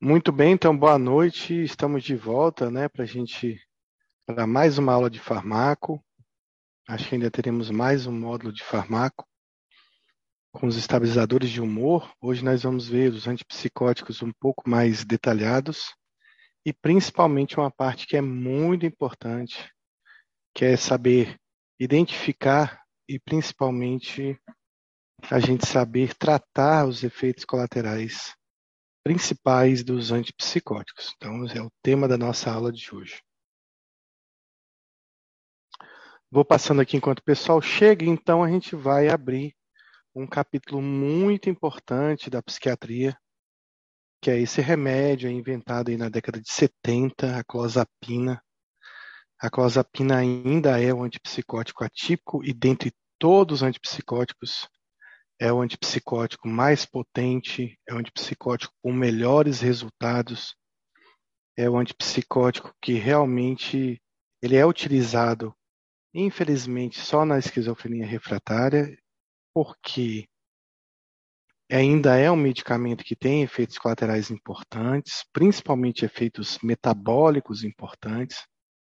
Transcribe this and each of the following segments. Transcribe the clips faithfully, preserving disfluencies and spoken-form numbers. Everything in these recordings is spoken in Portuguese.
Muito bem, então boa noite. Estamos de volta, né, para a gente para mais uma aula de farmaco. Acho que ainda teremos mais um módulo de farmaco com os estabilizadores de humor. Hoje nós vamos ver os antipsicóticos um pouco mais detalhados e principalmente uma parte que é muito importante, que é saber identificar e principalmente a gente saber tratar os efeitos colaterais principais dos antipsicóticos. Então, é o tema da nossa aula de hoje. Vou passando aqui enquanto o pessoal chega, então a gente vai abrir um capítulo muito importante da psiquiatria, que é esse remédio inventado aí na década de setenta, a clozapina. A clozapina ainda é o antipsicótico atípico e dentre todos os antipsicóticos é o antipsicótico mais potente, é o antipsicótico com melhores resultados, é o antipsicótico que realmente ele é utilizado, infelizmente, só na esquizofrenia refratária, porque ainda é um medicamento que tem efeitos colaterais importantes, principalmente efeitos metabólicos importantes.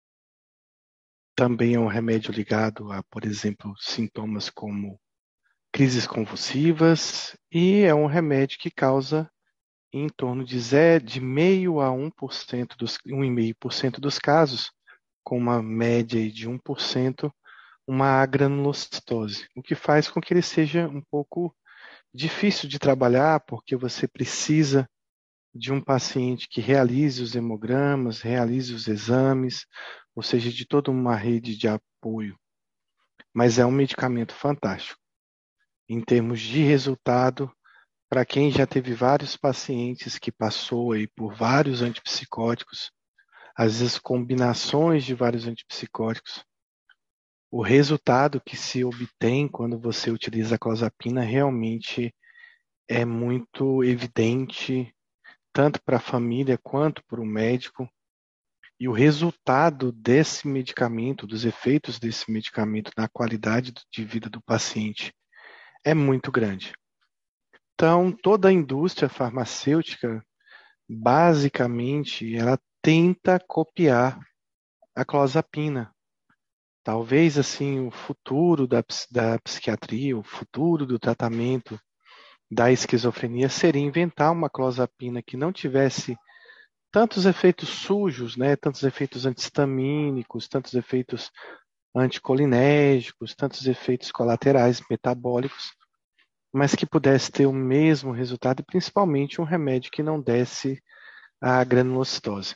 Também é um remédio ligado a, por exemplo, sintomas como crises convulsivas, e é um remédio que causa em torno de zero, de zero vírgula cinco a um por cento dos um vírgula cinco por cento dos casos, com uma média de um por cento, uma agranulocitose, o que faz com que ele seja um pouco difícil de trabalhar, porque você precisa de um paciente que realize os hemogramas, realize os exames, ou seja, de toda uma rede de apoio. Mas é um medicamento fantástico. Em termos de resultado, para quem já teve vários pacientes que passou aí por vários antipsicóticos, às vezes combinações de vários antipsicóticos, o resultado que se obtém quando você utiliza a clozapina realmente é muito evidente, tanto para a família quanto para o médico. E o resultado desse medicamento, dos efeitos desse medicamento na qualidade de vida do paciente, é muito grande. Então, toda a indústria farmacêutica, basicamente, ela tenta copiar a clozapina. Talvez, assim, o futuro da, da psiquiatria, o futuro do tratamento da esquizofrenia seria inventar uma clozapina que não tivesse tantos efeitos sujos, né? Tantos efeitos antihistamínicos, tantos efeitos anticolinérgicos, tantos efeitos colaterais metabólicos, mas que pudesse ter o mesmo resultado e principalmente um remédio que não desse a granulocitose.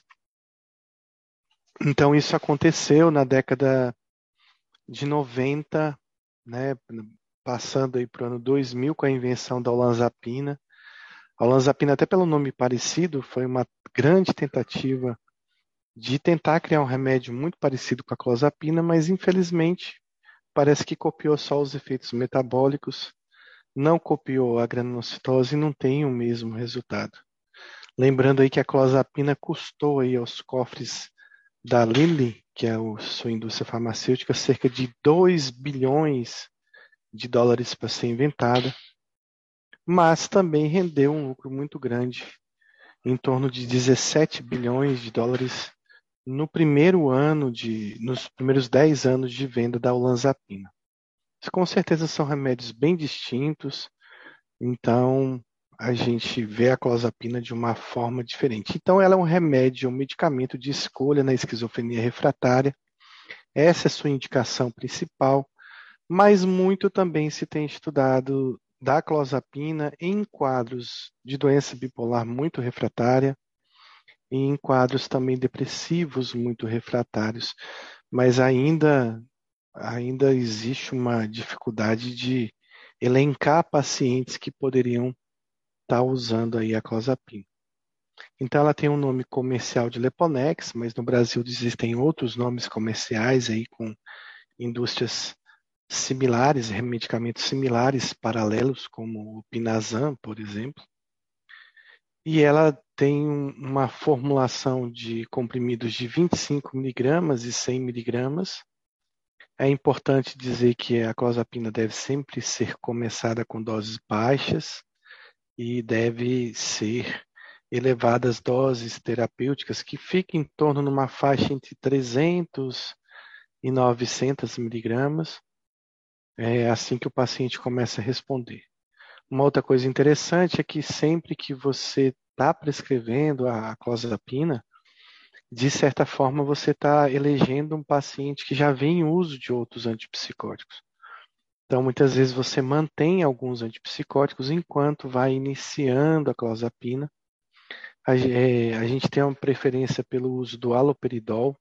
Então isso aconteceu na década de noventa, né? Passando aí para o ano dois mil com a invenção da olanzapina. A olanzapina, até pelo nome parecido, foi uma grande tentativa de tentar criar um remédio muito parecido com a clozapina, mas infelizmente parece que copiou só os efeitos metabólicos, não copiou a granulocitose e não tem o mesmo resultado. Lembrando aí que a clozapina custou aí aos cofres da Lilly, que é a sua indústria farmacêutica, cerca de dois bilhões de dólares para ser inventada, mas também rendeu um lucro muito grande, em torno de dezessete bilhões de dólares no primeiro ano de, nos primeiros dez anos de venda da olanzapina. Com certeza são remédios bem distintos, então a gente vê a clozapina de uma forma diferente. Então ela é um remédio, um medicamento de escolha na esquizofrenia refratária. Essa é a sua indicação principal, mas muito também se tem estudado da clozapina em quadros de doença bipolar muito refratária e em quadros também depressivos muito refratários, mas ainda ainda existe uma dificuldade de elencar pacientes que poderiam estar usando aí a clozapina. Então ela tem um nome comercial de Leponex, mas no Brasil existem outros nomes comerciais aí com indústrias similares, medicamentos similares, paralelos, como o Pinazam, por exemplo. E ela tem uma formulação de comprimidos de vinte e cinco miligramas e cem miligramas. É importante dizer que a clozapina deve sempre ser começada com doses baixas e deve ser elevadas doses terapêuticas que ficam em torno numa faixa entre trezentos e novecentos miligramas, é assim que o paciente começa a responder. Uma outra coisa interessante é que sempre que você está prescrevendo a clozapina, de certa forma você está elegendo um paciente que já vem em uso de outros antipsicóticos. Então, muitas vezes você mantém alguns antipsicóticos enquanto vai iniciando a clozapina. A, é, a gente tem uma preferência pelo uso do haloperidol,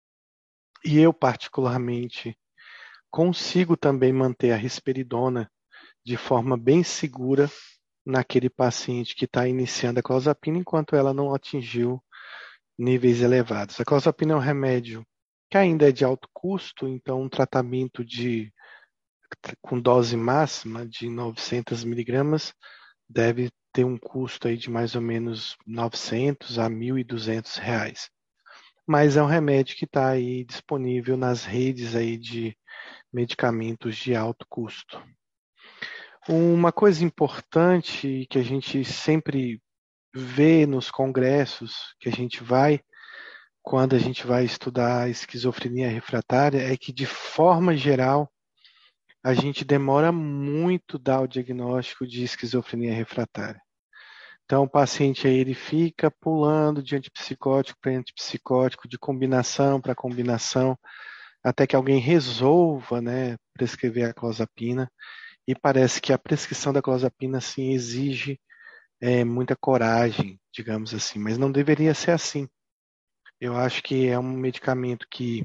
e eu, particularmente, consigo também manter a risperidona de forma bem segura naquele paciente que está iniciando a clozapina, enquanto ela não atingiu níveis elevados. A clozapina é um remédio que ainda é de alto custo, então um tratamento de, com dose máxima de novecentos miligramas deve ter um custo aí de mais ou menos novecentos a mil e duzentos reais. Mas é um remédio que está aí disponível nas redes aí de medicamentos de alto custo. Uma coisa importante que a gente sempre vê nos congressos que a gente vai, quando a gente vai estudar esquizofrenia refratária, é que, de forma geral, a gente demora muito dar o diagnóstico de esquizofrenia refratária. Então, o paciente aí, ele fica pulando de antipsicótico para antipsicótico, de combinação para combinação, até que alguém resolva, né, prescrever a clozapina. E parece que a prescrição da clozapina, sim, exige é, muita coragem, digamos assim, mas não deveria ser assim. Eu acho que é um medicamento que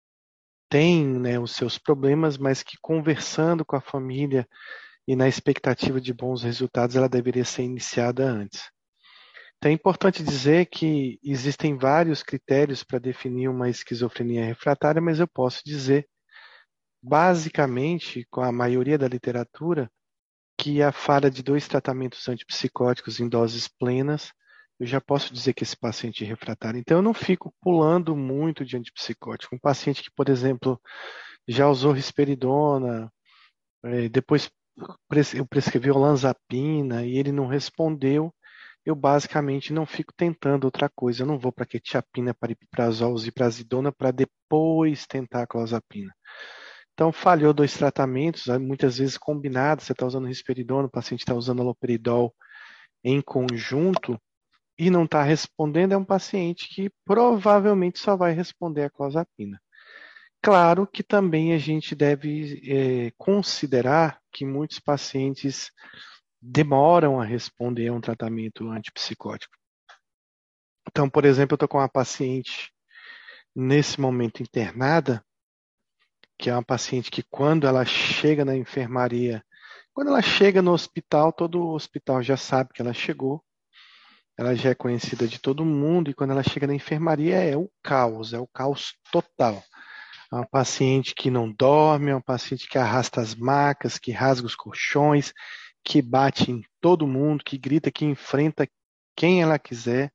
tem, né, os seus problemas, mas que, conversando com a família e na expectativa de bons resultados, ela deveria ser iniciada antes. Então, é importante dizer que existem vários critérios para definir uma esquizofrenia refratária, mas eu posso dizer, basicamente, com a maioria da literatura, que a falha de dois tratamentos antipsicóticos em doses plenas, eu já posso dizer que esse paciente é refratário. Então, eu não fico pulando muito de antipsicótico. Um paciente que, por exemplo, já usou risperidona, eh, depois eu prescrevi olanzapina e ele não respondeu, eu basicamente não fico tentando outra coisa. Eu não vou para quetiapina, pariprazol, ziprasidona para depois tentar a clozapina. Então, falhou dois tratamentos, muitas vezes combinados, você está usando risperidona, o paciente está usando aloperidol em conjunto e não está respondendo, é um paciente que provavelmente só vai responder a clozapina. Claro que também a gente deve é, considerar que muitos pacientes demoram a responder a um tratamento antipsicótico. Então, por exemplo, eu estou com uma paciente nesse momento internada, que é uma paciente que, quando ela chega na enfermaria, quando ela chega no hospital, todo o hospital já sabe que ela chegou, ela já é conhecida de todo mundo, e quando ela chega na enfermaria é o caos, é o caos total. É uma paciente que não dorme, é uma paciente que arrasta as macas, que rasga os colchões, que bate em todo mundo, que grita, que enfrenta quem ela quiser.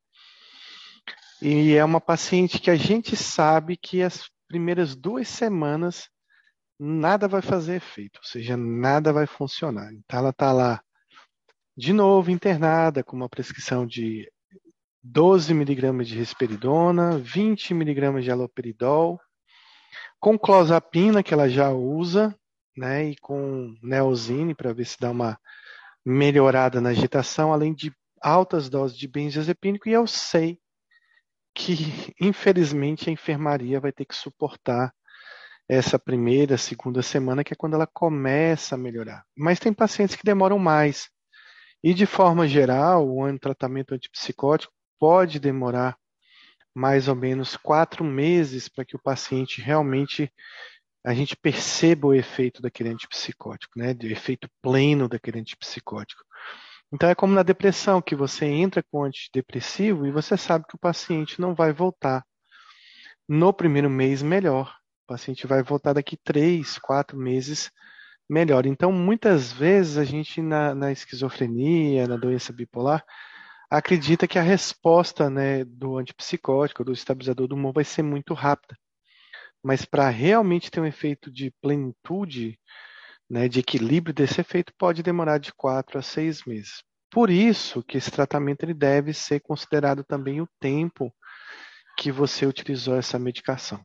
E é uma paciente que a gente sabe que as primeiras duas semanas nada vai fazer efeito, ou seja, nada vai funcionar. Então ela está lá de novo internada com uma prescrição de doze miligramas de risperidona, vinte miligramas de haloperidol, com clozapina que ela já usa, né, e com Neosine para ver se dá uma melhorada na agitação, além de altas doses de benzodiazepínico, e eu sei que, infelizmente, a enfermaria vai ter que suportar essa primeira, segunda semana, que é quando ela começa a melhorar. Mas tem pacientes que demoram mais. E, de forma geral, o tratamento antipsicótico pode demorar mais ou menos quatro meses para que o paciente realmente, a gente perceba o efeito daquele antipsicótico, né? O efeito pleno daquele antipsicótico. Então, é como na depressão, que você entra com antidepressivo e você sabe que o paciente não vai voltar no primeiro mês melhor. O paciente vai voltar daqui três, quatro meses melhor. Então, muitas vezes, a gente, na, na esquizofrenia, na doença bipolar, acredita que a resposta, né, do antipsicótico, do estabilizador do humor, vai ser muito rápida. Mas para realmente ter um efeito de plenitude, né, de equilíbrio desse efeito, pode demorar de quatro a seis meses. Por isso que esse tratamento ele deve ser considerado também o tempo que você utilizou essa medicação.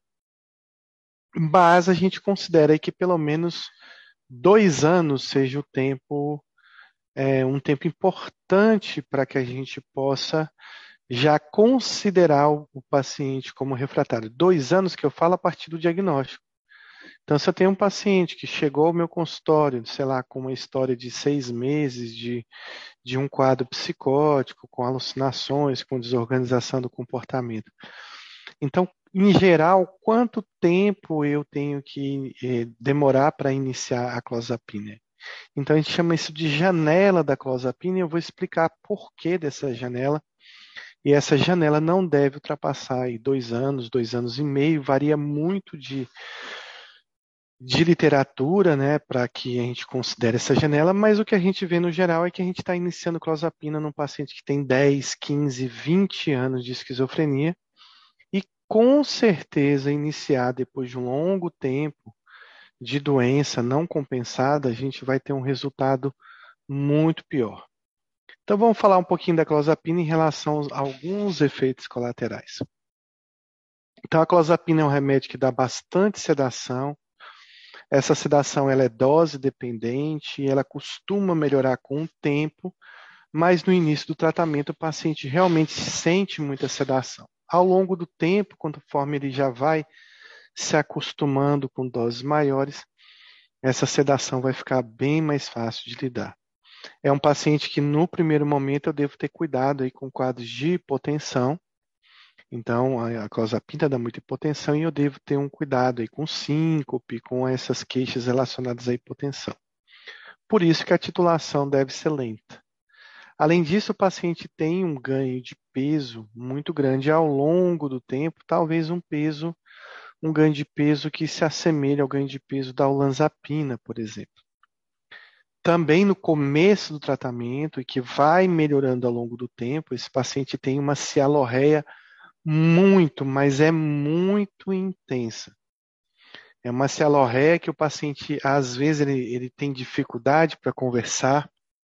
Mas a gente considera que pelo menos dois anos seja o tempo, é, um tempo importante para que a gente possa já considerar o, o paciente como refratário. Dois anos que eu falo a partir do diagnóstico. Então, se eu tenho um paciente que chegou ao meu consultório, sei lá, com uma história de seis meses de, de um quadro psicótico, com alucinações, com desorganização do comportamento. Então, em geral, quanto tempo eu tenho que eh, demorar para iniciar a clozapina? Então, a gente chama isso de janela da clozapina e eu vou explicar por que dessa janela. E essa janela não deve ultrapassar aí dois anos, dois anos e meio, varia muito de, de literatura, né, para que a gente considere essa janela, mas o que a gente vê no geral é que a gente está iniciando clozapina num paciente que tem dez, quinze, vinte anos de esquizofrenia e com certeza iniciar depois de um longo tempo de doença não compensada, a gente vai ter um resultado muito pior. Então vamos falar um pouquinho da clozapina em relação a alguns efeitos colaterais. Então a clozapina é um remédio que dá bastante sedação. Essa sedação ela é dose dependente, ela costuma melhorar com o tempo, mas no início do tratamento o paciente realmente sente muita sedação. Ao longo do tempo, conforme ele já vai se acostumando com doses maiores, essa sedação vai ficar bem mais fácil de lidar. É um paciente que no primeiro momento eu devo ter cuidado aí com quadros de hipotensão. Então, a clozapina dá muita hipotensão e eu devo ter um cuidado aí com síncope, com essas queixas relacionadas à hipotensão. Por isso que a titulação deve ser lenta. Além disso, o paciente tem um ganho de peso muito grande ao longo do tempo, talvez um peso, um ganho de peso que se assemelhe ao ganho de peso da olanzapina, por exemplo. Também no começo do tratamento e que vai melhorando ao longo do tempo, esse paciente tem uma cialorreia muito, mas é muito intensa. É uma cialorreia que o paciente, às vezes, ele, ele tem dificuldade para conversar,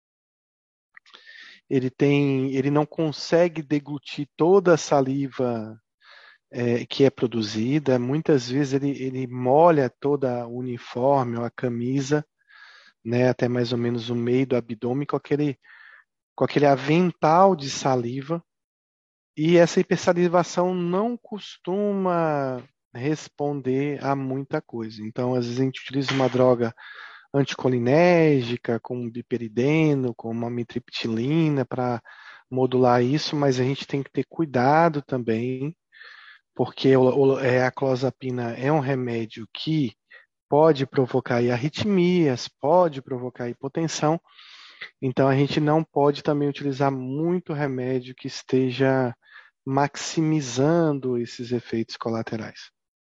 ele tem, ele não consegue deglutir toda a saliva é, que é produzida, muitas vezes ele, ele molha toda o uniforme ou a camisa, né, até mais ou menos o meio do abdômen, com aquele, com aquele avental de saliva, e essa hipersalivação não costuma responder a muita coisa. Então, às vezes a gente utiliza uma droga anticolinérgica, como biperideno, como amitriptilina, para modular isso, mas a gente tem que ter cuidado também, porque o, o, é, a clozapina é um remédio que pode provocar arritmias, pode provocar hipotensão, então a gente não pode também utilizar muito remédio que esteja maximizando esses efeitos colaterais.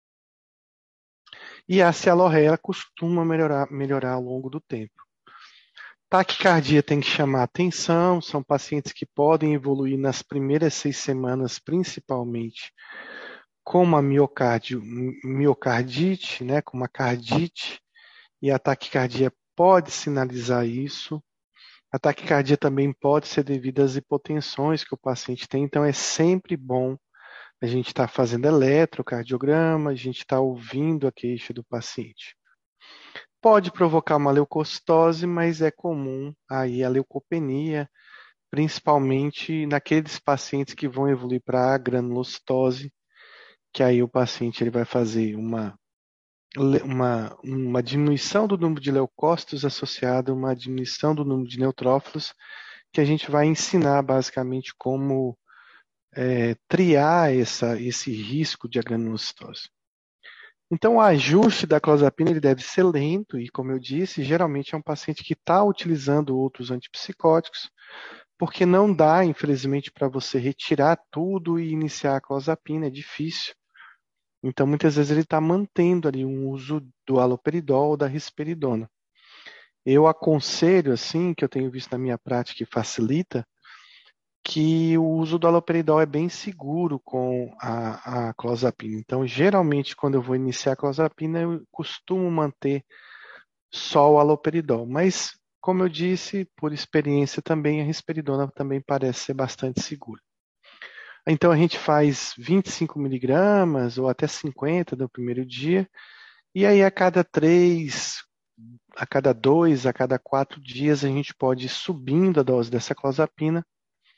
E a cialorreia costuma melhorar, melhorar ao longo do tempo. Taquicardia tem que chamar atenção, são pacientes que podem evoluir nas primeiras seis semanas, principalmente com uma miocárdio, miocardite, né, com uma cardite, e a taquicardia pode sinalizar isso. A taquicardia também pode ser devido às hipotensões que o paciente tem, então é sempre bom a gente estar tá fazendo eletrocardiograma, a gente está ouvindo a queixa do paciente. Pode provocar uma leucocitose, mas é comum aí a leucopenia, principalmente naqueles pacientes que vão evoluir para a granulocitose, que aí o paciente ele vai fazer uma, uma, uma diminuição do número de leucócitos associada a uma diminuição do número de neutrófilos, que a gente vai ensinar basicamente como é, triar essa, esse risco de agranulocitose. Então, o ajuste da clozapina ele deve ser lento e, como eu disse, geralmente é um paciente que está utilizando outros antipsicóticos, porque não dá, infelizmente, para você retirar tudo e iniciar a clozapina, é difícil. Então, muitas vezes ele está mantendo ali um uso do haloperidol ou da risperidona. Eu aconselho, assim, que eu tenho visto na minha prática que facilita, que o uso do haloperidol é bem seguro com a, a clozapina. Então, geralmente, quando eu vou iniciar a clozapina, eu costumo manter só o haloperidol. Mas, como eu disse, por experiência também, a risperidona também parece ser bastante segura. Então a gente faz vinte e cinco miligramas ou até cinquenta no primeiro dia, e aí a cada três, a cada dois, a cada quatro dias a gente pode ir subindo a dose dessa clozapina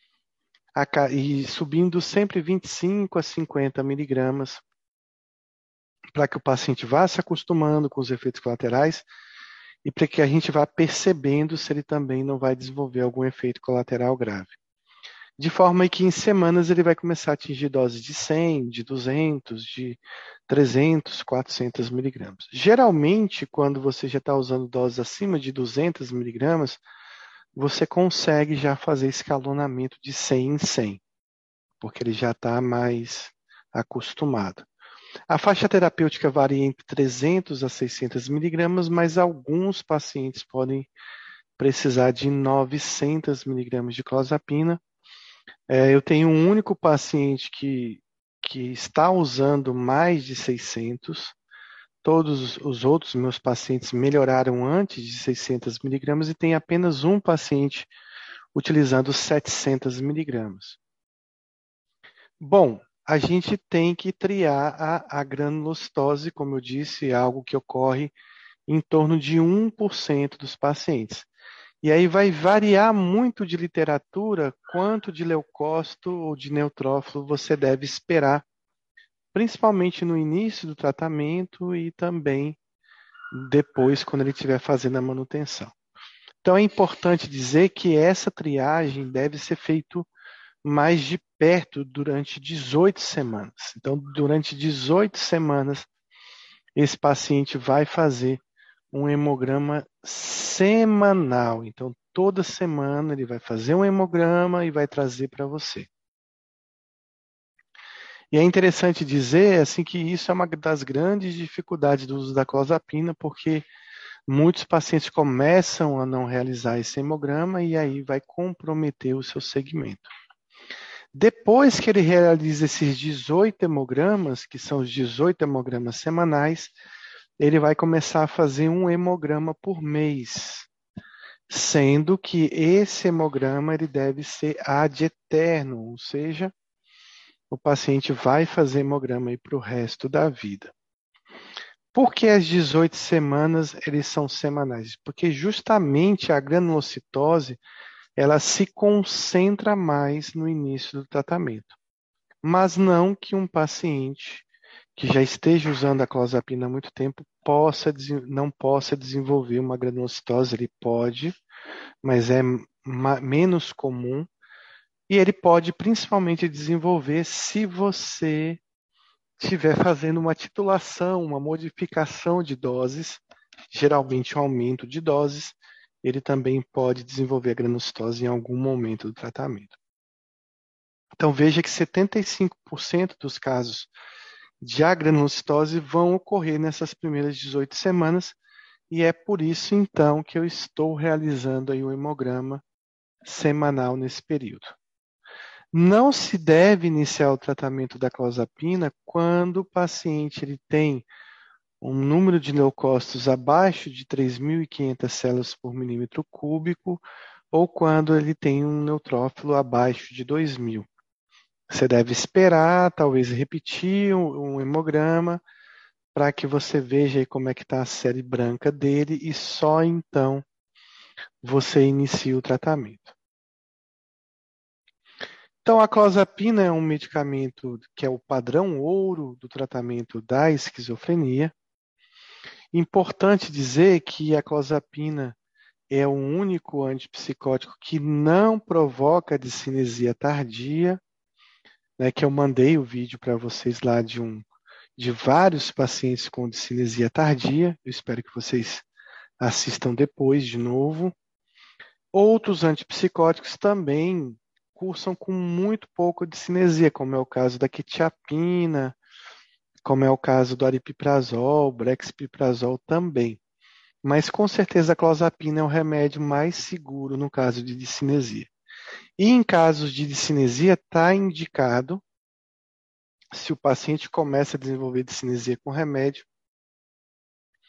e subindo sempre vinte e cinco a cinquenta miligramas para que o paciente vá se acostumando com os efeitos colaterais e para que a gente vá percebendo se ele também não vai desenvolver algum efeito colateral grave. De forma que em semanas ele vai começar a atingir doses de cem, de duzentos, de trezentos, quatrocentos miligramas. Geralmente, quando você já está usando doses acima de duzentos miligramas, você consegue já fazer escalonamento de cem em cem, porque ele já está mais acostumado. A faixa terapêutica varia entre trezentos a seiscentos miligramas, mas alguns pacientes podem precisar de novecentos miligramas de clozapina. É, eu tenho um único paciente que, que está usando mais de seiscentos. Todos os outros meus pacientes melhoraram antes de seiscentos miligramas e tem apenas um paciente utilizando setecentos miligramas. Bom, a gente tem que triar a, a granulocitose, como eu disse, é algo que ocorre em torno de um por cento dos pacientes. E aí vai variar muito de literatura quanto de leucócito ou de neutrófilo você deve esperar, principalmente no início do tratamento e também depois, quando ele estiver fazendo a manutenção. Então é importante dizer que essa triagem deve ser feita mais de perto durante dezoito semanas. Então, durante dezoito semanas, esse paciente vai fazer um hemograma semanal. Então, toda semana ele vai fazer um hemograma e vai trazer para você. E é interessante dizer assim que isso é uma das grandes dificuldades do uso da clozapina, porque muitos pacientes começam a não realizar esse hemograma e aí vai comprometer o seu segmento. Depois que ele realiza esses dezoito hemogramas, que são os dezoito hemogramas semanais, ele vai começar a fazer um hemograma por mês, sendo que esse hemograma ele deve ser ad eterno, ou seja, o paciente vai fazer hemograma para o resto da vida. Por que as dezoito semanas eles são semanais? Porque justamente a granulocitose ela se concentra mais no início do tratamento. Mas não que um paciente que já esteja usando a clozapina há muito tempo possa, não possa desenvolver uma granulocitose. Ele pode, mas é menos comum. E ele pode principalmente desenvolver se você estiver fazendo uma titulação, uma modificação de doses, geralmente um aumento de doses, ele também pode desenvolver a granulocitose em algum momento do tratamento. Então veja que setenta e cinco por cento dos casos de agranulocitose vão ocorrer nessas primeiras dezoito semanas, e é por isso então que eu estou realizando aí o hemograma semanal nesse período. Não se deve iniciar o tratamento da clozapina quando o paciente ele tem um número de leucócitos abaixo de três mil e quinhentas células por milímetro cúbico ou quando ele tem um neutrófilo abaixo de dois mil. Você deve esperar, talvez repetir um, um hemograma para que você veja aí como é que está a série branca dele e só então você inicia o tratamento. Então, a clozapina é um medicamento que é o padrão ouro do tratamento da esquizofrenia. Importante dizer que a clozapina é o único antipsicótico que não provoca discinesia tardia, né, que eu mandei o vídeo para vocês lá de, um, de vários pacientes com discinesia tardia. Eu espero que vocês assistam depois de novo. Outros antipsicóticos também cursam com muito pouco discinesia, como é o caso da quetiapina, como é o caso do aripiprazol, brexpiprazol também. Mas com certeza a clozapina é o remédio mais seguro no caso de discinesia. E em casos de discinesia está indicado, se o paciente começa a desenvolver discinesia com remédio,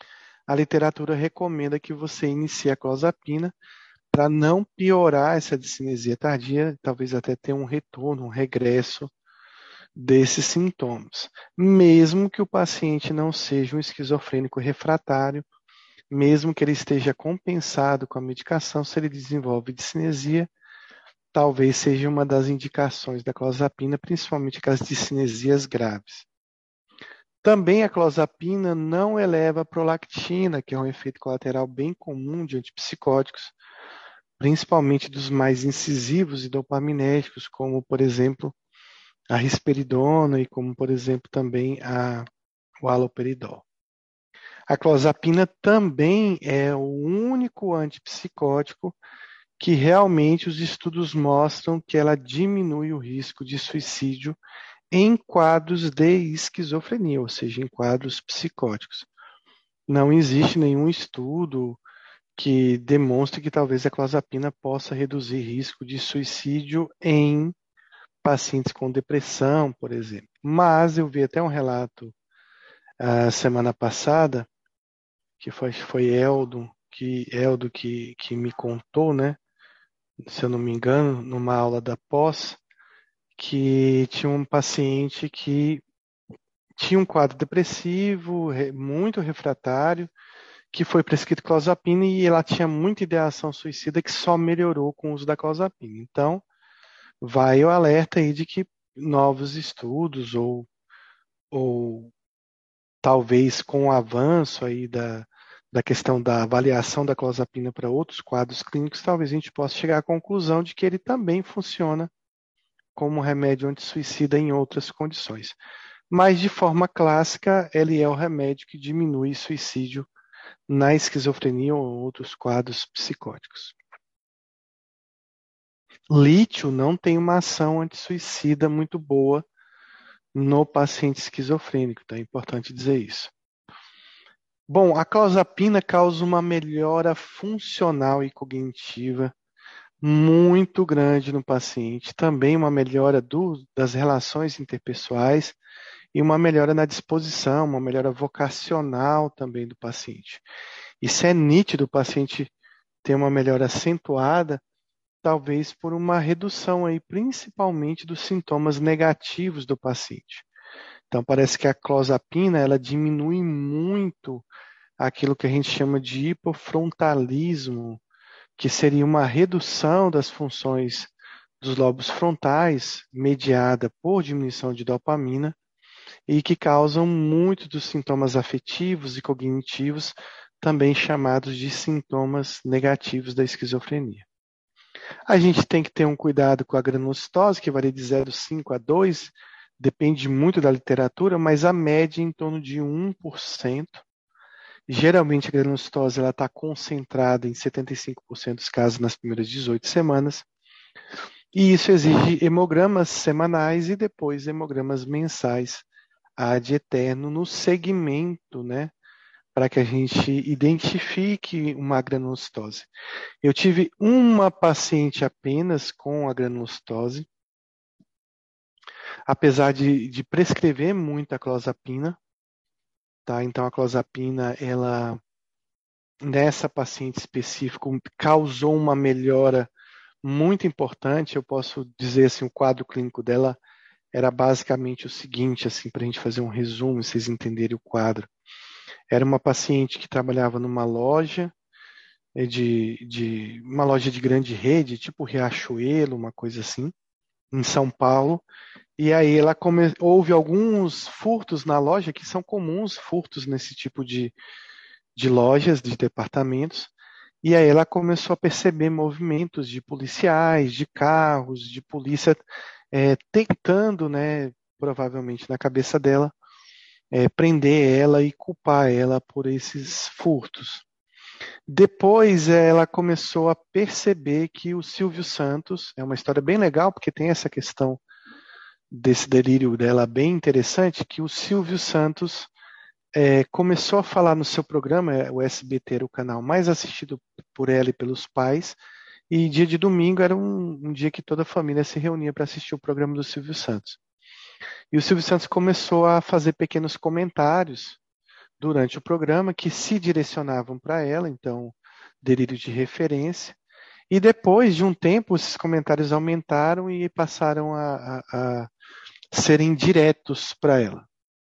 a literatura recomenda que você inicie a clozapina para não piorar essa discinesia tardia, talvez até ter um retorno, um regresso desses sintomas, mesmo que o paciente não seja um esquizofrênico refratário, mesmo que ele esteja compensado com a medicação, se ele desenvolve discinesia, talvez seja uma das indicações da clozapina, principalmente aquelas discinesias graves. Também a clozapina não eleva a prolactina, que é um efeito colateral bem comum de antipsicóticos, principalmente dos mais incisivos e dopaminérgicos, como, por exemplo, a risperidona e como, por exemplo, também a, o haloperidol. A clozapina também é o único antipsicótico que realmente os estudos mostram que ela diminui o risco de suicídio em quadros de esquizofrenia, ou seja, em quadros psicóticos. Não existe nenhum estudo que demonstre que talvez a clozapina possa reduzir risco de suicídio em pacientes com depressão, por exemplo. Mas eu vi até um relato a semana passada, que foi, foi Eldo, que, Eldo que, que me contou, né? Se eu não me engano, numa aula da pós, que tinha um paciente que tinha um quadro depressivo, muito refratário, que foi prescrito clozapina e ela tinha muita ideação suicida que só melhorou com o uso da clozapina. Então, vai o alerta aí de que novos estudos ou, ou talvez com o avanço aí da, da questão da avaliação da clozapina para outros quadros clínicos, talvez a gente possa chegar à conclusão de que ele também funciona como remédio antissuicida em outras condições. Mas, de forma clássica, ele é o remédio que diminui suicídio na esquizofrenia ou outros quadros psicóticos. Lítio não tem uma ação antissuicida muito boa no paciente esquizofrênico, tá? É importante dizer isso. Bom, a clozapina causa uma melhora funcional e cognitiva muito grande no paciente, também uma melhora do, das relações interpessoais e uma melhora na disposição, uma melhora vocacional também do paciente. Isso é nítido, o paciente ter uma melhora acentuada, talvez por uma redução aí, principalmente dos sintomas negativos do paciente. Então, parece que a clozapina, ela diminui muito aquilo que a gente chama de hipofrontalismo, que seria uma redução das funções dos lobos frontais, mediada por diminuição de dopamina, e que causam muitos dos sintomas afetivos e cognitivos, também chamados de sintomas negativos da esquizofrenia. A gente tem que ter um cuidado com a granulocitose, que varia de zero vírgula cinco a dois, depende muito da literatura, mas a média é em torno de um por cento. Geralmente a granulocitose está concentrada em setenta e cinco por cento dos casos nas primeiras dezoito semanas, e isso exige hemogramas semanais e depois hemogramas mensais ad eterno no segmento, né, para que a gente identifique uma granulocitose. Eu tive uma paciente apenas com a granulocitose, apesar de, de prescrever muito a clozapina, tá? Então a clozapina, ela nessa paciente específica causou uma melhora muito importante. Eu posso dizer assim, o quadro clínico dela era basicamente o seguinte, assim, para a gente fazer um resumo, vocês entenderem o quadro. Era uma paciente que trabalhava numa loja de, de uma loja de grande rede, tipo Riachuelo, uma coisa assim, em São Paulo. E aí ela come... houve alguns furtos na loja, que são comuns furtos nesse tipo de, de lojas, de departamentos. E aí ela começou a perceber movimentos de policiais, de carros, de polícia, é, tentando, né, provavelmente na cabeça dela, é, prender ela e culpar ela por esses furtos. Depois ela começou a perceber que o Silvio Santos, é uma história bem legal, porque tem essa questão desse delírio dela bem interessante, que o Silvio Santos é, começou a falar no seu programa, o S B T era o canal mais assistido por ela e pelos pais, e dia de domingo era um, um dia que toda a família se reunia para assistir o programa do Silvio Santos. E o Silvio Santos começou a fazer pequenos comentários durante o programa que se direcionavam para ela, então, delírio de referência. E depois de um tempo, esses comentários aumentaram e passaram a, a, a serem diretos para ela.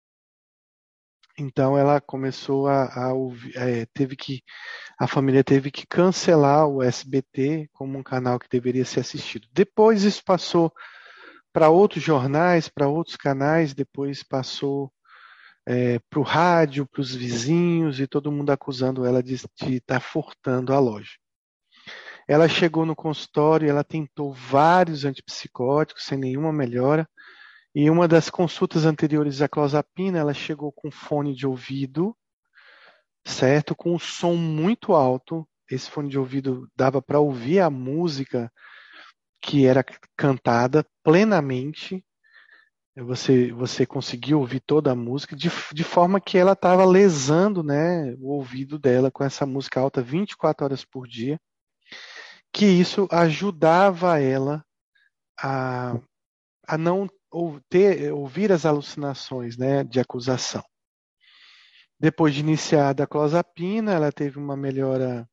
Então ela começou a, a ouvir, é, teve que, a família teve que cancelar o S B T como um canal que deveria ser assistido. Depois isso passou para outros jornais, para outros canais, depois passou é, para o rádio, para os vizinhos, e todo mundo acusando ela de estar furtando a loja. Ela chegou no consultório, ela tentou vários antipsicóticos sem nenhuma melhora. E uma das consultas anteriores à clozapina, ela chegou com fone de ouvido, certo? Com um som muito alto. Esse fone de ouvido dava para ouvir a música que era cantada plenamente. Você, você conseguia ouvir toda a música, de, de forma que ela estava lesando, né, o ouvido dela com essa música alta vinte e quatro horas por dia, que isso ajudava ela a, a não ou ter, ouvir as alucinações, né, de acusação. Depois de iniciada a clozapina, ela teve uma melhora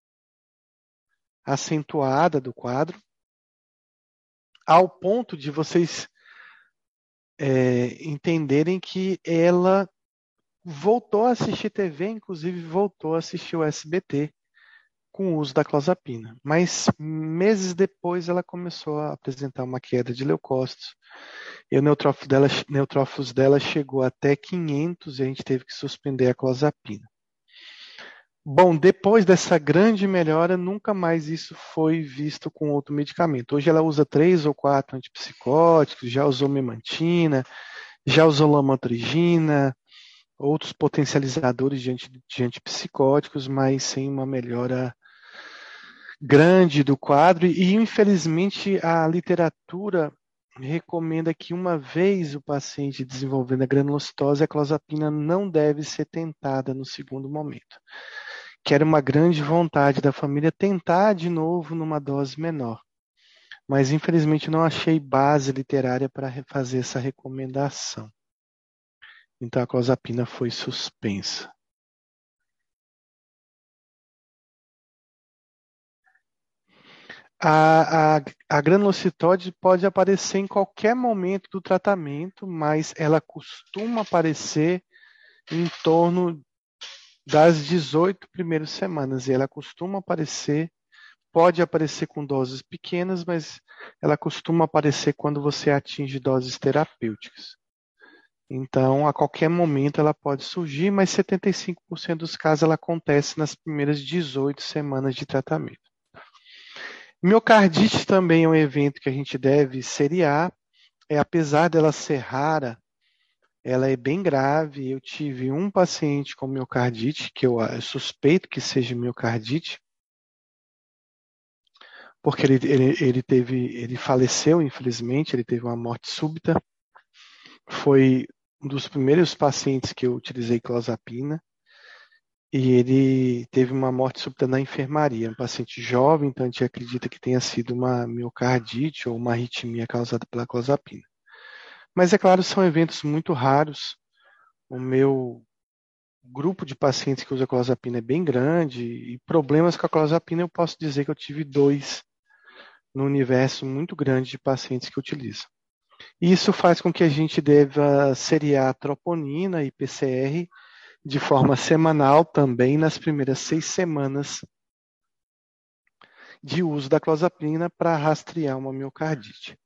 acentuada do quadro, ao ponto de vocês é, entenderem que ela voltou a assistir T V, inclusive voltou a assistir o S B T com o uso da clozapina. Mas meses depois ela começou a apresentar uma queda de leucócitos. E o neutrófilo dela, neutrófilos dela chegou até quinhentos e a gente teve que suspender a clozapina. Bom, depois dessa grande melhora, nunca mais isso foi visto com outro medicamento. Hoje ela usa três ou quatro antipsicóticos, já usou memantina, já usou lamotrigina, outros potencializadores de, anti, de antipsicóticos, mas sem uma melhora grande do quadro. E, infelizmente, a literatura recomenda que uma vez o paciente desenvolvendo a granulocitose, a clozapina não deve ser tentada no segundo momento. Que era uma grande vontade da família tentar de novo numa dose menor. Mas, infelizmente, não achei base literária para fazer essa recomendação. Então, a clozapina foi suspensa. A, a, a granulocitose pode aparecer em qualquer momento do tratamento, mas ela costuma aparecer em torno das dezoito primeiras semanas. E ela costuma aparecer, pode aparecer com doses pequenas, mas ela costuma aparecer quando você atinge doses terapêuticas. Então, a qualquer momento ela pode surgir, mas setenta e cinco por cento dos casos ela acontece nas primeiras dezoito semanas de tratamento. Miocardite também é um evento que a gente deve seriar. É, apesar dela ser rara, ela é bem grave. Eu tive um paciente com miocardite, que eu suspeito que seja miocardite, porque ele, ele, ele, teve, ele faleceu, infelizmente, ele teve uma morte súbita. Foi um dos primeiros pacientes que eu utilizei clozapina. E ele teve uma morte súbita na enfermaria, um paciente jovem, então a gente acredita que tenha sido uma miocardite ou uma arritmia causada pela clozapina. Mas é claro, são eventos muito raros. O meu grupo de pacientes que usa clozapina é bem grande e problemas com a clozapina eu posso dizer que eu tive dois no universo muito grande de pacientes que utilizam. E isso faz com que a gente deva seriar a troponina e P C R de forma semanal também nas primeiras seis semanas de uso da clozapina para rastrear uma miocardite.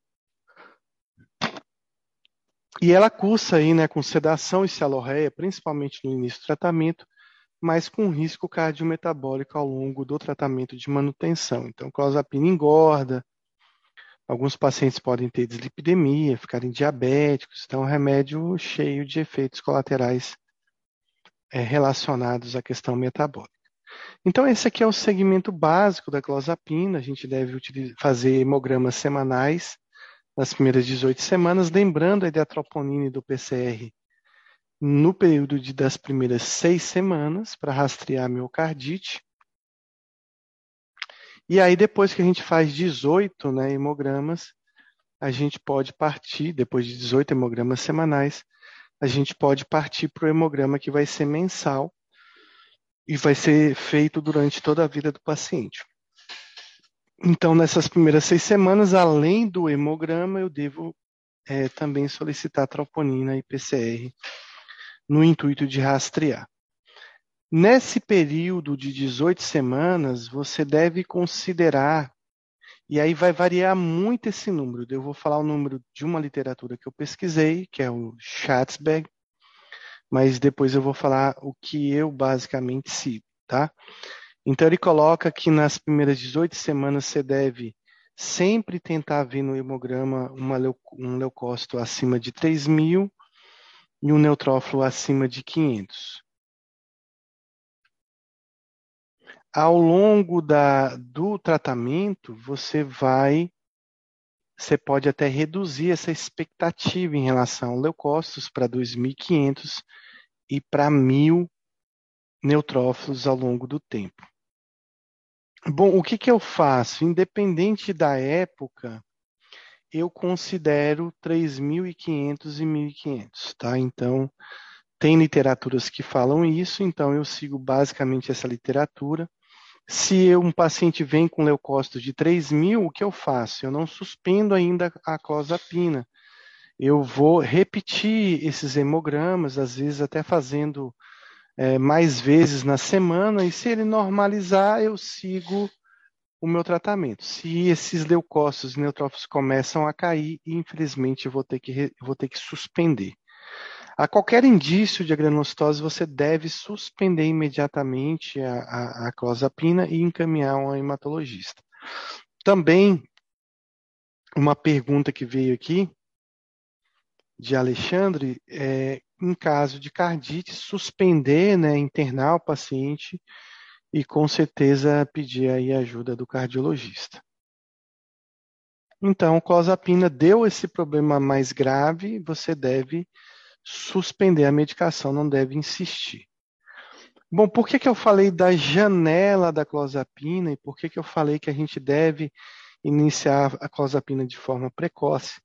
E ela cursa aí, né, com sedação e cialorreia, principalmente no início do tratamento, mas com risco cardiometabólico ao longo do tratamento de manutenção. Então, clozapina engorda, alguns pacientes podem ter dislipidemia, ficarem diabéticos, então é um remédio cheio de efeitos colaterais é, relacionados à questão metabólica. Então, esse aqui é o segmento básico da clozapina. A gente deve utilizar, fazer hemogramas semanais nas primeiras dezoito semanas, lembrando aí da troponina e do P C R no período de, das primeiras seis semanas, para rastrear a miocardite. E aí, depois que a gente faz dezoito né, hemogramas, a gente pode partir, depois de dezoito hemogramas semanais, a gente pode partir para o hemograma que vai ser mensal e vai ser feito durante toda a vida do paciente. Então, nessas primeiras seis semanas, além do hemograma, eu devo é, também solicitar troponina e P C R no intuito de rastrear. Nesse período de dezoito semanas, você deve considerar, e aí vai variar muito esse número. Eu vou falar o número de uma literatura que eu pesquisei, que é o Schatzberg, mas depois eu vou falar o que eu basicamente sigo, tá? Então ele coloca que nas primeiras dezoito semanas você deve sempre tentar ver no hemograma uma leu- um leucócito acima de três mil e um neutrófilo acima de quinhentos. Ao longo da, do tratamento, você vai, você pode até reduzir essa expectativa em relação ao leucócitos para dois mil e quinhentos e para mil neutrófilos ao longo do tempo. Bom, o que que eu faço? Independente da época, eu considero três mil e quinhentos e mil e quinhentos, tá? Então, tem literaturas que falam isso, então eu sigo basicamente essa literatura. Se eu- um paciente vem com leucócito de três mil, o que eu faço? Eu não suspendo ainda a clozapina. Eu vou repetir esses hemogramas, às vezes até fazendo eh, mais vezes na semana, e se ele normalizar, eu sigo o meu tratamento. Se esses leucócitos e neutrófilos começam a cair, infelizmente eu vou ter que, re- vou ter que suspender. A qualquer indício de granulocitose, você deve suspender imediatamente a, a, a clozapina e encaminhar um hematologista. Também, uma pergunta que veio aqui, de Alexandre, é, em caso de cardite, suspender, né, internar o paciente e com certeza pedir aí a ajuda do cardiologista. Então, clozapina deu esse problema mais grave, você deve suspender a medicação, não deve insistir. Bom, por que que eu falei da janela da clozapina e por que que eu falei que a gente deve iniciar a clozapina de forma precoce,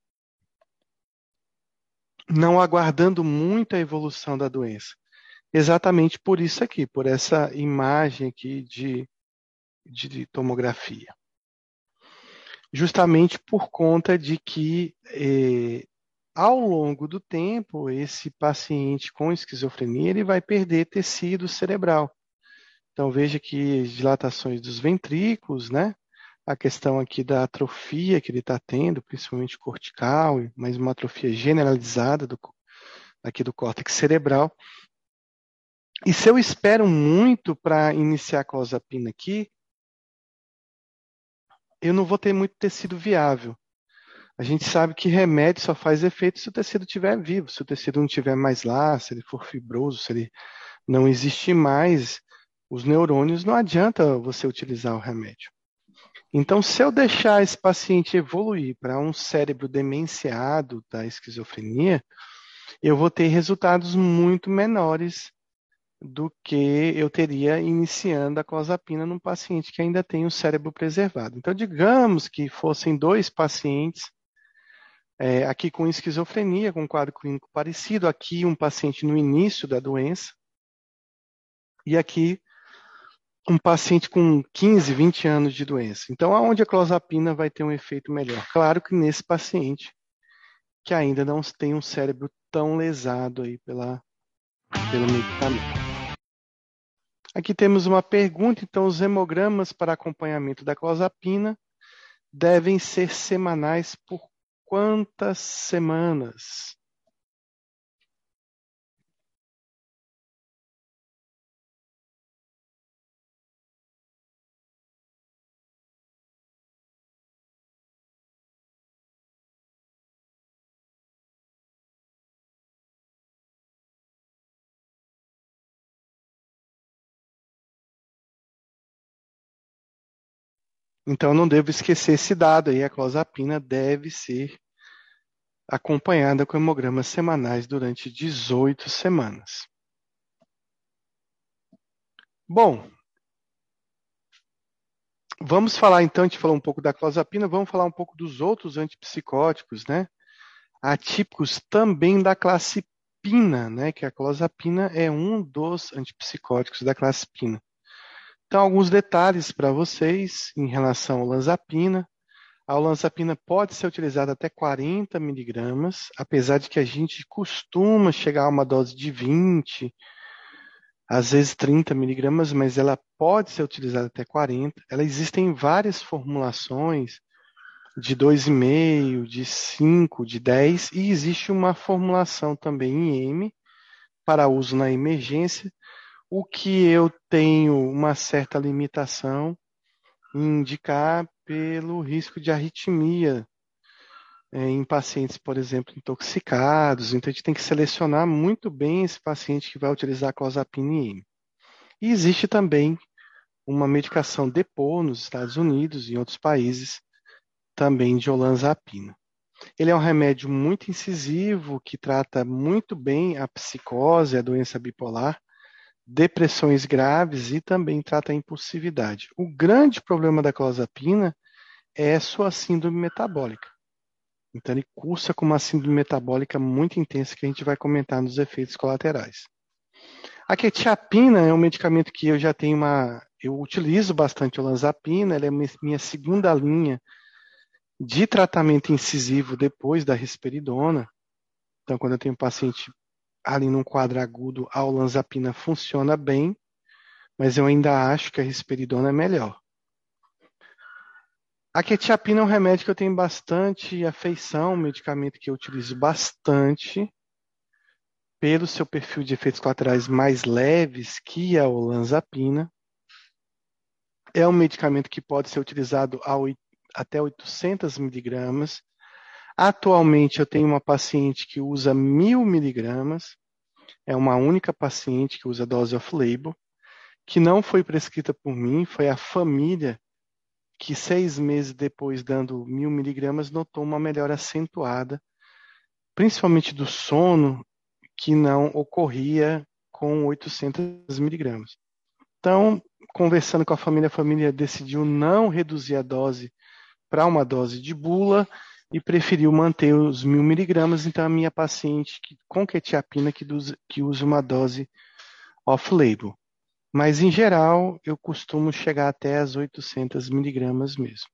não aguardando muito a evolução da doença? Exatamente por isso aqui, por essa imagem aqui de, de tomografia. Justamente por conta de que eh, ao longo do tempo, esse paciente com esquizofrenia ele vai perder tecido cerebral. Então, veja que as dilatações dos ventrículos, né? A questão aqui da atrofia que ele está tendo, principalmente cortical, mas uma atrofia generalizada do, aqui do córtex cerebral. E se eu espero muito para iniciar a clozapina aqui, eu não vou ter muito tecido viável. A gente sabe que remédio só faz efeito se o tecido estiver vivo, se o tecido não estiver mais lá, se ele for fibroso, se ele não existir mais, os neurônios, não adianta você utilizar o remédio. Então, se eu deixar esse paciente evoluir para um cérebro demenciado da esquizofrenia, eu vou ter resultados muito menores do que eu teria iniciando a clozapina num paciente que ainda tem o cérebro preservado. Então, digamos que fossem dois pacientes, é, aqui com esquizofrenia, com um quadro clínico parecido, aqui um paciente no início da doença, e aqui um paciente com quinze, vinte anos de doença. Então, aonde a clozapina vai ter um efeito melhor? Claro que nesse paciente que ainda não tem um cérebro tão lesado aí pela, pelo medicamento. Aqui temos uma pergunta, então os hemogramas para acompanhamento da clozapina devem ser semanais por quantas semanas? Então não devo esquecer esse dado aí, a clozapina deve ser acompanhada com hemogramas semanais durante dezoito semanas. Bom, vamos falar então, a gente falou um pouco da clozapina, vamos falar um pouco dos outros antipsicóticos, né? Atípicos também da classe pina, né? Que a clozapina é um dos antipsicóticos da classe pina. Então, alguns detalhes para vocês em relação ao olanzapina. A olanzapina pode ser utilizada até quarenta miligramas, apesar de que a gente costuma chegar a uma dose de vinte, às vezes trinta miligramas, mas ela pode ser utilizada até quarenta. Ela existem várias formulações de dois vírgula cinco, de cinco, de dez, e existe uma formulação também em M para uso na emergência, o que eu tenho uma certa limitação em indicar pelo risco de arritmia é, em pacientes, por exemplo, intoxicados. Então, a gente tem que selecionar muito bem esse paciente que vai utilizar a clozapina em M. E existe também uma medicação Depot nos Estados Unidos e em outros países, também de olanzapina. Ele é um remédio muito incisivo que trata muito bem a psicose, a doença bipolar, depressões graves e também trata a impulsividade. O grande problema da clozapina é sua síndrome metabólica. Então, ele cursa com uma síndrome metabólica muito intensa que a gente vai comentar nos efeitos colaterais. A quetiapina é um medicamento que eu já tenho uma... Eu utilizo bastante olanzapina, ela é minha segunda linha de tratamento incisivo depois da risperidona. Então, quando eu tenho um paciente ali num quadro agudo, a olanzapina funciona bem, mas eu ainda acho que a risperidona é melhor. A quetiapina é um remédio que eu tenho bastante afeição, um medicamento que eu utilizo bastante, pelo seu perfil de efeitos colaterais mais leves que a olanzapina. É um medicamento que pode ser utilizado a até oitocentos miligramas. Atualmente eu tenho uma paciente que usa mil miligramas, é uma única paciente que usa dose off-label, que não foi prescrita por mim, foi a família que seis meses depois, dando mil miligramas, notou uma melhora acentuada, principalmente do sono, que não ocorria com oitocentos miligramas. Então, conversando com a família, a família decidiu não reduzir a dose para uma dose de bula e preferiu manter os mil miligramas. Então, a minha paciente que, com quetiapina que, dos, que usa uma dose off-label. Mas, em geral, eu costumo chegar até as oitocentos miligramas mesmo.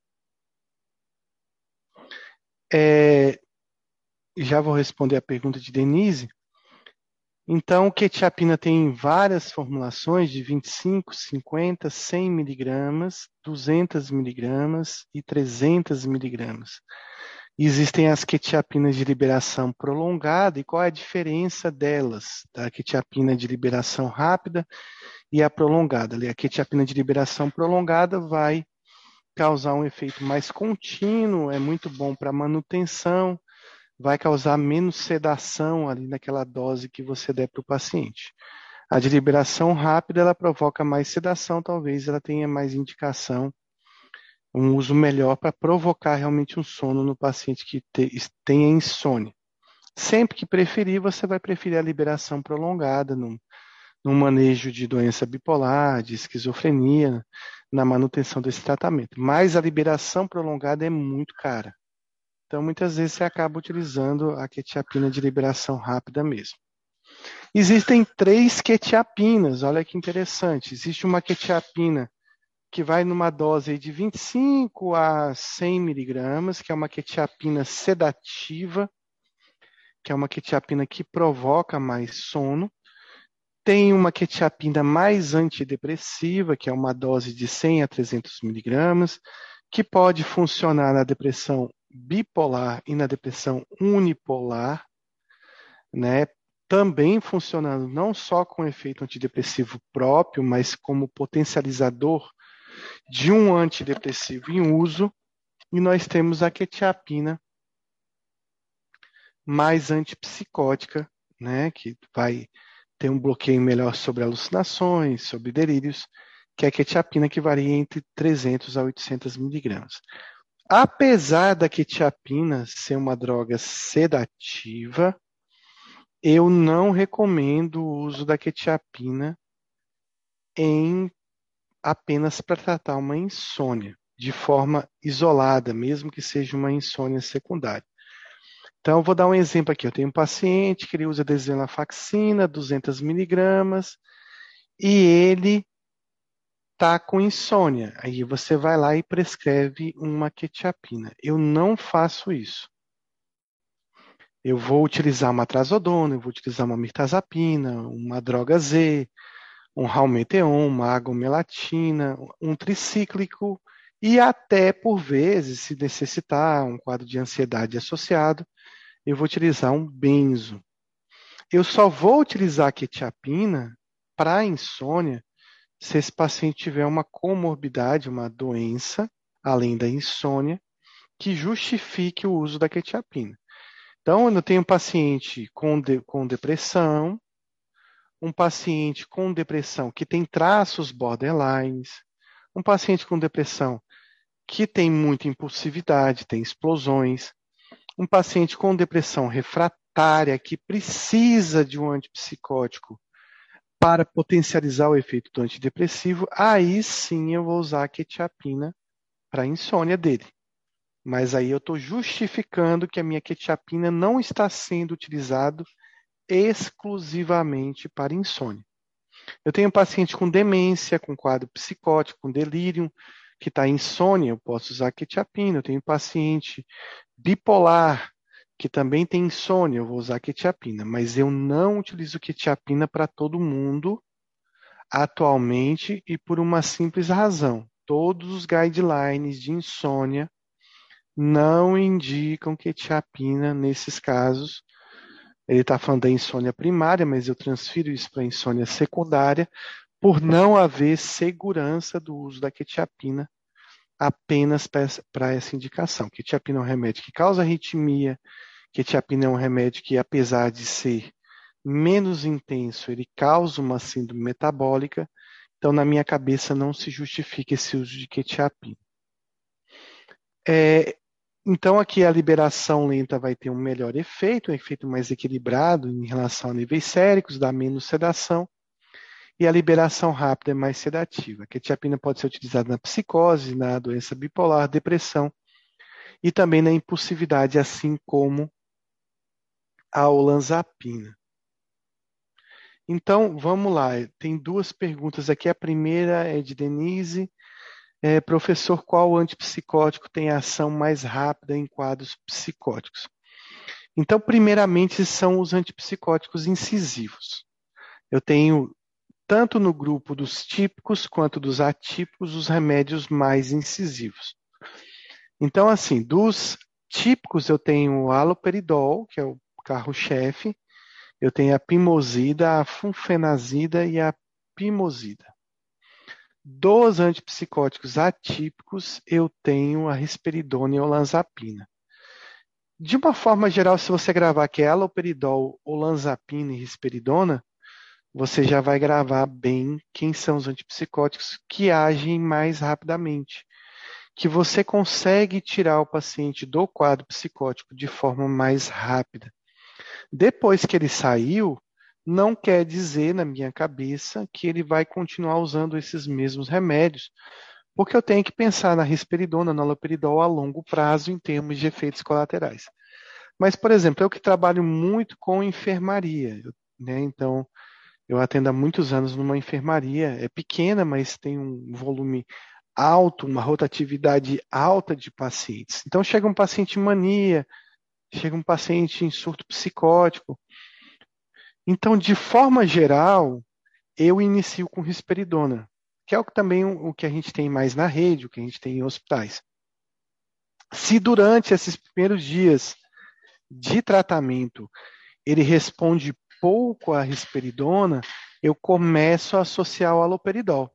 É, já vou responder a pergunta de Denise. Então, quetiapina tem várias formulações de vinte e cinco, cinquenta, cem miligramas, duzentos miligramas e trezentos miligramas. Existem as quetiapinas de liberação prolongada, e qual é a diferença delas, da quetiapina de liberação rápida e a prolongada? A quetiapina de liberação prolongada vai causar um efeito mais contínuo, é muito bom para manutenção, vai causar menos sedação ali naquela dose que você der para o paciente. A de liberação rápida, ela provoca mais sedação, talvez ela tenha mais indicação, um uso melhor para provocar realmente um sono no paciente que te, tenha insônia. Sempre que preferir, você vai preferir a liberação prolongada num, num manejo de doença bipolar, de esquizofrenia, na manutenção desse tratamento. Mas a liberação prolongada é muito cara. Então, muitas vezes você acaba utilizando a quetiapina de liberação rápida mesmo. Existem três quetiapinas, olha que interessante. Existe uma quetiapina que vai numa dose de vinte e cinco a cem miligramas, que é uma quetiapina sedativa, que é uma quetiapina que provoca mais sono. Tem uma quetiapina mais antidepressiva, que é uma dose de cem a trezentos miligramas, que pode funcionar na depressão bipolar e na depressão unipolar, né? Também funcionando não só com efeito antidepressivo próprio, mas como potencializador de um antidepressivo em uso. E nós temos a quetiapina mais antipsicótica, né? Que vai ter um bloqueio melhor sobre alucinações, sobre delírios, que é a quetiapina, que varia entre trezentos a oitocentos miligramas. Apesar da quetiapina ser uma droga sedativa, eu não recomendo o uso da quetiapina em apenas para tratar uma insônia, de forma isolada, mesmo que seja uma insônia secundária. Então, eu vou dar um exemplo aqui. Eu tenho um paciente que ele usa desvenlafaxina, duzentos miligramas, e ele está com insônia. Aí você vai lá e prescreve uma quetiapina. Eu não faço isso. Eu vou utilizar uma trazodona, eu vou utilizar uma mirtazapina, uma droga Z, um Halmeteon, uma agomelatina, um tricíclico e até, por vezes, se necessitar um quadro de ansiedade associado, eu vou utilizar um benzo. Eu só vou utilizar a quetiapina para insônia se esse paciente tiver uma comorbidade, uma doença, além da insônia, que justifique o uso da quetiapina. Então, eu tenho um paciente com, de, com depressão, um paciente com depressão que tem traços borderlines, um paciente com depressão que tem muita impulsividade, tem explosões, um paciente com depressão refratária que precisa de um antipsicótico para potencializar o efeito do antidepressivo, aí sim eu vou usar a quetiapina para a insônia dele. Mas aí eu estou justificando que a minha quetiapina não está sendo utilizado exclusivamente para insônia. Eu tenho um paciente com demência, com quadro psicótico, com delírio, que está em insônia, eu posso usar quetiapina. Eu tenho um paciente bipolar, que também tem insônia, eu vou usar quetiapina. Mas eu não utilizo quetiapina para todo mundo atualmente e por uma simples razão. Todos os guidelines de insônia não indicam quetiapina nesses casos. Ele está falando da insônia primária, mas eu transfiro isso para a insônia secundária, por não haver segurança do uso da quetiapina apenas para essa indicação. Quetiapina é um remédio que causa arritmia, quetiapina é um remédio que, apesar de ser menos intenso, ele causa uma síndrome metabólica, então na minha cabeça não se justifica esse uso de quetiapina. É, então aqui a liberação lenta vai ter um melhor efeito, um efeito mais equilibrado em relação a níveis séricos, dá menos sedação, e a liberação rápida é mais sedativa. A quetiapina pode ser utilizada na psicose, na doença bipolar, depressão e também na impulsividade, assim como a olanzapina. Então, vamos lá. Tem duas perguntas aqui. A primeira é de Denise. É, professor, qual antipsicótico tem ação mais rápida em quadros psicóticos? Então, primeiramente, são os antipsicóticos incisivos. Eu tenho, tanto no grupo dos típicos quanto dos atípicos, os remédios mais incisivos. Então, assim, dos típicos, eu tenho o haloperidol, que é o carro-chefe, eu tenho a pimosida, a flunfenazida e a pimosida. Dos antipsicóticos atípicos, eu tenho a risperidona e a olanzapina. De uma forma geral, se você gravar que é haloperidol, olanzapina e risperidona, você já vai gravar bem quem são os antipsicóticos que agem mais rapidamente, que você consegue tirar o paciente do quadro psicótico de forma mais rápida. Depois que ele saiu, não quer dizer, na minha cabeça, que ele vai continuar usando esses mesmos remédios, porque eu tenho que pensar na risperidona, no haloperidol a longo prazo em termos de efeitos colaterais. Mas, por exemplo, eu que trabalho muito com enfermaria, né? Então, eu atendo há muitos anos numa enfermaria, é pequena, mas tem um volume alto, uma rotatividade alta de pacientes. Então, chega um paciente em mania, chega um paciente em surto psicótico. Então, de forma geral, eu inicio com risperidona, que é o que também o que a gente tem mais na rede, o que a gente tem em hospitais. Se durante esses primeiros dias de tratamento ele responde pouco à risperidona, eu começo a associar o haloperidol.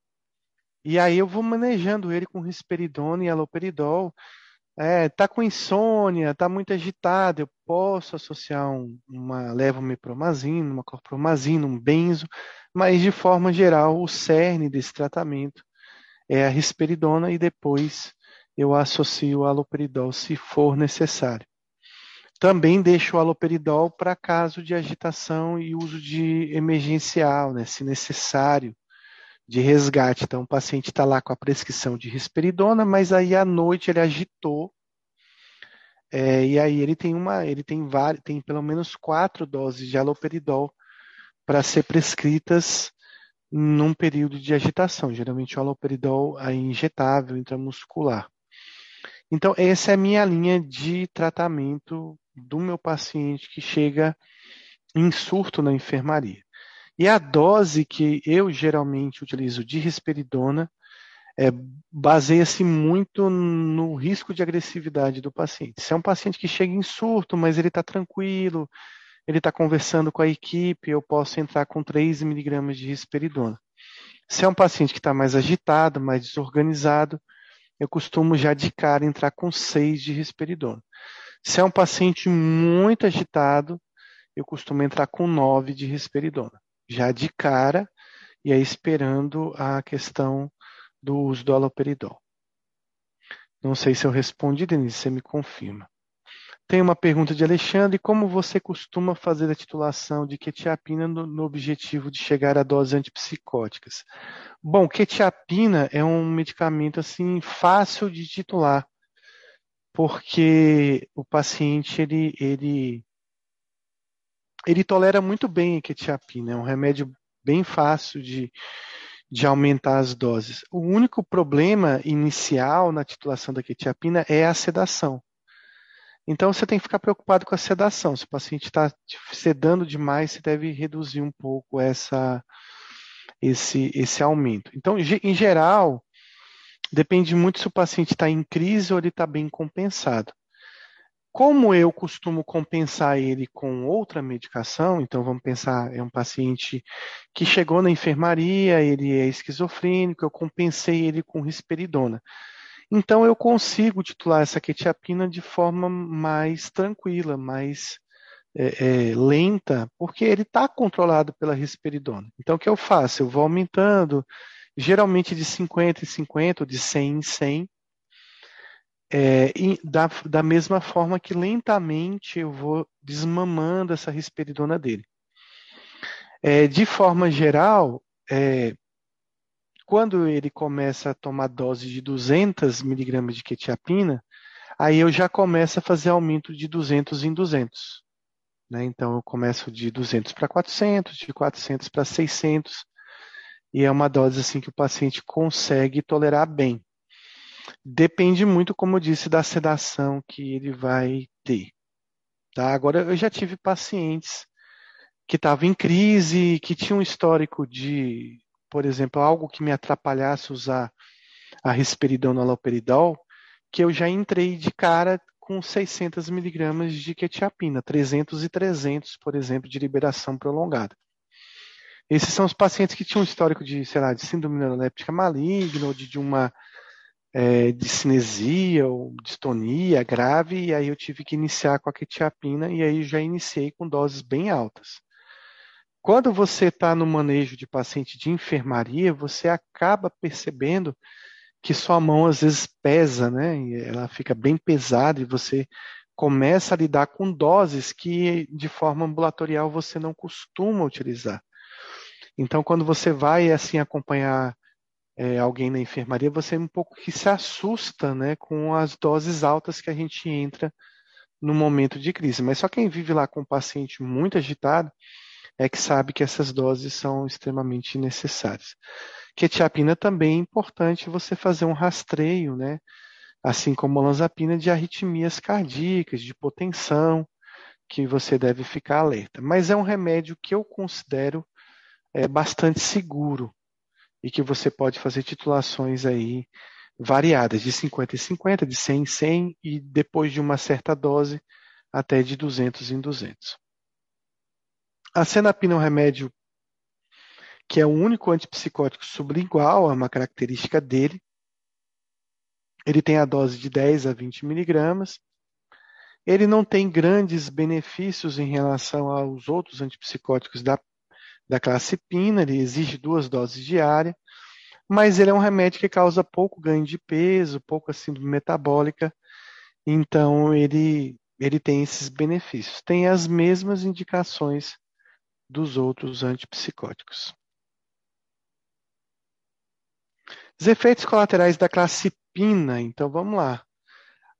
E aí eu vou manejando ele com risperidona e haloperidol. É, tá com insônia, tá muito agitado, eu posso associar um, uma levomepromazina, uma clorpromazina, um benzo, mas de forma geral o cerne desse tratamento é a risperidona e depois eu associo o haloperidol se for necessário. Também deixo o haloperidol para caso de agitação e uso de emergencial, né, se necessário, de resgate. Então, o paciente está lá com a prescrição de risperidona, mas aí à noite ele agitou, É, e aí ele tem uma, ele tem várias, tem pelo menos quatro doses de haloperidol para ser prescritas num período de agitação. Geralmente o haloperidol é injetável, intramuscular. Então, essa é a minha linha de tratamento do meu paciente que chega em surto na enfermaria. E a dose que eu geralmente utilizo de risperidona é, baseia-se muito no risco de agressividade do paciente. Se é um paciente que chega em surto, mas ele está tranquilo, ele está conversando com a equipe, eu posso entrar com três miligramas de risperidona. Se é um paciente que está mais agitado, mais desorganizado, eu costumo já de cara entrar com seis de risperidona. Se é um paciente muito agitado, eu costumo entrar com nove de risperidona. Já de cara, e aí esperando a questão do uso do haloperidol. Não sei se eu respondi, Denise, você me confirma. Tem uma pergunta de Alexandre: como você costuma fazer a titulação de quetiapina no, no objetivo de chegar a doses antipsicóticas? Bom, quetiapina é um medicamento assim fácil de titular, porque o paciente ele, ele, ele tolera muito bem a quetiapina, é um remédio bem fácil de, de aumentar as doses. O único problema inicial na titulação da quetiapina é a sedação. Então você tem que ficar preocupado com a sedação. Se o paciente está sedando demais, você deve reduzir um pouco essa, esse, esse aumento. Então, em geral, depende muito se o paciente está em crise ou ele está bem compensado. Como eu costumo compensar ele com outra medicação, então vamos pensar, é um paciente que chegou na enfermaria, ele é esquizofrênico, eu compensei ele com risperidona. Então eu consigo titular essa quetiapina de forma mais tranquila, mais é, é, lenta, porque ele está controlado pela risperidona. Então o que eu faço? Eu vou aumentando, geralmente de cinquenta em cinquenta, ou de cem em cem, é, e da, da mesma forma que lentamente eu vou desmamando essa risperidona dele. É, de forma geral, é, quando ele começa a tomar dose de duzentos miligramas de quetiapina, aí eu já começo a fazer aumento de duzentos em duzentos. Né? Então eu começo de duzentos para quatrocentos, de quatrocentos para seiscentos, e é uma dose assim que o paciente consegue tolerar bem. Depende muito, como eu disse, da sedação que ele vai ter. Tá? Agora, eu já tive pacientes que estavam em crise, que tinham um histórico de, por exemplo, algo que me atrapalhasse usar a risperidona haloperidol, que eu já entrei de cara com seiscentos miligramas de quetiapina, trezentos e trezentos, por exemplo, de liberação prolongada. Esses são os pacientes que tinham um histórico de, sei lá, de síndrome neuroléptica maligna, ou de, de uma é, discinesia ou distonia grave, e aí eu tive que iniciar com a quetiapina, e aí já iniciei com doses bem altas. Quando você está no manejo de paciente de enfermaria, você acaba percebendo que sua mão às vezes pesa, né? E ela fica bem pesada e você começa a lidar com doses que de forma ambulatorial você não costuma utilizar. Então, quando você vai assim acompanhar é, alguém na enfermaria, você um pouco que se assusta, né, com as doses altas que a gente entra no momento de crise. Mas só quem vive lá com um paciente muito agitado é que sabe que essas doses são extremamente necessárias. Quetiapina também é importante você fazer um rastreio, né, assim como a olanzapina, de arritmias cardíacas, de hipotensão, que você deve ficar alerta. Mas é um remédio que eu considero é, bastante seguro e que você pode fazer titulações aí variadas, de cinquenta em cinquenta, de cem em cem e depois de uma certa dose até de duzentos em duzentos. A senapina é um remédio que é o único antipsicótico sublingual, é uma característica dele. Ele tem a dose de dez a vinte miligramas. Ele não tem grandes benefícios em relação aos outros antipsicóticos da, da classe pina, ele exige duas doses diárias, mas ele é um remédio que causa pouco ganho de peso, pouca síndrome metabólica, então ele, ele tem esses benefícios. Tem as mesmas indicações dos outros antipsicóticos. Os efeitos colaterais da classe pina, então vamos lá.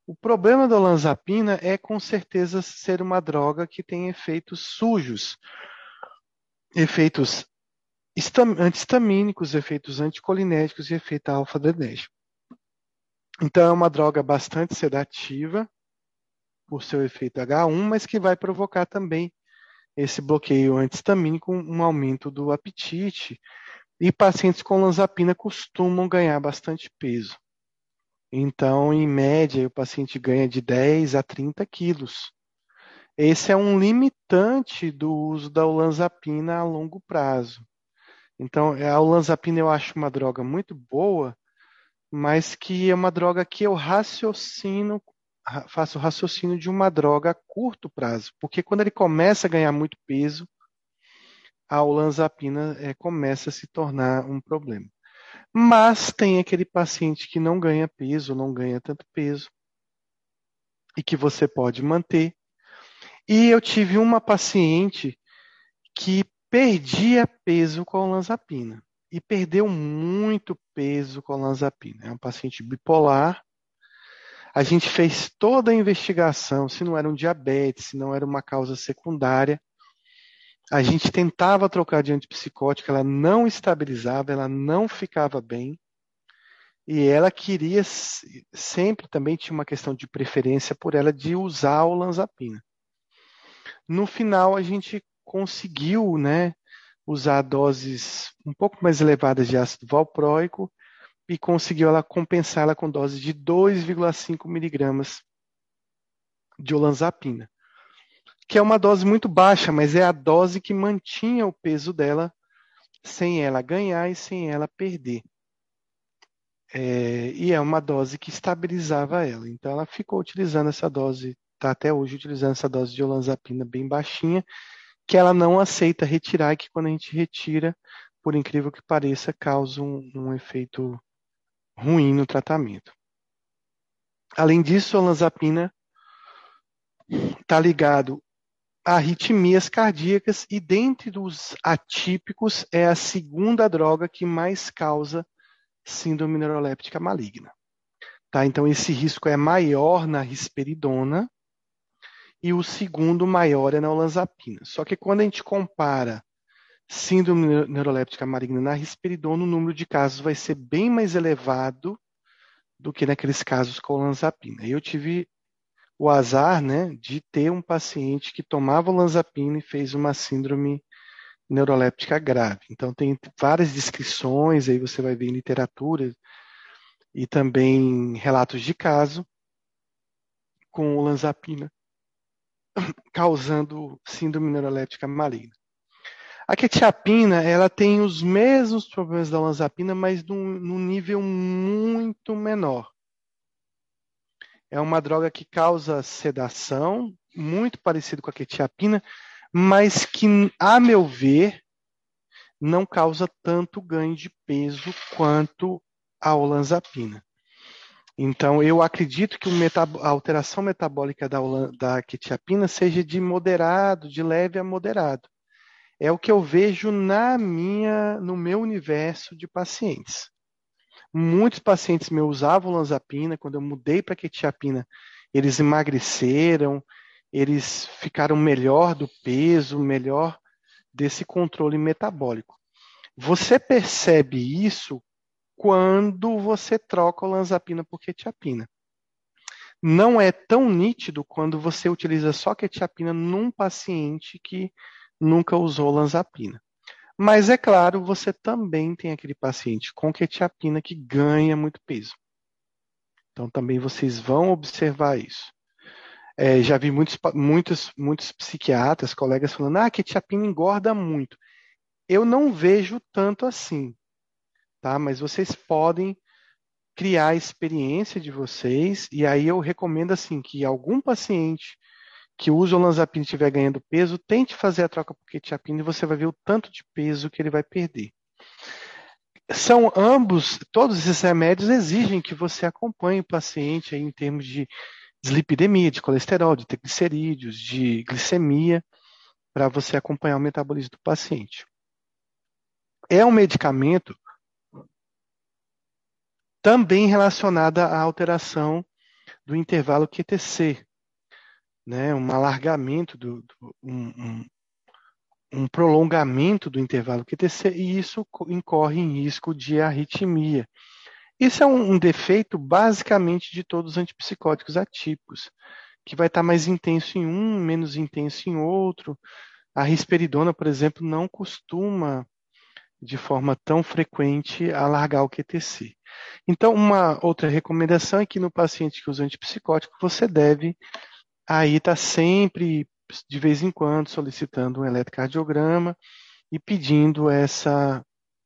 O problema da olanzapina é, com certeza, ser uma droga que tem efeitos sujos, efeitos histam- antihistamínicos, efeitos anticolinéticos e efeito alfa-adrenérgico. Então, é uma droga bastante sedativa por seu efeito agá um, mas que vai provocar também esse bloqueio antihistamínico, um aumento do apetite, e pacientes com olanzapina costumam ganhar bastante peso. Então, em média, o paciente ganha de dez a trinta quilos. Esse é um limitante do uso da olanzapina a longo prazo. Então, a olanzapina eu acho uma droga muito boa, mas que é uma droga que eu raciocino, ra- faço raciocínio de uma droga a curto prazo, porque quando ele começa a ganhar muito peso, a olanzapina eh, começa a se tornar um problema. Mas tem aquele paciente que não ganha peso, não ganha tanto peso, e que você pode manter. E eu tive uma paciente que perdia peso com a olanzapina. E perdeu muito peso com a olanzapina. É um paciente bipolar. A gente fez toda a investigação, se não era um diabetes, se não era uma causa secundária. A gente tentava trocar de antipsicótico, ela não estabilizava, ela não ficava bem. E ela queria, sempre também tinha uma questão de preferência por ela de usar a olanzapina. No final, a gente conseguiu, né, usar doses um pouco mais elevadas de ácido valproico e conseguiu ela compensar ela com dose de dois vírgula cinco miligramas de olanzapina, que é uma dose muito baixa, mas é a dose que mantinha o peso dela sem ela ganhar e sem ela perder. É, e é uma dose que estabilizava ela. Então ela ficou utilizando essa dose, está até hoje utilizando essa dose de olanzapina bem baixinha, que ela não aceita retirar, e que quando a gente retira, por incrível que pareça, causa um, um efeito ruim no tratamento. Além disso, a olanzapina está ligado a arritmias cardíacas e, dentre os atípicos, é a segunda droga que mais causa síndrome neuroléptica maligna. Tá? Então, esse risco é maior na risperidona e o segundo maior é na olanzapina. Só que quando a gente compara síndrome neuroléptica maligna na risperidona, o número de casos vai ser bem mais elevado do que naqueles casos com olanzapina. Eu tive o azar, né, de ter um paciente que tomava olanzapina e fez uma síndrome neuroléptica grave. Então tem várias descrições, aí você vai ver em literatura e também relatos de caso com olanzapina causando síndrome neuroléptica maligna. A quetiapina, ela tem os mesmos problemas da olanzapina, mas num, num nível muito menor. É uma droga que causa sedação, muito parecido com a quetiapina, mas que, a meu ver, não causa tanto ganho de peso quanto a olanzapina. Então, eu acredito que a alteração metabólica da, da quetiapina seja de moderado, de leve a moderado. É o que eu vejo na minha, no meu universo de pacientes. Muitos pacientes meus usavam olanzapina, quando eu mudei para quetiapina, eles emagreceram, eles ficaram melhor do peso, melhor desse controle metabólico. Você percebe isso quando você troca olanzapina por quetiapina. Não é tão nítido quando você utiliza só quetiapina num paciente que nunca usou olanzapina. Mas é claro, você também tem aquele paciente com quetiapina que ganha muito peso. Então também vocês vão observar isso. É, já vi muitos, muitos, muitos psiquiatras, colegas falando, ah, quetiapina engorda muito. Eu não vejo tanto assim, tá? Mas vocês podem criar a experiência de vocês, e aí eu recomendo assim que algum paciente que usa olanzapina e estiver ganhando peso, tente fazer a troca por quetiapina e você vai ver o tanto de peso que ele vai perder. São ambos, todos esses remédios exigem que você acompanhe o paciente aí em termos de dislipidemia, de colesterol, de triglicerídeos, de glicemia, para você acompanhar o metabolismo do paciente. É um medicamento também relacionado à alteração do intervalo Q T C, né? Um alargamento, do, do um, um, um prolongamento do intervalo Q T C, e isso incorre em risco de arritmia. Isso é um, um defeito basicamente de todos os antipsicóticos atípicos, que vai estar mais intenso em um, menos intenso em outro. A risperidona, por exemplo, não costuma, de forma tão frequente, alargar o Q T C. Então, uma outra recomendação é que no paciente que usa antipsicótico, você deve aí estar sempre, de vez em quando, solicitando um eletrocardiograma e pedindo essa,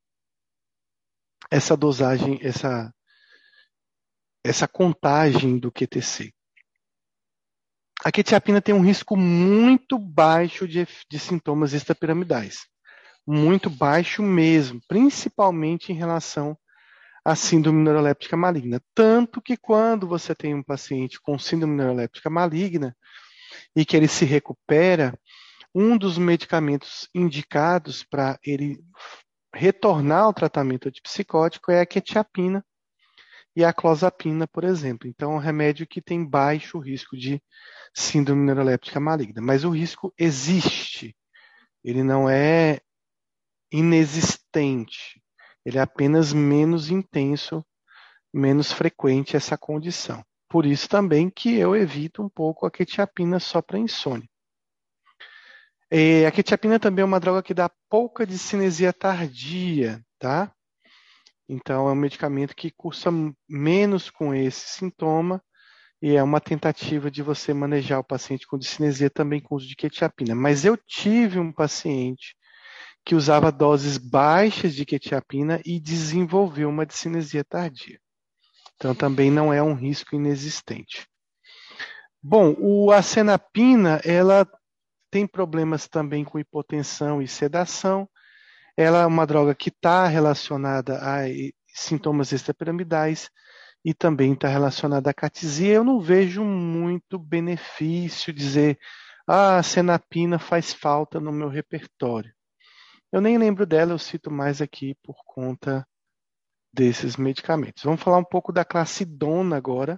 essa dosagem, essa, essa contagem do Q T C. A quetiapina tem um risco muito baixo de, de sintomas extrapiramidais. Muito baixo mesmo, principalmente em relação à síndrome neuroléptica maligna. Tanto que quando você tem um paciente com síndrome neuroléptica maligna e que ele se recupera, um dos medicamentos indicados para ele retornar ao tratamento antipsicótico é a quetiapina e a clozapina, por exemplo. Então, é um remédio que tem baixo risco de síndrome neuroléptica maligna. Mas o risco existe. Ele não é inexistente. Ele é apenas menos intenso, menos frequente essa condição. Por isso também que eu evito um pouco a quetiapina só para insônia. E a quetiapina também é uma droga que dá pouca discinesia tardia, tá? Então é um medicamento que cursa menos com esse sintoma e é uma tentativa de você manejar o paciente com discinesia também com uso de quetiapina. Mas eu tive um paciente que usava doses baixas de quetiapina e desenvolveu uma discinesia tardia. Então também não é um risco inexistente. Bom, o acenapina, ela tem problemas também com hipotensão e sedação. Ela é uma droga que está relacionada a sintomas extrapiramidais e também está relacionada à catisia. Eu não vejo muito benefício dizer ah, a acenapina faz falta no meu repertório. Eu nem lembro dela, eu cito mais aqui por conta desses medicamentos. Vamos falar um pouco da clacidona agora,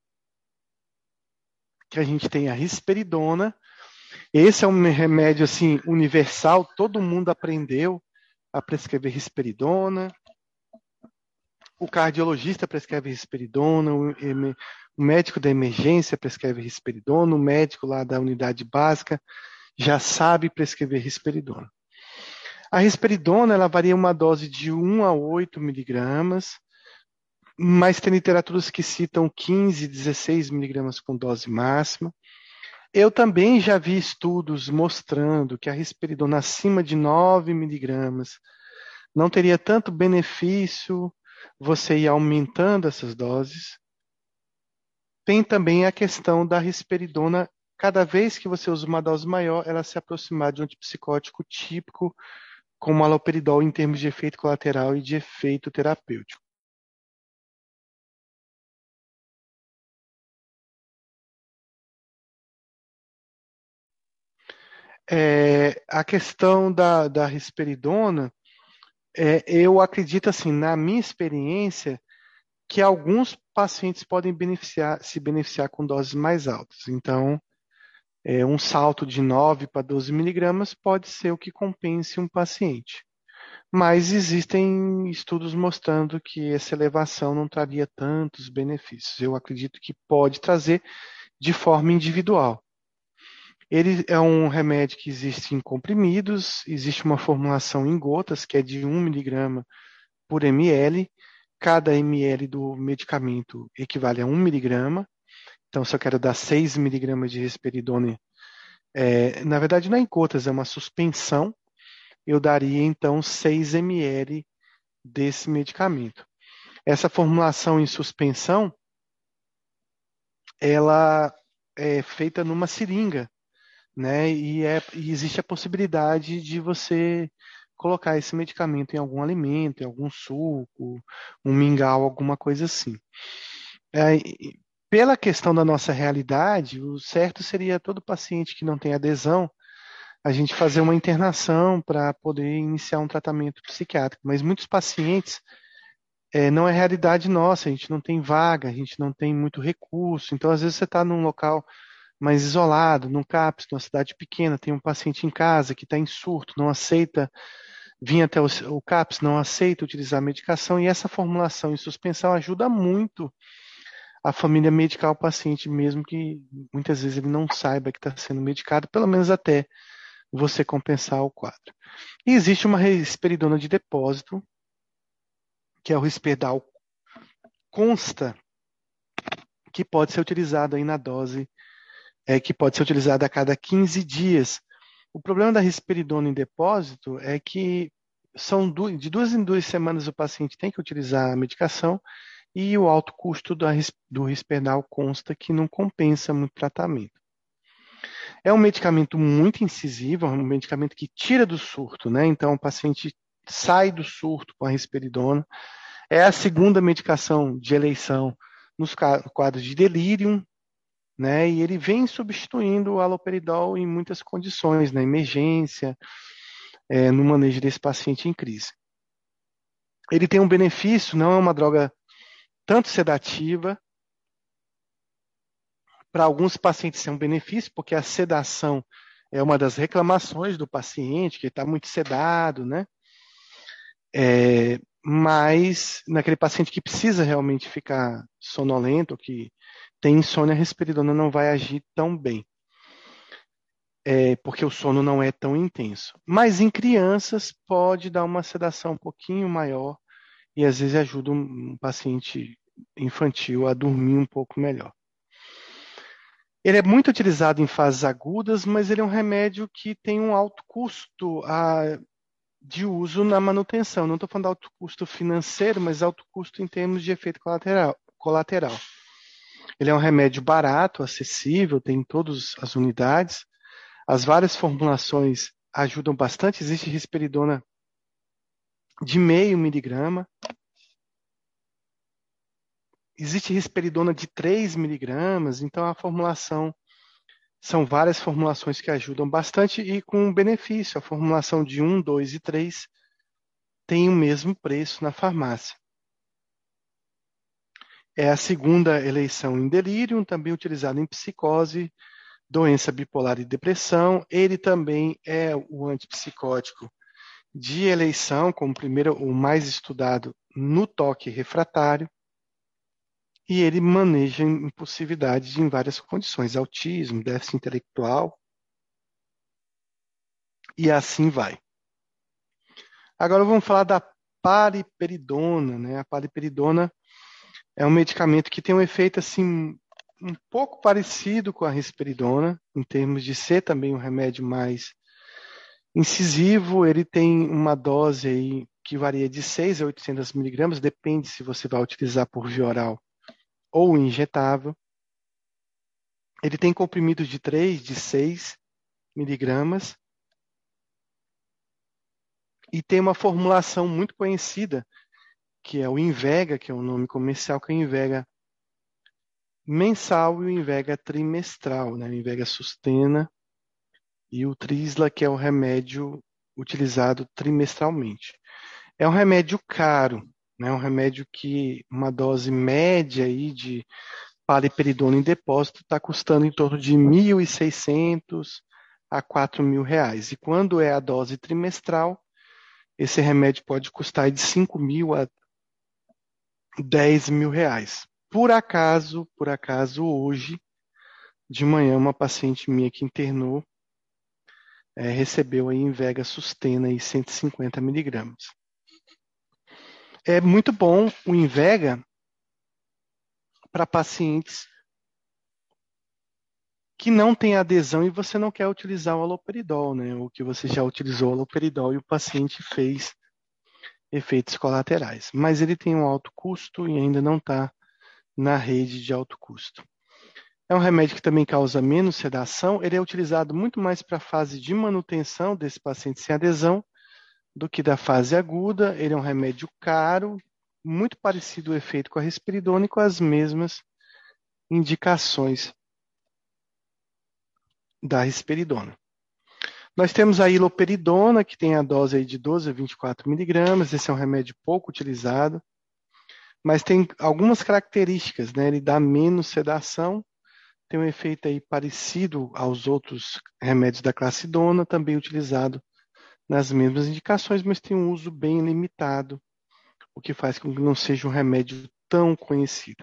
que a gente tem a risperidona. Esse é um remédio assim universal, todo mundo aprendeu a prescrever risperidona. O cardiologista prescreve risperidona, o, o médico da emergência prescreve risperidona, o médico lá da unidade básica já sabe prescrever risperidona. A risperidona, ela varia uma dose de um a oito miligramas, mas tem literaturas que citam quinze, dezesseis miligramas com dose máxima. Eu também já vi estudos mostrando que a risperidona acima de nove miligramas não teria tanto benefício você ir aumentando essas doses. Tem também a questão da risperidona, cada vez que você usa uma dose maior, ela se aproximar de um antipsicótico típico, como haloperidol em termos de efeito colateral e de efeito terapêutico. É, a questão da, da risperidona, é, eu acredito assim, na minha experiência, que alguns pacientes podem beneficiar, se beneficiar com doses mais altas. Então, é, um salto de nove para doze miligramas pode ser o que compense um paciente. Mas existem estudos mostrando que essa elevação não traria tantos benefícios. Eu acredito que pode trazer de forma individual. Ele é um remédio que existe em comprimidos, existe uma formulação em gotas, que é de um miligrama por ml. Cada ml do medicamento equivale a um miligrama. Então, se eu quero dar seis miligramas de risperidona, é, na verdade não é em gotas, é uma suspensão, eu daria então seis mililitros desse medicamento. Essa formulação em suspensão, ela é feita numa seringa, né? E, é, e existe a possibilidade de você colocar esse medicamento em algum alimento, em algum suco, um mingau, alguma coisa assim. É, e pela questão da nossa realidade, o certo seria todo paciente que não tem adesão, a gente fazer uma internação para poder iniciar um tratamento psiquiátrico. Mas muitos pacientes É, não é realidade nossa, a gente não tem vaga, a gente não tem muito recurso. Então, às vezes, você está num local mais isolado, num CAPS, numa cidade pequena, tem um paciente em casa que está em surto, não aceita vir até o, o CAPS, não aceita utilizar a medicação, e essa formulação em suspensão ajuda muito a família medicar o paciente, mesmo que muitas vezes ele não saiba que está sendo medicado, pelo menos até você compensar o quadro. E existe uma risperidona de depósito, que é o Risperdal Consta, que pode ser utilizado aí na dose, é, que pode ser utilizado a cada quinze dias. O problema da risperidona em depósito é que são du de duas em duas semanas o paciente tem que utilizar a medicação e o alto custo da, do Risperdal consta que não compensa muito tratamento. É um medicamento muito incisivo, é um medicamento que tira do surto, né? Então o paciente sai do surto com a risperidona. É a segunda medicação de eleição nos quadros de delírio, né? E ele vem substituindo o haloperidol em muitas condições, na emergência, é, no manejo desse paciente em crise. Ele tem um benefício, não é uma droga tanto sedativa. Para alguns pacientes é um benefício, porque a sedação é uma das reclamações do paciente, que está muito sedado, né? É, mas naquele paciente que precisa realmente ficar sonolento, que tem insônia, a risperidona não vai agir tão bem, é, porque o sono não é tão intenso. Mas em crianças pode dar uma sedação um pouquinho maior e às vezes ajuda um, um paciente infantil a dormir um pouco melhor. Ele é muito utilizado em fases agudas, mas ele é um remédio que tem um alto custo a, de uso na manutenção. Não estou falando de alto custo financeiro, mas alto custo em termos de efeito colateral. colateral. Ele é um remédio barato, acessível, tem em todas as unidades. As várias formulações ajudam bastante. Existe risperidona de meio miligrama. Existe risperidona de três miligramas. Então, a formulação são várias formulações que ajudam bastante e com benefício. A formulação de um, dois e três tem o mesmo preço na farmácia. É a segunda eleição em delírio, também utilizado em psicose, doença bipolar e depressão. Ele também é o antipsicótico de eleição, como primeiro o mais estudado no toque refratário. E ele maneja impulsividade em várias condições, autismo, déficit intelectual, e assim vai. Agora vamos falar da paliperidona, né? A paliperidona é um medicamento que tem um efeito assim um pouco parecido com a risperidona, em termos de ser também um remédio mais incisivo. Ele tem uma dose aí que varia de seis a oitocentos miligramas, depende se você vai utilizar por via oral ou injetável. Ele tem comprimidos de três, de seis miligramas e tem uma formulação muito conhecida, que é o Invega, que é o nome comercial, que é o Invega mensal e o Invega trimestral, né? O Invega Sustena e o Trisla, que é o remédio utilizado trimestralmente. É um remédio caro, né? Um remédio que uma dose média aí de paliperidona em depósito está custando em torno de mil e seiscentos a quatro mil reais. E quando é a dose trimestral, esse remédio pode custar de cinco mil a dez mil reais. Por acaso, por acaso, hoje, de manhã, uma paciente minha que internou é, recebeu aí Invega Sustena aí cento e cinquenta miligramas. É muito bom o Invega para pacientes que não têm adesão e você não quer utilizar o haloperidol, né? Ou que você já utilizou o haloperidol e o paciente fez efeitos colaterais. Mas ele tem um alto custo e ainda não está na rede de alto custo. É um remédio que também causa menos sedação. Ele é utilizado muito mais para a fase de manutenção desse paciente sem adesão do que da fase aguda. Ele é um remédio caro, muito parecido o efeito com a risperidona e com as mesmas indicações da risperidona. Nós temos a iloperidona, que tem a dose aí de doze a vinte e quatro miligramas. Esse é um remédio pouco utilizado. mas tem algumas características, né? Ele dá menos sedação, tem um efeito aí parecido aos outros remédios da classe dona, também utilizado nas mesmas indicações, mas tem um uso bem limitado, o que faz com que não seja um remédio tão conhecido.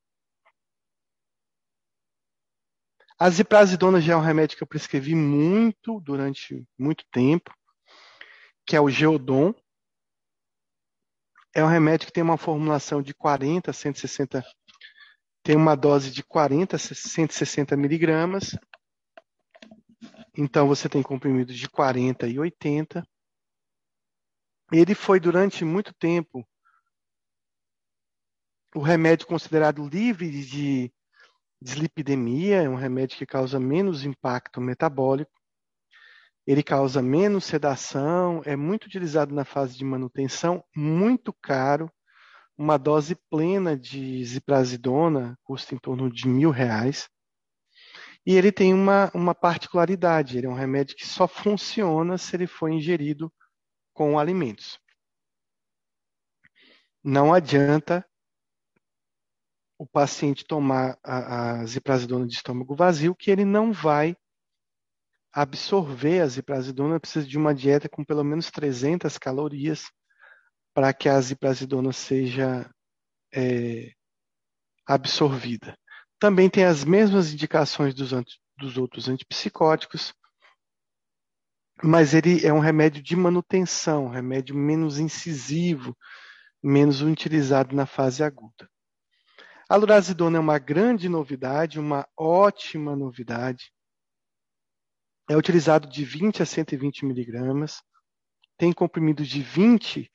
A ziprasidona já é um remédio que eu prescrevi muito durante muito tempo, que é o Geodon. É um remédio que tem uma formulação de quarenta a cento e sessenta, tem uma dose de quarenta a cento e sessenta miligramas. Então você tem comprimidos de quarenta e oitenta. Ele foi durante muito tempo o remédio considerado livre de dislipidemia, é um remédio que causa menos impacto metabólico. Ele causa menos sedação, é muito utilizado na fase de manutenção, muito caro. Uma dose plena de ziprasidona custa em torno de mil reais. E ele tem uma, uma particularidade, ele é um remédio que só funciona se ele for ingerido com alimentos. Não adianta o paciente tomar a, a ziprasidona de estômago vazio, que ele não vai absorver a ziprasidona, precisa de uma dieta com pelo menos trezentas calorias para que a ziprasidona seja é, absorvida. Também tem as mesmas indicações dos, dos outros antipsicóticos, mas ele é um remédio de manutenção, um remédio menos incisivo, menos utilizado na fase aguda. A lurazidona é uma grande novidade, uma ótima novidade. É utilizado de vinte a cento e vinte miligramas, tem comprimidos de vinte,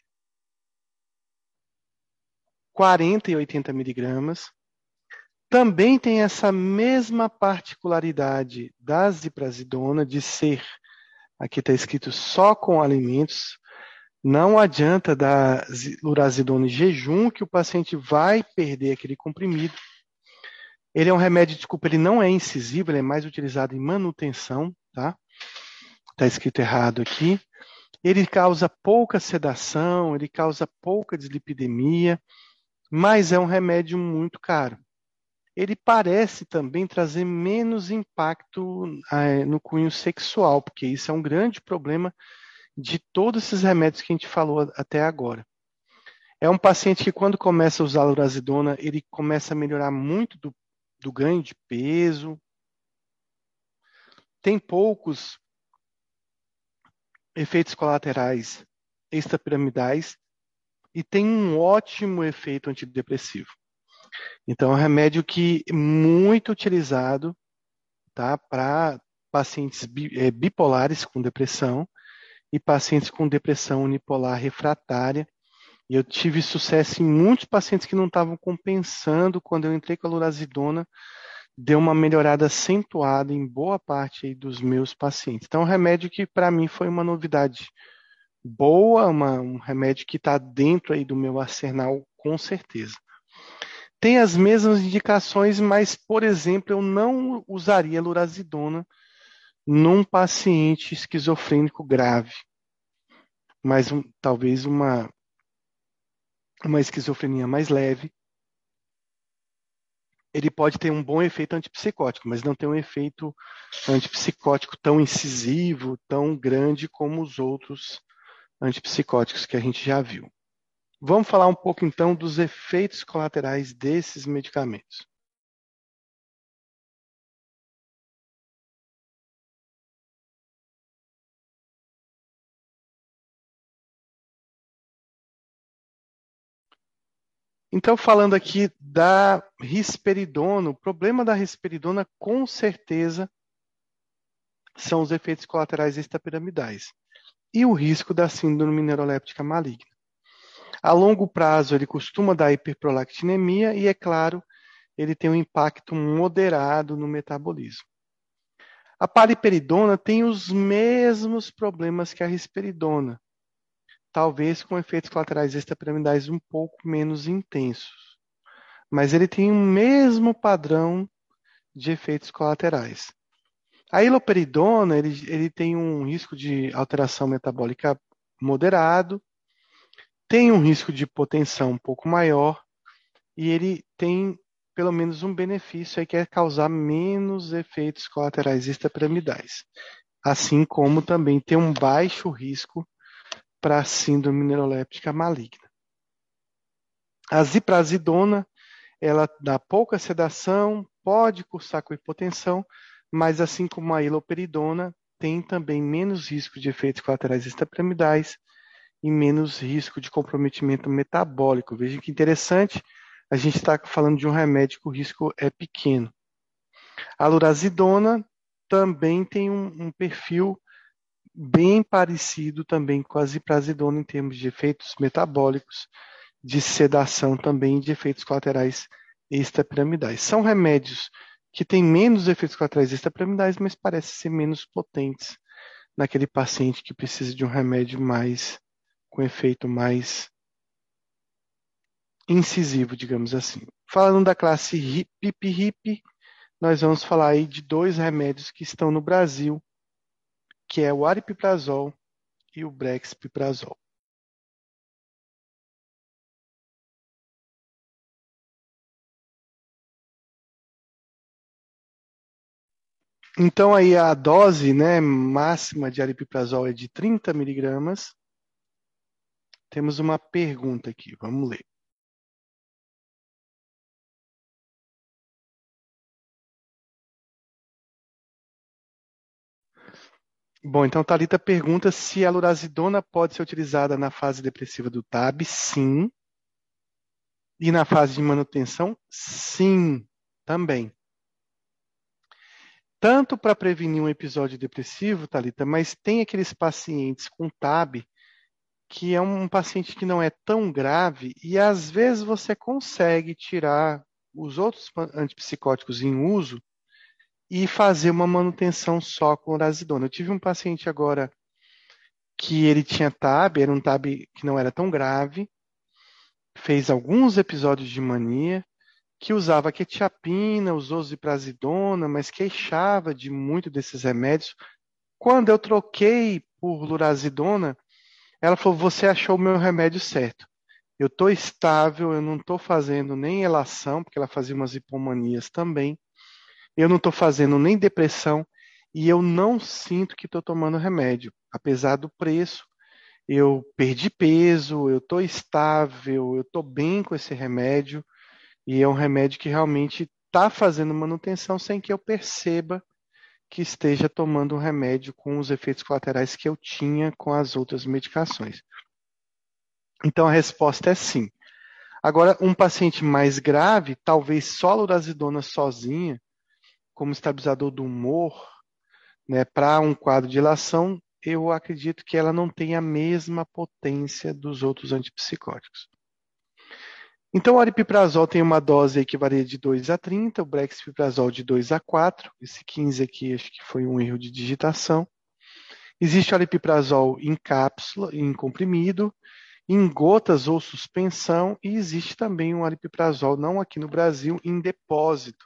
quarenta e oitenta miligramas. Também tem essa mesma particularidade da ziprasidona de ser, aqui está escrito só com alimentos, não adianta dar lurazidona em jejum que o paciente vai perder aquele comprimido. Ele é um remédio, desculpa, ele não é incisivo, ele é mais utilizado em manutenção, tá? Está escrito errado aqui. Ele causa pouca sedação, ele causa pouca dislipidemia, mas é um remédio muito caro. Ele parece também trazer menos impacto eh, no cunho sexual, porque isso é um grande problema de todos esses remédios que a gente falou até agora. É um paciente que, quando começa a usar a lurazidona, ele começa a melhorar muito do, do ganho de peso, tem poucos efeitos colaterais extrapiramidais e tem um ótimo efeito antidepressivo. Então, é um remédio que é muito utilizado, tá, para pacientes bipolares com depressão e pacientes com depressão unipolar refratária. E eu tive sucesso em muitos pacientes que não estavam compensando. Quando eu entrei com a lurazidona, deu uma melhorada acentuada em boa parte aí dos meus pacientes. Então, é um remédio que para mim foi uma novidade boa, uma, um remédio que está dentro aí do meu arsenal, com certeza. Tem as mesmas indicações, mas, por exemplo, eu não usaria lurazidona num paciente esquizofrênico grave, mas um, talvez uma, uma esquizofrenia mais leve. Ele pode ter um bom efeito antipsicótico, mas não tem um efeito antipsicótico tão incisivo, tão grande como os outros antipsicóticos que a gente já viu. Vamos falar um pouco então dos efeitos colaterais desses medicamentos. Então, falando aqui da risperidona, o problema da risperidona, com certeza, são os efeitos colaterais extrapiramidais e o risco da síndrome neuroléptica maligna. A longo prazo, ele costuma dar hiperprolactinemia e, é claro, ele tem um impacto moderado no metabolismo. A paliperidona tem os mesmos problemas que a risperidona, talvez com efeitos colaterais extrapiramidais um pouco menos intensos. Mas ele tem o mesmo padrão de efeitos colaterais. A iloperidona, ele, ele tem um risco de alteração metabólica moderado, tem um risco de hipotensão um pouco maior, e ele tem pelo menos um benefício aí, que é causar menos efeitos colaterais extrapiramidais, assim como também tem um baixo risco para a síndrome neuroléptica maligna. A ziprasidona, ela dá pouca sedação, pode cursar com hipotensão, mas assim como a iloperidona, tem também menos risco de efeitos colaterais extrapiramidais e menos risco de comprometimento metabólico. Veja que interessante, a gente está falando de um remédio que o risco é pequeno. A lurazidona também tem um, um perfil bem parecido também com a ziprasidona em termos de efeitos metabólicos, de sedação também, de efeitos colaterais extrapiramidais. São remédios que têm menos efeitos colaterais extrapiramidais, mas parecem ser menos potentes naquele paciente que precisa de um remédio mais com efeito mais incisivo, digamos assim. Falando da classe P I P R I P, nós vamos falar aí de dois remédios que estão no Brasil, que é o aripiprazol e o brexpiprazol. Então aí a dose, né, máxima de aripiprazol é de trinta miligramas. Temos uma pergunta aqui, vamos ler. Bom, então Thalita pergunta se a lurazidona pode ser utilizada na fase depressiva do T A B. Sim. E na fase de manutenção? Sim, também. Tanto para prevenir um episódio depressivo, Thalita, mas tem aqueles pacientes com T A B que é um paciente que não é tão grave e às vezes você consegue tirar os outros antipsicóticos em uso e fazer uma manutenção só com lurazidona. Eu tive um paciente agora que ele tinha T A B, era um T A B que não era tão grave, fez alguns episódios de mania, que usava quetiapina, usou ziprasidona, mas queixava de muito desses remédios. Quando eu troquei por lurazidona, ela falou, você achou o meu remédio certo. Eu estou estável, eu não estou fazendo nem elação, porque ela fazia umas hipomanias também. Eu não estou fazendo nem depressão e eu não sinto que estou tomando remédio. Apesar do preço, eu perdi peso, eu estou estável, eu estou bem com esse remédio. E é um remédio que realmente está fazendo manutenção sem que eu perceba que esteja tomando um remédio com os efeitos colaterais que eu tinha com as outras medicações. Então a resposta é sim. Agora, um paciente mais grave, talvez só a lurazidona sozinha, como estabilizador do humor, né, para um quadro de ilação, eu acredito que ela não tem a mesma potência dos outros antipsicóticos. Então, o aripiprazol tem uma dose aí que varia de dois a trinta, o brexpiprazol de dois a quatro, esse quinze aqui acho que foi um erro de digitação. Existe o aripiprazol em cápsula, em comprimido, em gotas ou suspensão, e existe também um aripiprazol, não aqui no Brasil, em depósito,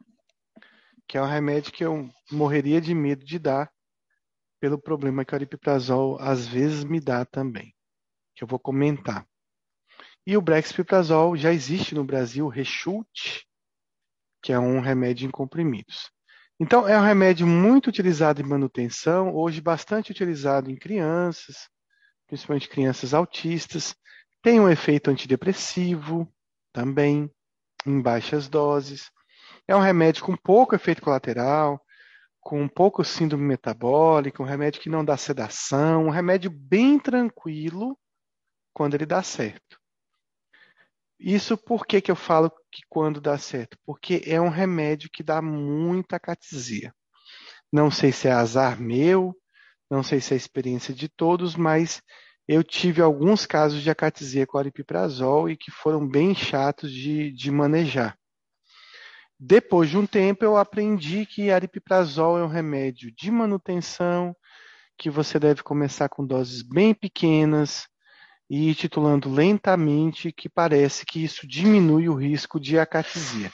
que é um remédio que eu morreria de medo de dar, pelo problema que o aripiprazol às vezes me dá também, que eu vou comentar. E o brexpiprazol já existe no Brasil, o Rexult, que é um remédio em comprimidos. Então, é um remédio muito utilizado em manutenção, hoje bastante utilizado em crianças, principalmente crianças autistas. Tem um efeito antidepressivo também, em baixas doses. É um remédio com pouco efeito colateral, com pouco síndrome metabólica, um remédio que não dá sedação, um remédio bem tranquilo quando ele dá certo. Isso por que, que eu falo que quando dá certo? Porque é um remédio que dá muita acatesia. Não sei se é azar meu, não sei se é a experiência de todos, mas eu tive alguns casos de acatesia com aripiprazol e que foram bem chatos de, de manejar. Depois de um tempo, eu aprendi que aripiprazol é um remédio de manutenção, que você deve começar com doses bem pequenas, e ir titulando lentamente, que parece que isso diminui o risco de acatesia.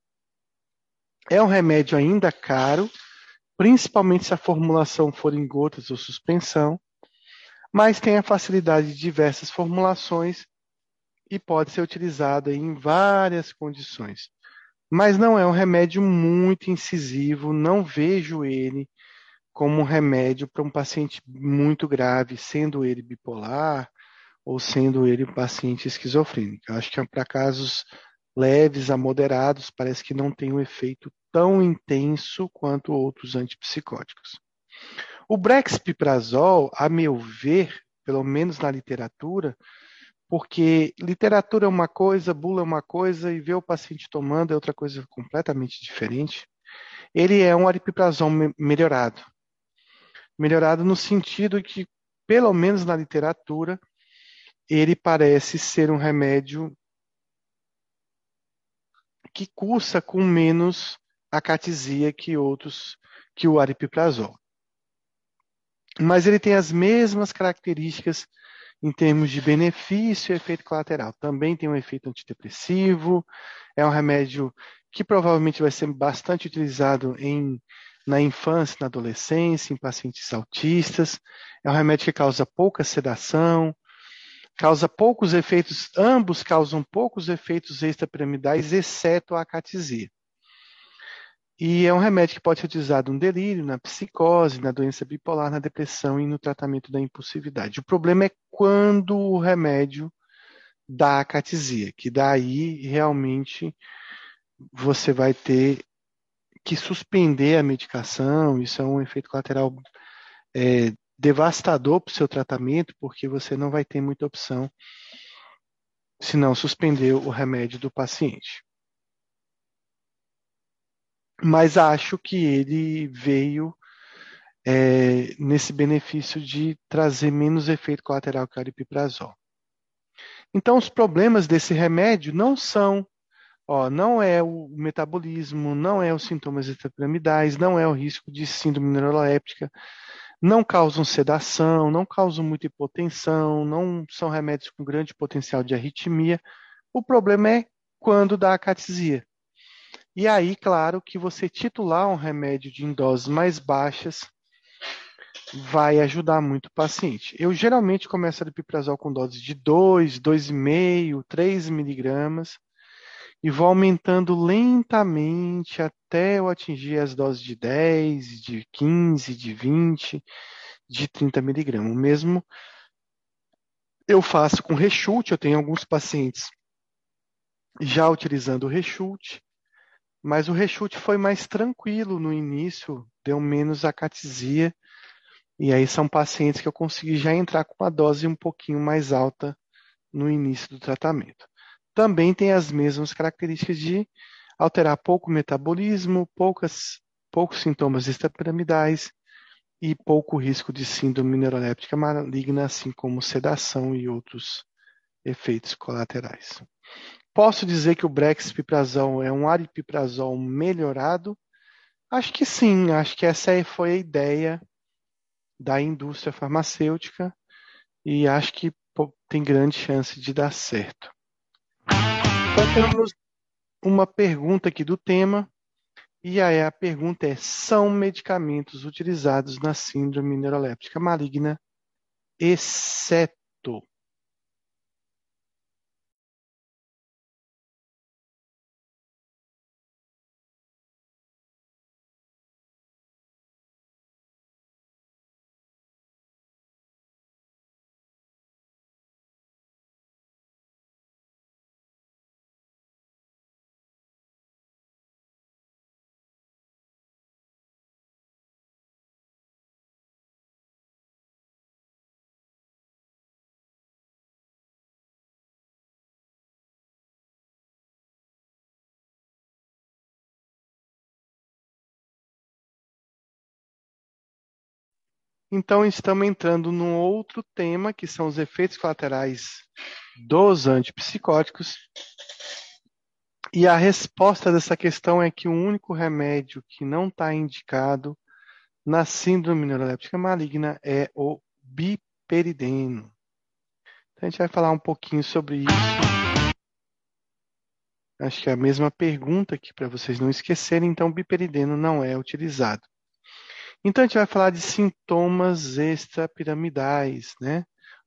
É um remédio ainda caro, principalmente se a formulação for em gotas ou suspensão, mas tem a facilidade de diversas formulações e pode ser utilizado em várias condições. Mas não é um remédio muito incisivo, não vejo ele como um remédio para um paciente muito grave, sendo ele bipolar ou sendo ele um paciente esquizofrênico. Eu acho que é para casos leves a moderados, parece que não tem um efeito tão intenso quanto outros antipsicóticos. O brexpiprazol, a meu ver, pelo menos na literatura, porque literatura é uma coisa, bula é uma coisa e ver o paciente tomando é outra coisa completamente diferente. Ele é um aripiprazol me- melhorado. Melhorado no sentido que, pelo menos na literatura, ele parece ser um remédio que cursa com menos acatesia que outros, que o aripiprazol. Mas ele tem as mesmas características em termos de benefício e efeito colateral. Também tem um efeito antidepressivo, é um remédio que provavelmente vai ser bastante utilizado em, na infância, na adolescência, em pacientes autistas. É um remédio que causa pouca sedação, causa poucos efeitos, ambos causam poucos efeitos extrapiramidais, exceto a acatesia. E é um remédio que pode ser utilizado no delírio, na psicose, na doença bipolar, na depressão e no tratamento da impulsividade. O problema é quando o remédio dá acatesia, que daí realmente você vai ter que suspender a medicação. Isso é um efeito colateral é, devastador para o seu tratamento, porque você não vai ter muita opção se não suspender o remédio do paciente. Mas acho que ele veio é, nesse benefício de trazer menos efeito colateral que o aripiprazol. Então, os problemas desse remédio não são, ó, não é o metabolismo, não é os sintomas extrapiramidais, não é o risco de síndrome neuroléptica, não causam sedação, não causam muita hipotensão, não são remédios com grande potencial de arritmia. O problema é quando dá acatesia. E aí, claro, que você titular um remédio de em doses mais baixas vai ajudar muito o paciente. Eu geralmente começo a aripiprazol com doses de dois, dois vírgula cinco, três miligramas e vou aumentando lentamente até eu atingir as doses de dez, de quinze, de vinte, de trinta miligramas. O mesmo eu faço com rechute, eu tenho alguns pacientes já utilizando o rechute, mas o rechute foi mais tranquilo no início, deu menos acatesia. E aí são pacientes que eu consegui já entrar com uma dose um pouquinho mais alta no início do tratamento. Também tem as mesmas características de alterar pouco o metabolismo, poucas, poucos sintomas extrapiramidais e pouco risco de síndrome neuroléptica maligna, assim como sedação e outros efeitos colaterais. Posso dizer que o brexpiprazol é um aripiprazol melhorado? Acho que sim, acho que essa foi a ideia da indústria farmacêutica e acho que pô, tem grande chance de dar certo. Então temos uma pergunta aqui do tema, e aí a pergunta é: são medicamentos utilizados na síndrome neuroléptica maligna, exceto? Então estamos entrando num outro tema, que são os efeitos colaterais dos antipsicóticos. E a resposta dessa questão é que o único remédio que não está indicado na síndrome neuroléptica maligna é o biperideno. Então a gente vai falar um pouquinho sobre isso. Acho que é a mesma pergunta aqui para vocês não esquecerem. Então, o biperideno não é utilizado. Então a gente vai falar de sintomas extrapiramidais, né?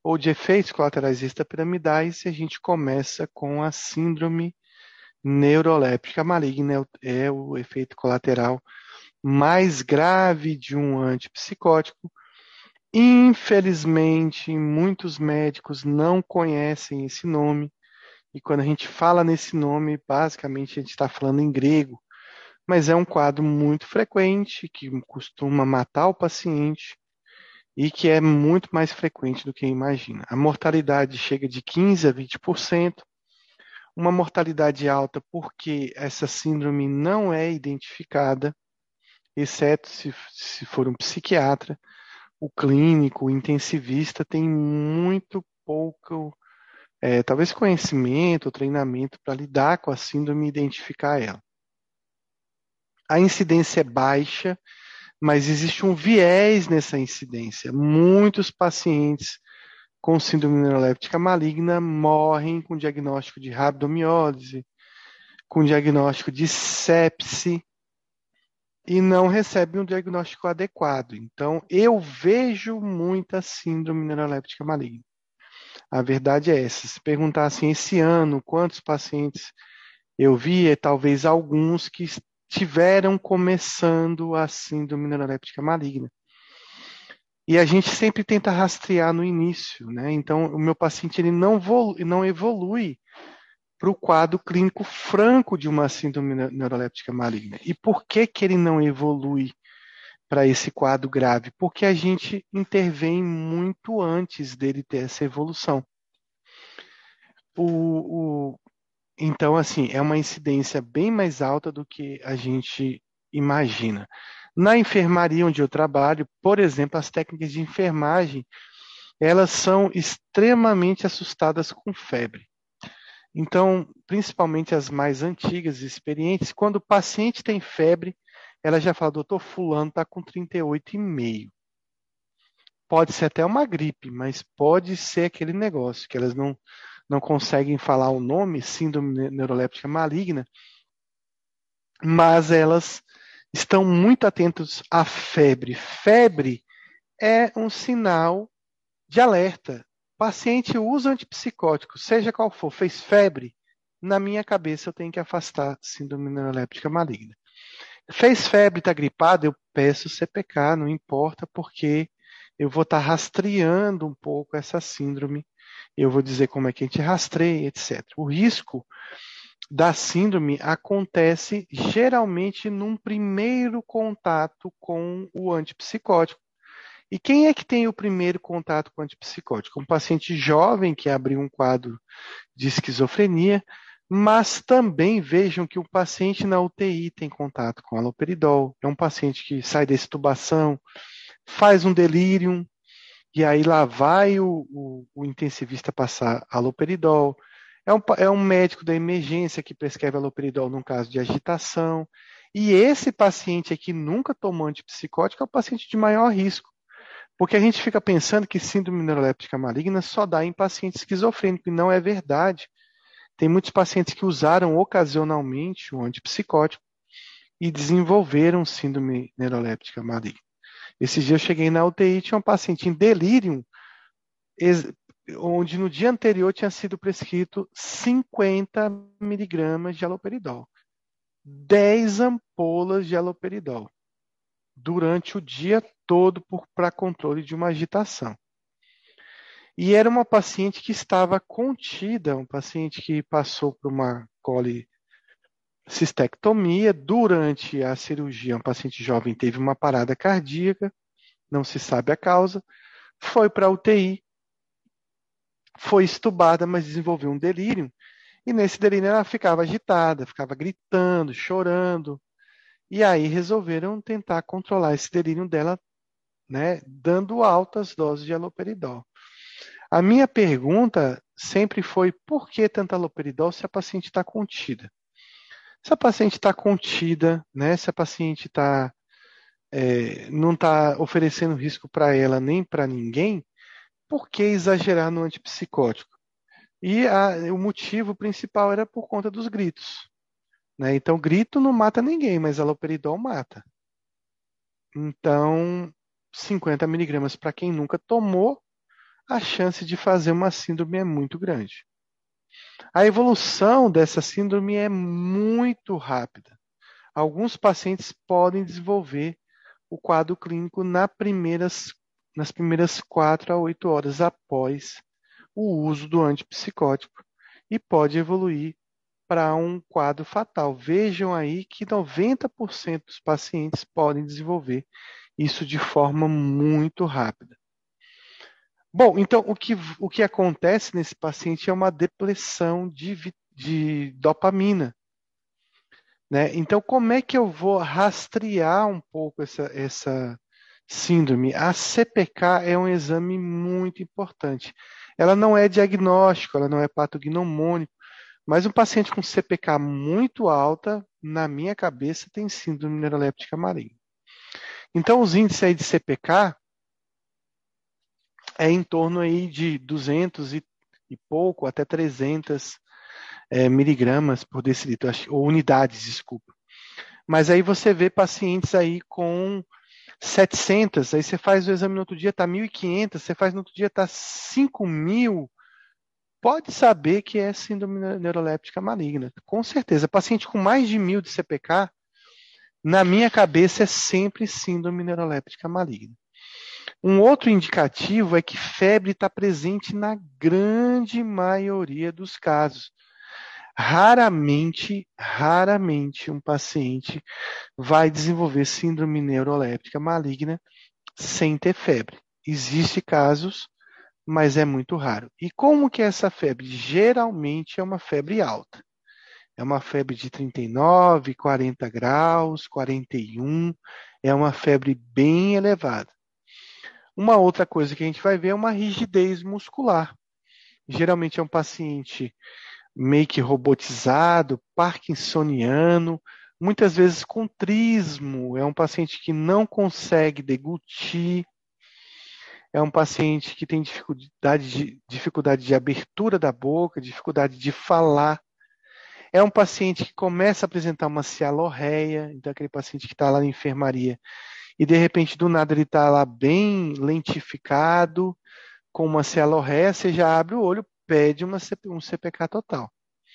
ou de efeitos colaterais extrapiramidais, e a gente começa com a síndrome neuroléptica maligna, é o, é o efeito colateral mais grave de um antipsicótico. Infelizmente, muitos médicos não conhecem esse nome, e quando a gente fala nesse nome, basicamente a gente está falando em grego, mas é um quadro muito frequente, que costuma matar o paciente e que é muito mais frequente do que imagina. A mortalidade chega de quinze a vinte por cento, uma mortalidade alta porque essa síndrome não é identificada, exceto se, se for um psiquiatra. O clínico, o intensivista tem muito pouco, é, talvez conhecimento, treinamento para lidar com a síndrome e identificar ela. A incidência é baixa, mas existe um viés nessa incidência. Muitos pacientes com síndrome neuroléptica maligna morrem com diagnóstico de rabdomiólise, com diagnóstico de sepse, e não recebem um diagnóstico adequado. Então, eu vejo muita síndrome neuroléptica maligna. A verdade é essa. Se perguntar assim, esse ano, quantos pacientes eu vi, é talvez alguns que estiveram começando a síndrome neuroléptica maligna. E a gente sempre tenta rastrear no início, né? Então, o meu paciente ele não, não evolui para o quadro clínico franco de uma síndrome neuroléptica maligna. E por que que ele não evolui para esse quadro grave? Porque a gente intervém muito antes dele ter essa evolução. O, o, então, assim, é uma incidência bem mais alta do que a gente imagina. Na enfermaria onde eu trabalho, por exemplo, as técnicas de enfermagem, elas são extremamente assustadas com febre. Então, principalmente as mais antigas e experientes, quando o paciente tem febre, ela já fala, doutor, fulano está com trinta e oito e meio. Pode ser até uma gripe, mas pode ser aquele negócio que elas não, não conseguem falar o nome, síndrome neuroléptica maligna, mas elas estão muito atentas à febre. Febre é um sinal de alerta. O paciente usa antipsicótico, seja qual for, fez febre, na minha cabeça eu tenho que afastar síndrome neuroléptica maligna. Fez febre, está gripado, eu peço C P K, não importa, porque eu vou estar tá rastreando um pouco essa síndrome, eu vou dizer como é que a gente rastreia, etcétera. O risco da síndrome acontece geralmente num primeiro contato com o antipsicótico. E quem é que tem o primeiro contato com o antipsicótico? Um paciente jovem que abriu um quadro de esquizofrenia, mas também vejam que o paciente na U T I tem contato com haloperidol. É um paciente que sai da extubação, faz um delírio, e aí lá vai o, o, o intensivista passar haloperidol. É um, é um médico da emergência que prescreve haloperidol num caso de agitação. E esse paciente aqui nunca tomou antipsicótico é o paciente de maior risco. Porque a gente fica pensando que síndrome neuroléptica maligna só dá em paciente esquizofrênico, e não é verdade. Tem muitos pacientes que usaram ocasionalmente o antipsicótico e desenvolveram síndrome neuroléptica maligna. Esses dias eu cheguei na U T I e tinha um paciente em delírio, onde no dia anterior tinha sido prescrito cinquenta miligramas de haloperidol. dez ampolas de haloperidol durante o dia todo para controle de uma agitação. E era uma paciente que estava contida, um paciente que passou por uma colicistectomia. Durante a cirurgia, um paciente jovem teve uma parada cardíaca, não se sabe a causa, foi para a U T I, foi estubada, mas desenvolveu um delírio, e nesse delírio ela ficava agitada, ficava gritando, chorando, e aí resolveram tentar controlar esse delírio dela, né, dando altas doses de haloperidol. A minha pergunta sempre foi: por que tanta haloperidol se a paciente está contida? Se a paciente está contida, né, se a paciente tá, é, não está oferecendo risco para ela nem para ninguém, por que exagerar no antipsicótico? E a, o motivo principal era por conta dos gritos. Né? Então, grito não mata ninguém, mas haloperidol mata. Então, cinquenta miligramas para quem nunca tomou, a chance de fazer uma síndrome é muito grande. A evolução dessa síndrome é muito rápida. Alguns pacientes podem desenvolver o quadro clínico na primeiras, nas primeiras quatro a oito horas após o uso do antipsicótico e pode evoluir para um quadro fatal. Vejam aí que noventa por cento dos pacientes podem desenvolver isso de forma muito rápida. Bom, então o que, o que acontece nesse paciente é uma depressão de, de dopamina. Né? Então, como é que eu vou rastrear um pouco essa, essa síndrome? A C P K é um exame muito importante. Ela não é diagnóstico, ela não é patognomônico, mas um paciente com C P K muito alta, na minha cabeça, tem síndrome neuroléptica maligna. Então, os índices aí de C P K é em torno aí de duzentos e, e pouco até trezentos é, miligramas por decilitro, ou unidades, desculpa. Mas aí você vê pacientes aí com setecentos, aí você faz o exame no outro dia, está mil e quinhentos, você faz no outro dia, está cinco mil. Pode saber que é síndrome neuroléptica maligna. Com certeza. Paciente com mais de mil de C P K, na minha cabeça, é sempre síndrome neuroléptica maligna. Um outro indicativo é que febre está presente na grande maioria dos casos. Raramente, raramente um paciente vai desenvolver síndrome neuroléptica maligna sem ter febre. Existem casos, mas é muito raro. E como que é essa febre? Geralmente é uma febre alta. É uma febre de trinta e nove, quarenta graus, quarenta e um. É uma febre bem elevada. Uma outra coisa que a gente vai ver é uma rigidez muscular. Geralmente é um paciente meio que robotizado, parkinsoniano, muitas vezes com trismo, é um paciente que não consegue deglutir, é um paciente que tem dificuldade de, dificuldade de abertura da boca, dificuldade de falar, é um paciente que começa a apresentar uma cialorreia, então aquele paciente que está lá na enfermaria e de repente do nada ele está lá bem lentificado, com uma cialorreia, você já abre o olho, pede uma, um C P K total.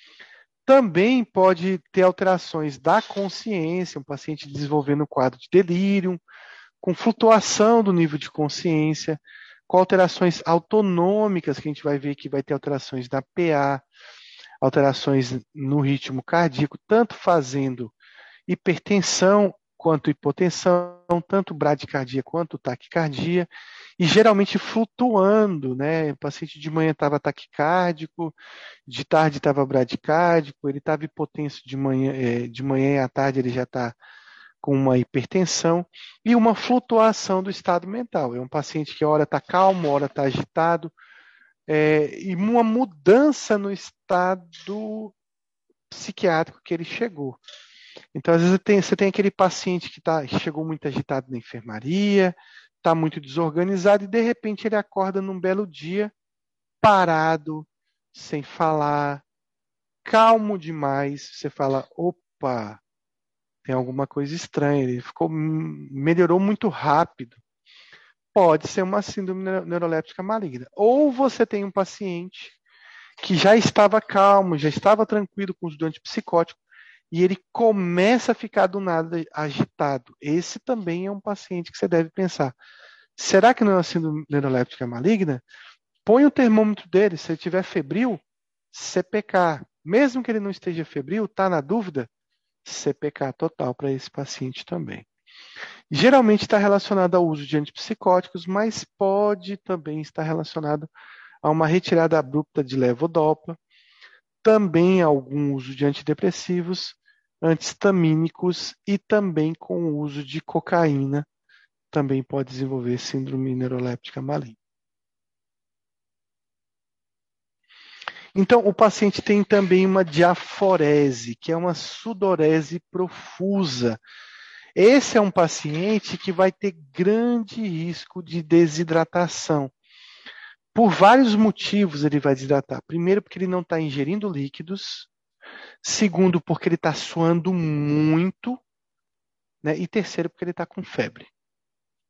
Também pode ter alterações da consciência, um paciente desenvolvendo um quadro de delírio, com flutuação do nível de consciência, com alterações autonômicas, que a gente vai ver que vai ter alterações na P A, alterações no ritmo cardíaco, tanto fazendo hipertensão quanto hipotensão, tanto bradicardia quanto taquicardia, e geralmente flutuando, né? O paciente de manhã estava taquicárdico, de tarde estava bradicárdico, ele estava hipotenso de manhã, é, de manhã e à tarde ele já está com uma hipertensão e uma flutuação do estado mental. É um paciente que hora está calmo, hora está agitado, é, e uma mudança no estado psiquiátrico que ele chegou. Então, às vezes, tem, você tem aquele paciente que tá, chegou muito agitado na enfermaria, está muito desorganizado, e de repente ele acorda num belo dia, parado, sem falar, calmo demais. Você fala, opa, tem alguma coisa estranha, ele ficou, melhorou muito rápido. Pode ser uma síndrome neuroléptica maligna. Ou você tem um paciente que já estava calmo, já estava tranquilo com os antipsicóticos, e ele começa a ficar do nada agitado. Esse também é um paciente que você deve pensar. Será que não é uma síndrome neuroléptica maligna? Põe o termômetro dele, se ele estiver febril, C P K. Mesmo que ele não esteja febril, está na dúvida? C P K total para esse paciente também. Geralmente está relacionado ao uso de antipsicóticos, mas pode também estar relacionado a uma retirada abrupta de levodopa, também algum uso de antidepressivos, antihistamínicos e também com o uso de cocaína, também pode desenvolver síndrome neuroléptica maligna. Então, o paciente tem também uma diaforese, que é uma sudorese profusa. Esse é um paciente que vai ter grande risco de desidratação. Por vários motivos ele vai desidratar. Primeiro, porque ele não está ingerindo líquidos. Segundo, porque ele está suando muito. Né? E terceiro, porque ele está com febre.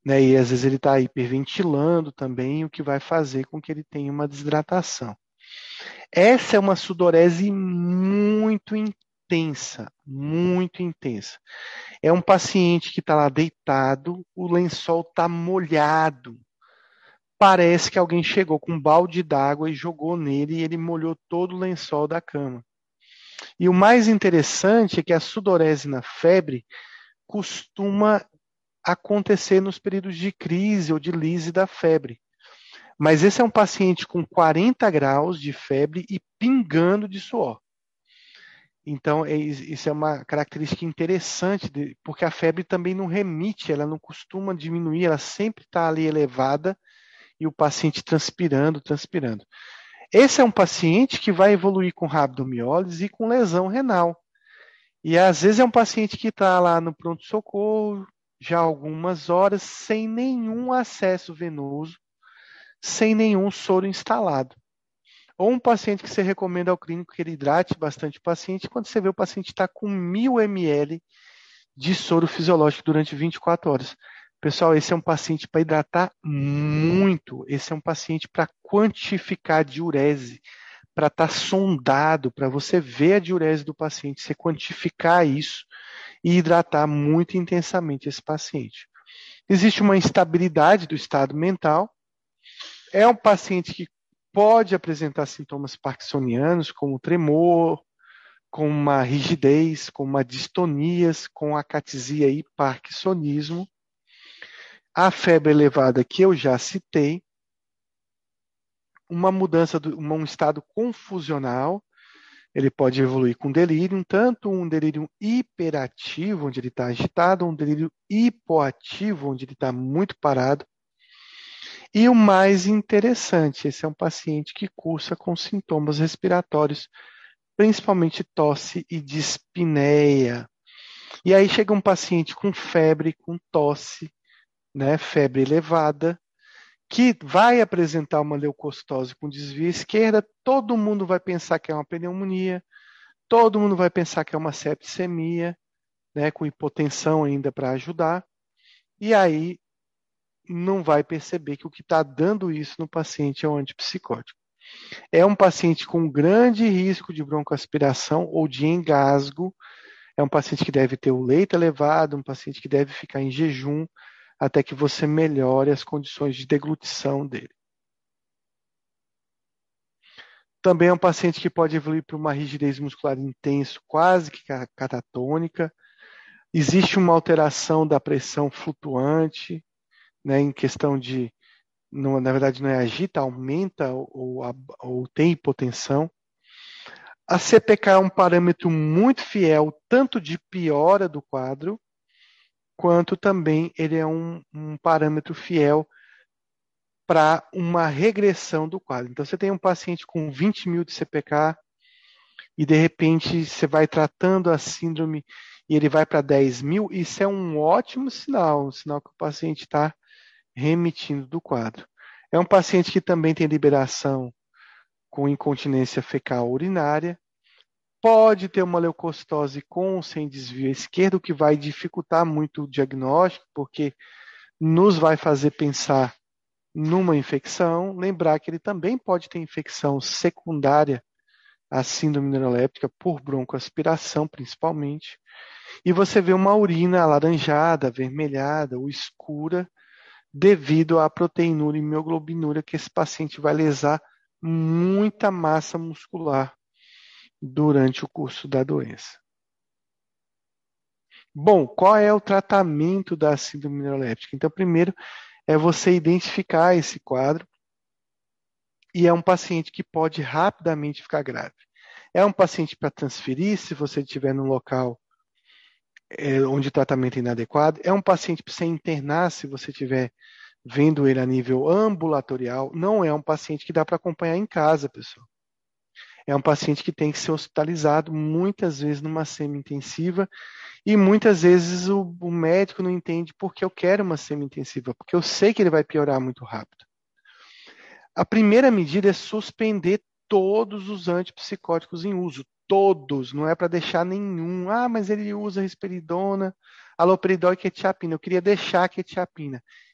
né? E às vezes ele está hiperventilando também, o que vai fazer com que ele tenha uma desidratação. Essa é uma sudorese muito intensa, muito intensa. É um paciente que está lá deitado, o lençol está molhado. Parece que alguém chegou com um balde d'água e jogou nele e ele molhou todo o lençol da cama. E o mais interessante é que a sudorese na febre costuma acontecer nos períodos de crise ou de lise da febre. Mas esse é um paciente com quarenta graus de febre e pingando de suor. Então, é, isso é uma característica interessante, de, porque a febre também não remite, ela não costuma diminuir, ela sempre está ali elevada e o paciente transpirando, transpirando. Esse é um paciente que vai evoluir com rabdomiólise e com lesão renal. E às vezes é um paciente que está lá no pronto-socorro já há algumas horas, sem nenhum acesso venoso, sem nenhum soro instalado. Ou um paciente que você recomenda ao clínico que ele hidrate bastante o paciente, quando você vê o paciente está com mil mililitros de soro fisiológico durante vinte e quatro horas. Pessoal, esse é um paciente para hidratar muito. Esse é um paciente para quantificar a diurese, para estar tá sondado, para você ver a diurese do paciente, você quantificar isso e hidratar muito intensamente esse paciente. Existe uma instabilidade do estado mental. É um paciente que pode apresentar sintomas parkinsonianos, como tremor, com uma rigidez, com uma distonias, com acatisia e parkinsonismo. A febre elevada que eu já citei, uma mudança, de um estado confusional, ele pode evoluir com delírio, tanto um delírio hiperativo, onde ele está agitado, um delírio hipoativo, onde ele está muito parado. E o mais interessante, esse é um paciente que cursa com sintomas respiratórios, principalmente tosse e dispneia. E aí chega um paciente com febre, com tosse, né, febre elevada, que vai apresentar uma leucocitose com desvio à esquerda, todo mundo vai pensar que é uma pneumonia, todo mundo vai pensar que é uma septicemia, né, com hipotensão ainda para ajudar, e aí não vai perceber que o que está dando isso no paciente é um antipsicótico. É um paciente com grande risco de broncoaspiração ou de engasgo, é um paciente que deve ter o leito elevado, um paciente que deve ficar em jejum até que você melhore as condições de deglutição dele. Também é um paciente que pode evoluir para uma rigidez muscular intensa, quase que catatônica. Existe uma alteração da pressão flutuante, né, em questão de, não, na verdade não é agita, aumenta ou, ou, ou tem hipotensão. A C P K é um parâmetro muito fiel, tanto de piora do quadro, quanto também ele é um, um parâmetro fiel para uma regressão do quadro. Então, você tem um paciente com vinte mil de C P K e, de repente, você vai tratando a síndrome e ele vai para dez mil, isso é um ótimo sinal, um sinal que o paciente está remitindo do quadro. É um paciente que também tem liberação com incontinência fecal urinária, pode ter uma leucocitose com ou sem desvio esquerdo, que vai dificultar muito o diagnóstico, porque nos vai fazer pensar numa infecção. Lembrar que ele também pode ter infecção secundária à síndrome neuroléptica por broncoaspiração, principalmente. E você vê uma urina alaranjada, avermelhada ou escura devido à proteinúria e mioglobinúria que esse paciente vai lesar muita massa muscular durante o curso da doença. Bom, qual é o tratamento da síndrome neuroléptica? Então, primeiro é você identificar esse quadro e é um paciente que pode rapidamente ficar grave. É um paciente para transferir se você estiver num local é, onde o tratamento é inadequado. É um paciente para você internar se você estiver vendo ele a nível ambulatorial. Não é um paciente que dá para acompanhar em casa, pessoal. É um paciente que tem que ser hospitalizado, muitas vezes numa semi-intensiva, e muitas vezes o, o médico não entende porque eu quero uma semi-intensiva, porque eu sei que ele vai piorar muito rápido. A primeira medida é suspender todos os antipsicóticos em uso, todos, não é para deixar nenhum. Ah, mas ele usa risperidona, haloperidol e quetiapina, eu queria deixar a quetiapina.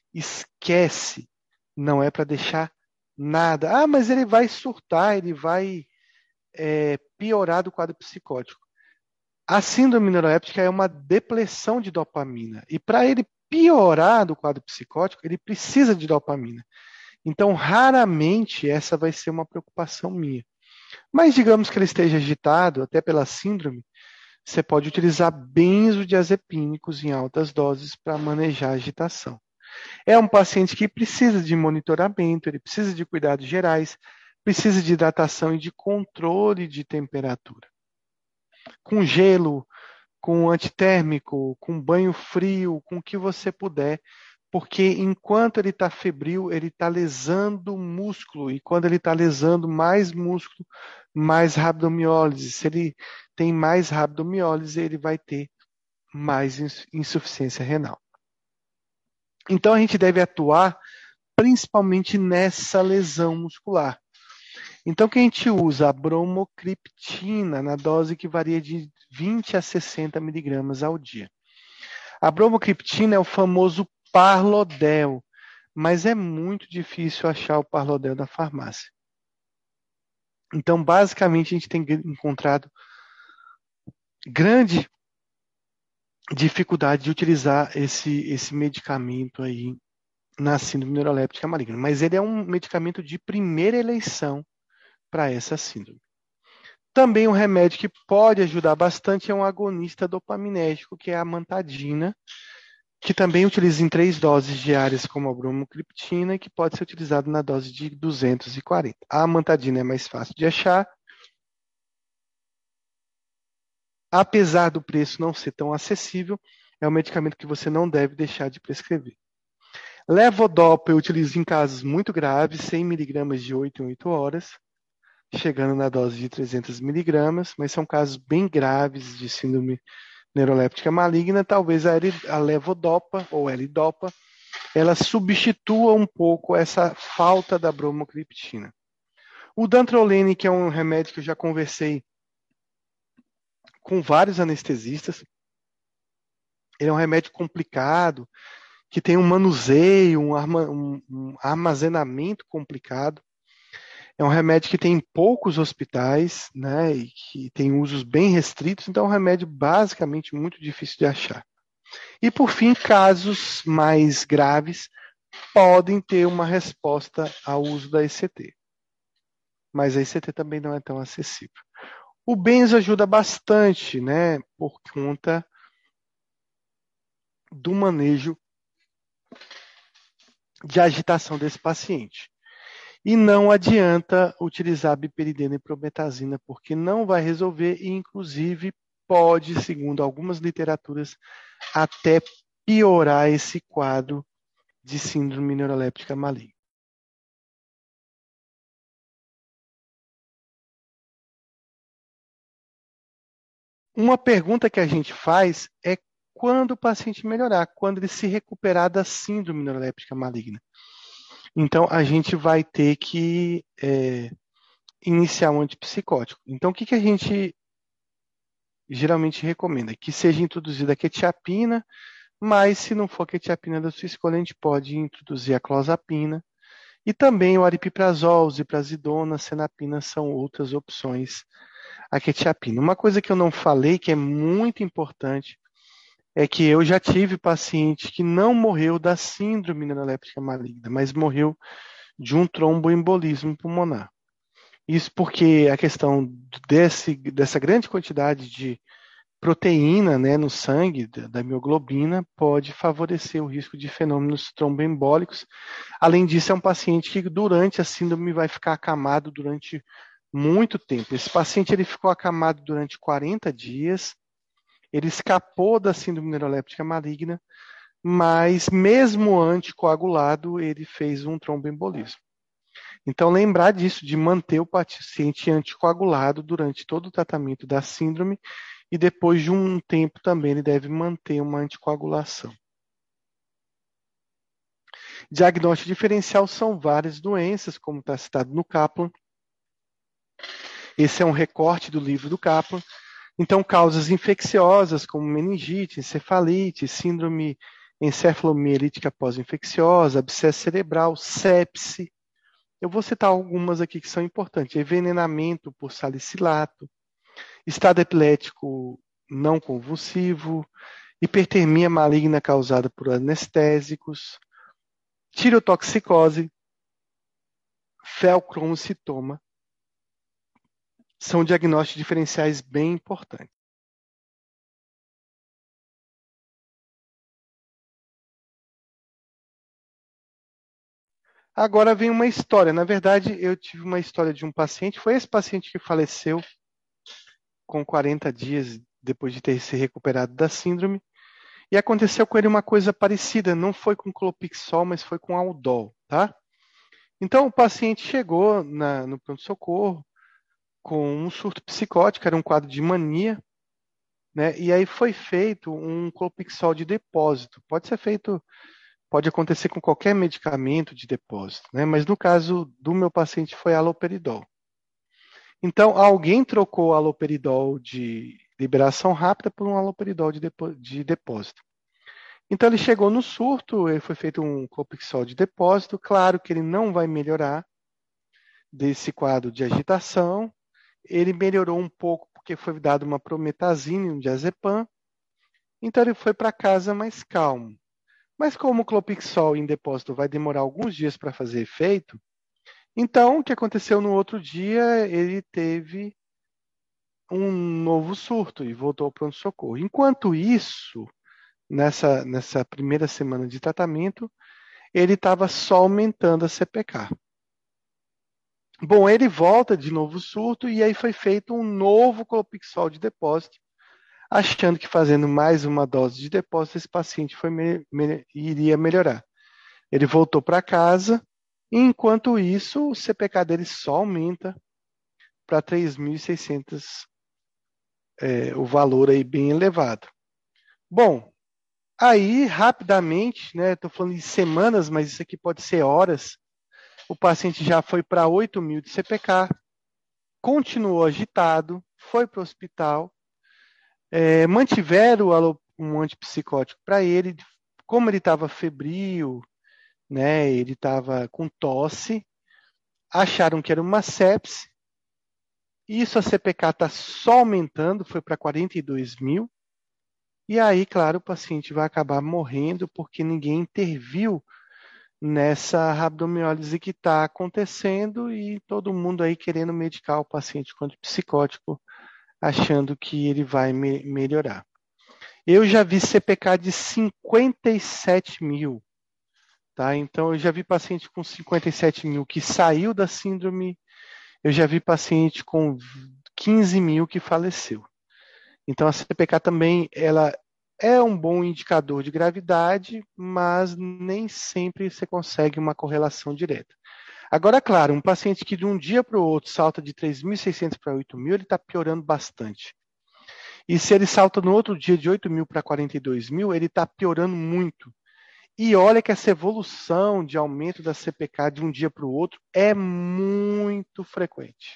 Esquece. Não é para deixar nada. Ah, mas ele vai surtar, ele vai é, piorar do quadro psicótico. A síndrome neuroléptica é uma depressão de dopamina. E para ele piorar do quadro psicótico, ele precisa de dopamina. Então, raramente essa vai ser uma preocupação minha. Mas digamos que ele esteja agitado, até pela síndrome, você pode utilizar benzodiazepínicos em altas doses para manejar a agitação. É um paciente que precisa de monitoramento, ele precisa de cuidados gerais, precisa de hidratação e de controle de temperatura. Com gelo, com antitérmico, com banho frio, com o que você puder, porque enquanto ele está febril, ele está lesando o músculo, e quando ele está lesando mais músculo, mais rabdomiólise. Se ele tem mais rabdomiólise, ele vai ter mais insuficiência renal. Então a gente deve atuar principalmente nessa lesão muscular. Então que a gente usa a bromocriptina na dose que varia de vinte a sessenta miligramas ao dia. A bromocriptina é o famoso Parlodel, mas é muito difícil achar o Parlodel na farmácia. Então, basicamente, a gente tem encontrado grande dificuldade de utilizar esse, esse medicamento aí na síndrome neuroléptica maligna, mas ele é um medicamento de primeira eleição para essa síndrome. Também um remédio que pode ajudar bastante é um agonista dopaminérgico, que é a amantadina, que também utiliza em três doses diárias como a bromocriptina e que pode ser utilizado na dose de duzentos e quarenta. A amantadina é mais fácil de achar. Apesar do preço não ser tão acessível, é um medicamento que você não deve deixar de prescrever. Levodopa eu utilizo em casos muito graves, cem miligramas de oito em oito horas, chegando na dose de trezentos miligramas, mas são casos bem graves de síndrome neuroléptica maligna. Talvez a, a levodopa ou L-dopa ela substitua um pouco essa falta da bromocriptina. O dantrolene, que é um remédio que eu já conversei com vários anestesistas, ele é um remédio complicado, que tem um manuseio, um, arma, um, um armazenamento complicado. É um remédio que tem em poucos hospitais, né, e que tem usos bem restritos, então é um remédio basicamente muito difícil de achar. E, por fim, casos mais graves podem ter uma resposta ao uso da E C T. Mas a E C T também não é tão acessível. O benzo ajuda bastante, né, por conta do manejo de agitação desse paciente. E não adianta utilizar biperidina e prometazina, porque não vai resolver e, inclusive, pode, segundo algumas literaturas, até piorar esse quadro de síndrome neuroléptica maligna. Uma pergunta que a gente faz é quando o paciente melhorar, quando ele se recuperar da síndrome neuroléptica maligna. Então, a gente vai ter que é, iniciar um antipsicótico. Então, o que, que a gente geralmente recomenda? Que seja introduzida a quetiapina, mas se não for a quetiapina da sua escolha, a gente pode introduzir a clozapina. E também o aripiprazol, ziprasidona, senapina são outras opções. A quetiapina. Uma coisa que eu não falei, que é muito importante, é que eu já tive paciente que não morreu da síndrome neuroléptica maligna, mas morreu de um tromboembolismo pulmonar. Isso porque a questão desse, dessa grande quantidade de proteína, né, no sangue, da, da mioglobina, pode favorecer o risco de fenômenos tromboembólicos. Além disso, é um paciente que durante a síndrome vai ficar acamado durante muito tempo. Esse paciente ele ficou acamado durante quarenta dias, ele escapou da síndrome neuroléptica maligna, mas mesmo anticoagulado, ele fez um tromboembolismo. Então, lembrar disso, de manter o paciente anticoagulado durante todo o tratamento da síndrome e depois de um tempo também ele deve manter uma anticoagulação. Diagnóstico diferencial são várias doenças, como está citado no Kaplan. Esse é um recorte do livro do Kaplan. Então, causas infecciosas como meningite, encefalite, síndrome encefalomielítica pós-infecciosa, abscesso cerebral, sepse. Eu vou citar algumas aqui que são importantes. Envenenamento por salicilato, estado epilético não convulsivo, hipertermia maligna causada por anestésicos, tirotoxicose, feocromocitoma. São diagnósticos diferenciais bem importantes. Agora vem uma história. Na verdade, eu tive uma história de um paciente. Foi esse paciente que faleceu com quarenta dias depois de ter se recuperado da síndrome. E aconteceu com ele uma coisa parecida. Não foi com clopixol, mas foi com Aldol, tá? Então, o paciente chegou na, no pronto-socorro com um surto psicótico, era um quadro de mania, né? E aí foi feito um clopixol de depósito. Pode ser feito, pode acontecer com qualquer medicamento de depósito, né? Mas no caso do meu paciente foi haloperidol. Então, alguém trocou o haloperidol de liberação rápida por um haloperidol de, depo de depósito. Então, ele chegou no surto, ele foi feito um clopixol de depósito. Claro que ele não vai melhorar desse quadro de agitação. Ele melhorou um pouco porque foi dado uma prometazina e um diazepam. Então, ele foi para casa mais calmo. Mas como o clopixol em depósito vai demorar alguns dias para fazer efeito, então, o que aconteceu no outro dia, ele teve um novo surto e voltou ao pronto-socorro. Enquanto isso, nessa, nessa primeira semana de tratamento, ele estava só aumentando a C P K. Bom, ele volta de novo o surto e aí foi feito um novo clopixol de depósito, achando que fazendo mais uma dose de depósito, esse paciente foi me me iria melhorar. Ele voltou para casa. E, enquanto isso, o C P K dele só aumenta para três mil e seiscentos, é, o valor aí bem elevado. Bom, aí rapidamente, né, estou falando de semanas, mas isso aqui pode ser horas, o paciente já foi para oito mil de C P K, continuou agitado, foi para o hospital, é, mantiveram um antipsicótico para ele, como ele estava febril, né, ele estava com tosse, acharam que era uma sepse. Isso a C P K está só aumentando, foi para quarenta e dois mil. E aí, claro, o paciente vai acabar morrendo porque ninguém interviu nessa rabdomiólise que está acontecendo e todo mundo aí querendo medicar o paciente com antipsicótico, achando que ele vai me melhorar. Eu já vi C P K de cinquenta e sete mil. Tá? Então, eu já vi paciente com cinquenta e sete mil que saiu da síndrome, eu já vi paciente com quinze mil que faleceu. Então, a C P K também ela é um bom indicador de gravidade, mas nem sempre você consegue uma correlação direta. Agora, claro, um paciente que de um dia para o outro salta de três mil e seiscentos para oito mil, ele está piorando bastante. E se ele salta no outro dia de oito mil para quarenta e dois mil, ele está piorando muito. E olha que essa evolução de aumento da C P K de um dia para o outro é muito frequente.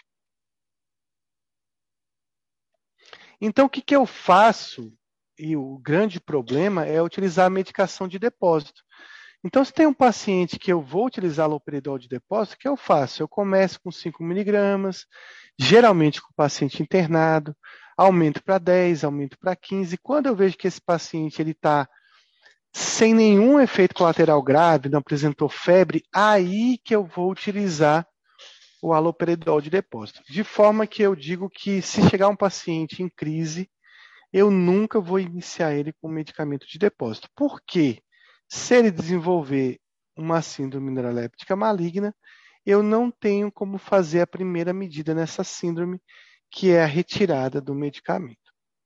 Então, o que, que eu faço? E o grande problema é utilizar a medicação de depósito. Então, se tem um paciente que eu vou utilizar haloperidol de depósito, o que eu faço? Eu começo com cinco miligramas, geralmente com o paciente internado, aumento para dez, aumento para quinze. Quando eu vejo que esse paciente ele está sem nenhum efeito colateral grave, não apresentou febre, aí que eu vou utilizar o haloperidol de depósito. De forma que eu digo que se chegar um paciente em crise, eu nunca vou iniciar ele com medicamento de depósito. Por quê? Se ele desenvolver uma síndrome neuroléptica maligna, eu não tenho como fazer a primeira medida nessa síndrome, que é a retirada do medicamento.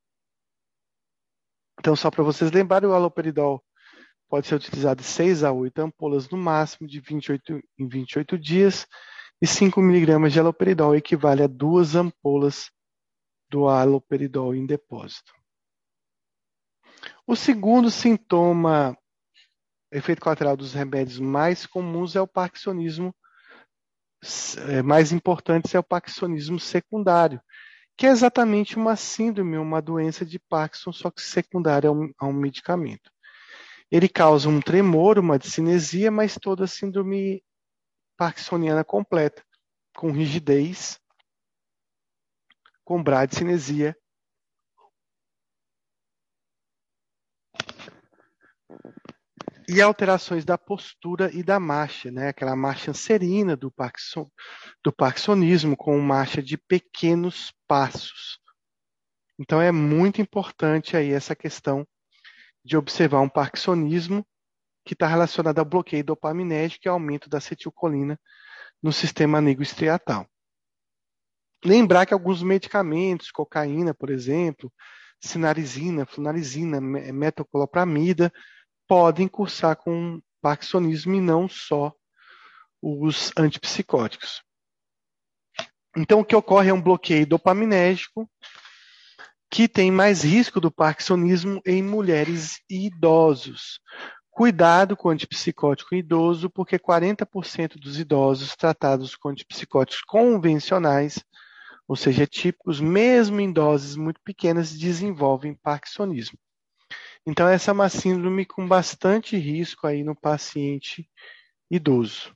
Então, só para vocês lembrarem, o haloperidol pode ser utilizado de seis a oito ampolas no máximo, de vinte e oito em vinte e oito dias, e cinco miligramas de haloperidol equivale a duas ampolas do haloperidol em depósito. O segundo sintoma, efeito colateral dos remédios mais comuns é o parkinsonismo, é, mais importante é o parkinsonismo secundário, que é exatamente uma síndrome, uma doença de Parkinson, só que secundária a um, a um medicamento. Ele causa um tremor, uma discinesia, mas toda a síndrome parkinsoniana completa, com rigidez, com bradicinesia. E alterações da postura e da marcha, né? Aquela marcha serina do, Parkinson, do parkinsonismo, com marcha de pequenos passos. Então é muito importante aí essa questão de observar um parkinsonismo que está relacionado ao bloqueio dopaminérgico e aumento da acetilcolina no sistema nigrostriatal. Lembrar que alguns medicamentos, cocaína, por exemplo, sinarizina, flunarizina, metoclopramida, podem cursar com parkinsonismo e não só os antipsicóticos. Então, o que ocorre é um bloqueio dopaminérgico que tem mais risco do parkinsonismo em mulheres e idosos. Cuidado com o antipsicótico idoso, porque quarenta por cento dos idosos tratados com antipsicóticos convencionais, ou seja, típicos, mesmo em doses muito pequenas, desenvolvem parkinsonismo. Então, essa é uma síndrome com bastante risco aí no paciente idoso.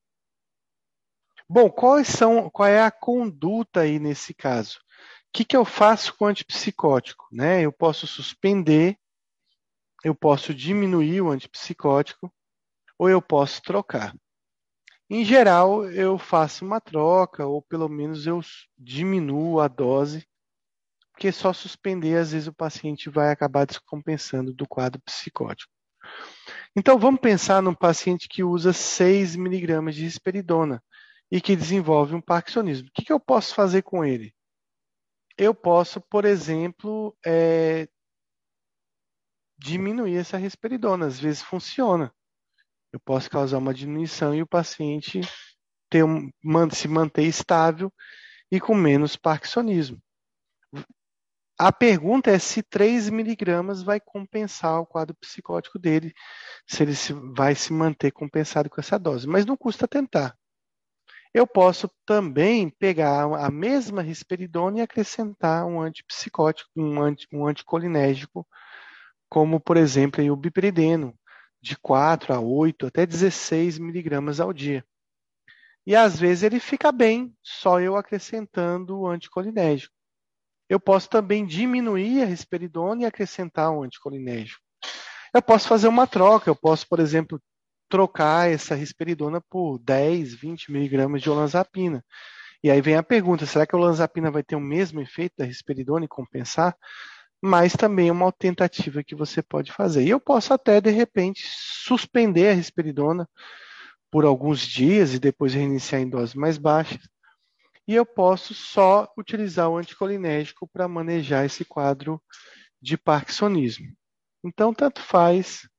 Bom, quais são, qual é a conduta aí nesse caso? O que, que eu faço com o antipsicótico? Né? Eu posso suspender, eu posso diminuir o antipsicótico, ou eu posso trocar. Em geral, eu faço uma troca, ou pelo menos eu diminuo a dose, porque só suspender, às vezes o paciente vai acabar descompensando do quadro psicótico. Então, vamos pensar num paciente que usa seis miligramas de risperidona e que desenvolve um parkinsonismo. O que, que eu posso fazer com ele? Eu posso, por exemplo, é, diminuir essa risperidona. Às vezes funciona. Eu posso causar uma diminuição e o paciente ter um, se manter estável e com menos parkinsonismo. A pergunta é se três miligramas vai compensar o quadro psicótico dele, se ele se, vai se manter compensado com essa dose. Mas não custa tentar. Eu posso também pegar a mesma risperidona e acrescentar um antipsicótico, um, anti, um anticolinérgico, como, por exemplo, o bipirideno, de quatro a oito, até dezesseis miligramas ao dia. E às vezes ele fica bem, só eu acrescentando o anticolinérgico. Eu posso também diminuir a risperidona e acrescentar um anticolinérgico. Eu posso fazer uma troca, eu posso, por exemplo, trocar essa risperidona por dez, vinte miligramas de olanzapina. E aí vem a pergunta, será que a olanzapina vai ter o mesmo efeito da risperidona e compensar? Mas também é uma tentativa que você pode fazer. E eu posso até, de repente, suspender a risperidona por alguns dias e depois reiniciar em doses mais baixas. E eu posso só utilizar o anticolinérgico para manejar esse quadro de parkinsonismo. Então, tanto faz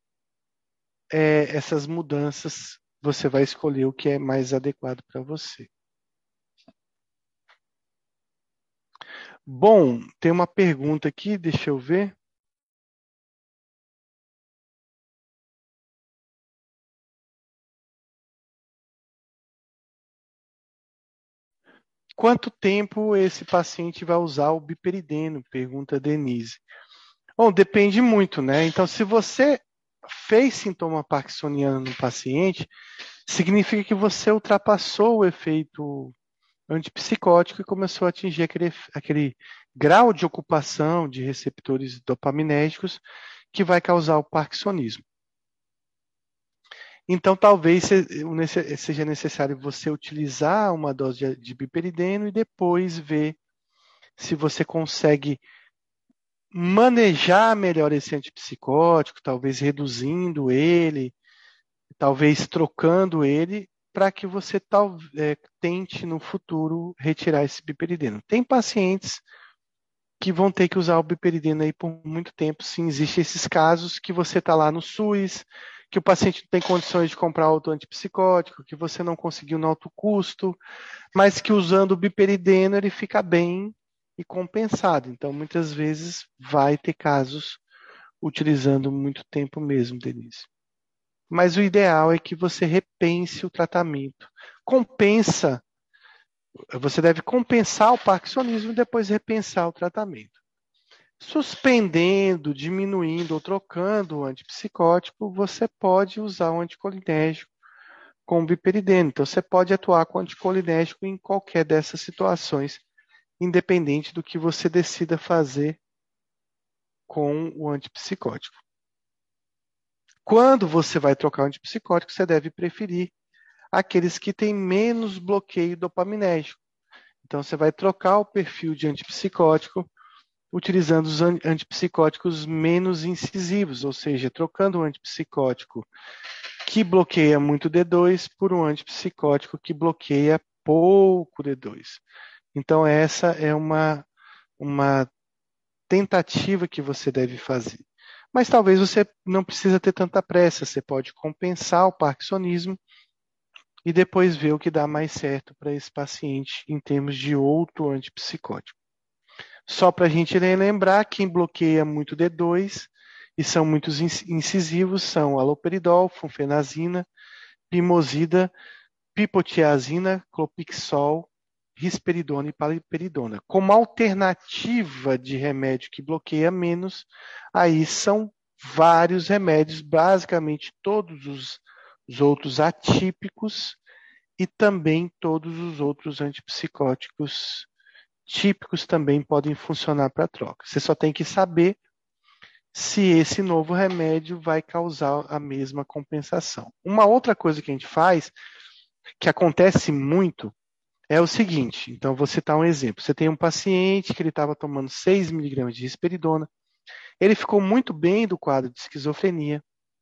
é, essas mudanças, você vai escolher o que é mais adequado para você. Bom, tem uma pergunta aqui, deixa eu ver. Quanto tempo esse paciente vai usar o biperideno? Pergunta a Denise. Bom, depende muito, né? Então, se você fez sintoma parkinsoniano no paciente, significa que você ultrapassou o efeito antipsicótico e começou a atingir aquele, aquele grau de ocupação de receptores dopaminérgicos que vai causar o parkinsonismo. Então, talvez seja necessário você utilizar uma dose de biperideno e depois ver se você consegue manejar melhor esse antipsicótico, talvez reduzindo ele, talvez trocando ele, para que você tal, é, tente no futuro retirar esse biperideno. Tem pacientes que vão ter que usar o biperideno aí por muito tempo. Sim, existem esses casos que você está lá no SUS, que o paciente não tem condições de comprar outro antipsicótico, que você não conseguiu no alto custo, mas que usando o biperideno ele fica bem e compensado. Então, muitas vezes vai ter casos utilizando muito tempo mesmo, Denise. Mas o ideal é que você repense o tratamento. Compensa, você deve compensar o parkinsonismo e depois repensar o tratamento. Suspendendo, diminuindo ou trocando o antipsicótico, você pode usar o anticolinérgico com o biperideno. Então, você pode atuar com o anticolinérgico em qualquer dessas situações, independente do que você decida fazer com o antipsicótico. Quando você vai trocar o antipsicótico, você deve preferir aqueles que têm menos bloqueio dopaminérgico. Então, você vai trocar o perfil de antipsicótico utilizando os antipsicóticos menos incisivos, ou seja, trocando o antipsicótico que bloqueia muito D dois por um antipsicótico que bloqueia pouco D dois. Então, essa é uma, uma tentativa que você deve fazer. Mas talvez você não precisa ter tanta pressa, você pode compensar o parkinsonismo e depois ver o que dá mais certo para esse paciente em termos de outro antipsicótico. Só para a gente lembrar, quem bloqueia muito D dois e são muito incisivos são aloperidol, flunfenazina, pimosida, pipotiazina, clopixol, risperidona e paliperidona. Como alternativa de remédio que bloqueia menos, aí são vários remédios, basicamente todos os, os outros atípicos e também todos os outros antipsicóticos típicos também podem funcionar para troca. Você só tem que saber se esse novo remédio vai causar a mesma compensação. Uma outra coisa que a gente faz, que acontece muito, é o seguinte. Então, vou citar um exemplo. Você tem um paciente que ele estava tomando seis miligramas de risperidona. Ele ficou muito bem do quadro de esquizofrenia.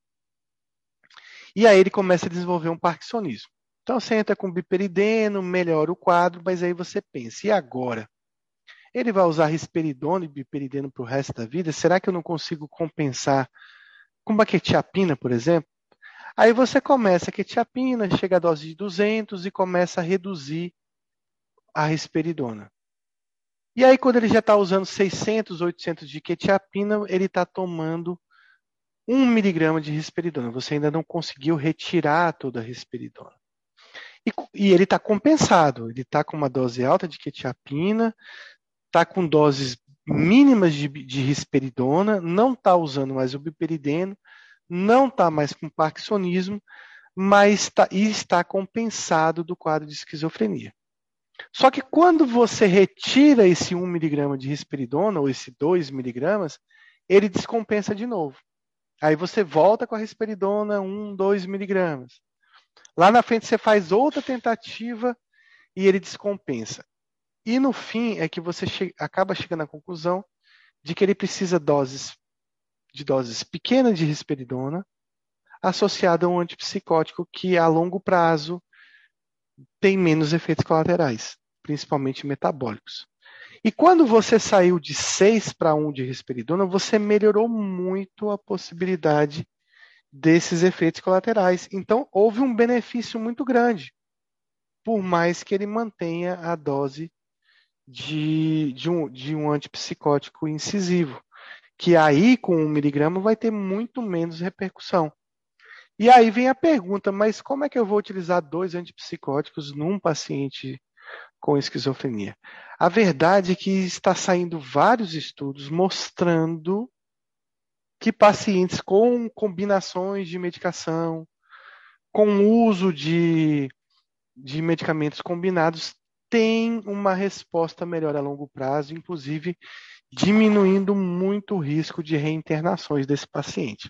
E aí ele começa a desenvolver um parkinsonismo. Então, você entra com biperideno, melhora o quadro, mas aí você pensa, e agora? Ele vai usar risperidona e biperideno para o resto da vida? Será que eu não consigo compensar com uma quetiapina, por exemplo? Aí você começa a quetiapina, chega a dose de duzentos e começa a reduzir a risperidona. E aí, quando ele já está usando seiscentos, oitocentos de quetiapina, ele está tomando um miligrama de risperidona. Você ainda não conseguiu retirar toda a risperidona. E, e ele está compensado. Ele está com uma dose alta de quetiapina, está com doses mínimas de, de risperidona, não está usando mais o biperideno, não está mais com parkinsonismo, mas tá, e está compensado do quadro de esquizofrenia. Só que quando você retira esse um miligrama de risperidona, ou esse dois miligramas, ele descompensa de novo. Aí você volta com a risperidona um, dois miligramas. Lá na frente você faz outra tentativa e ele descompensa. E no fim é que você che- acaba chegando à conclusão de que ele precisa doses, de doses pequenas de risperidona associada a um antipsicótico que a longo prazo tem menos efeitos colaterais, principalmente metabólicos. E quando você saiu de seis para um de risperidona, você melhorou muito a possibilidade desses efeitos colaterais. Então, houve um benefício muito grande, por mais que ele mantenha a dose de, de, um, de um antipsicótico incisivo, que aí, com um miligrama, vai ter muito menos repercussão. E aí vem a pergunta, mas como é que eu vou utilizar dois antipsicóticos num paciente com esquizofrenia? A verdade é que está saindo vários estudos mostrando que pacientes com combinações de medicação, com uso de, de medicamentos combinados, têm uma resposta melhor a longo prazo, inclusive diminuindo muito o risco de reinternações desse paciente.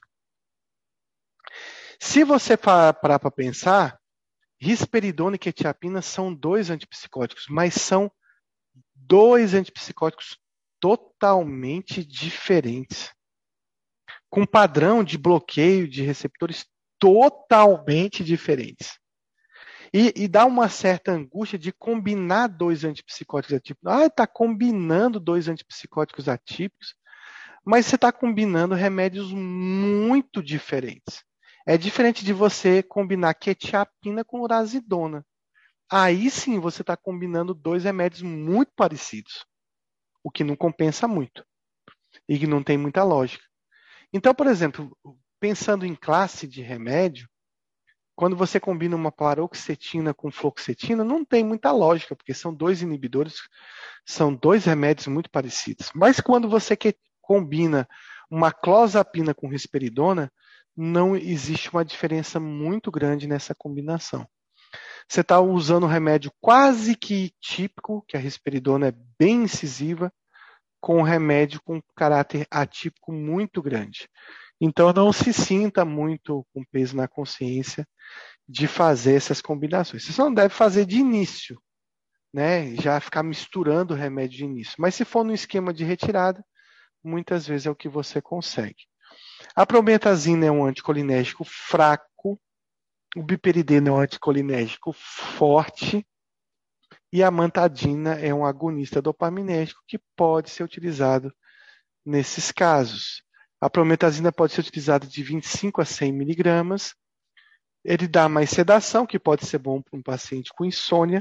Se você parar para pensar, risperidona e quetiapina são dois antipsicóticos, mas são dois antipsicóticos totalmente diferentes, com padrão de bloqueio de receptores totalmente diferentes. E, e dá uma certa angústia de combinar dois antipsicóticos atípicos. Ah, está combinando dois antipsicóticos atípicos, mas você está combinando remédios muito diferentes. É diferente de você combinar quetiapina com urazidona. Aí sim você está combinando dois remédios muito parecidos, o que não compensa muito e que não tem muita lógica. Então, por exemplo, pensando em classe de remédio, quando você combina uma paroxetina com fluoxetina, não tem muita lógica, porque são dois inibidores, são dois remédios muito parecidos. Mas quando você combina uma clozapina com risperidona, não existe uma diferença muito grande nessa combinação. Você está usando um remédio quase que típico, que a risperidona é bem incisiva, com um remédio com caráter atípico muito grande. Então, não se sinta muito com peso na consciência de fazer essas combinações. Você só não deve fazer de início, né? Já ficar misturando o remédio de início. Mas se for no esquema de retirada, muitas vezes é o que você consegue. A prometazina é um anticolinérgico fraco, o biperideno é um anticolinérgico forte e a amantadina é um agonista dopaminérgico que pode ser utilizado nesses casos. A prometazina pode ser utilizada de vinte e cinco a cem miligramas. Ele dá mais sedação, que pode ser bom para um paciente com insônia,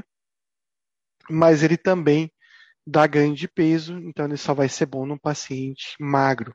mas ele também dá ganho de peso, então ele só vai ser bom num paciente magro.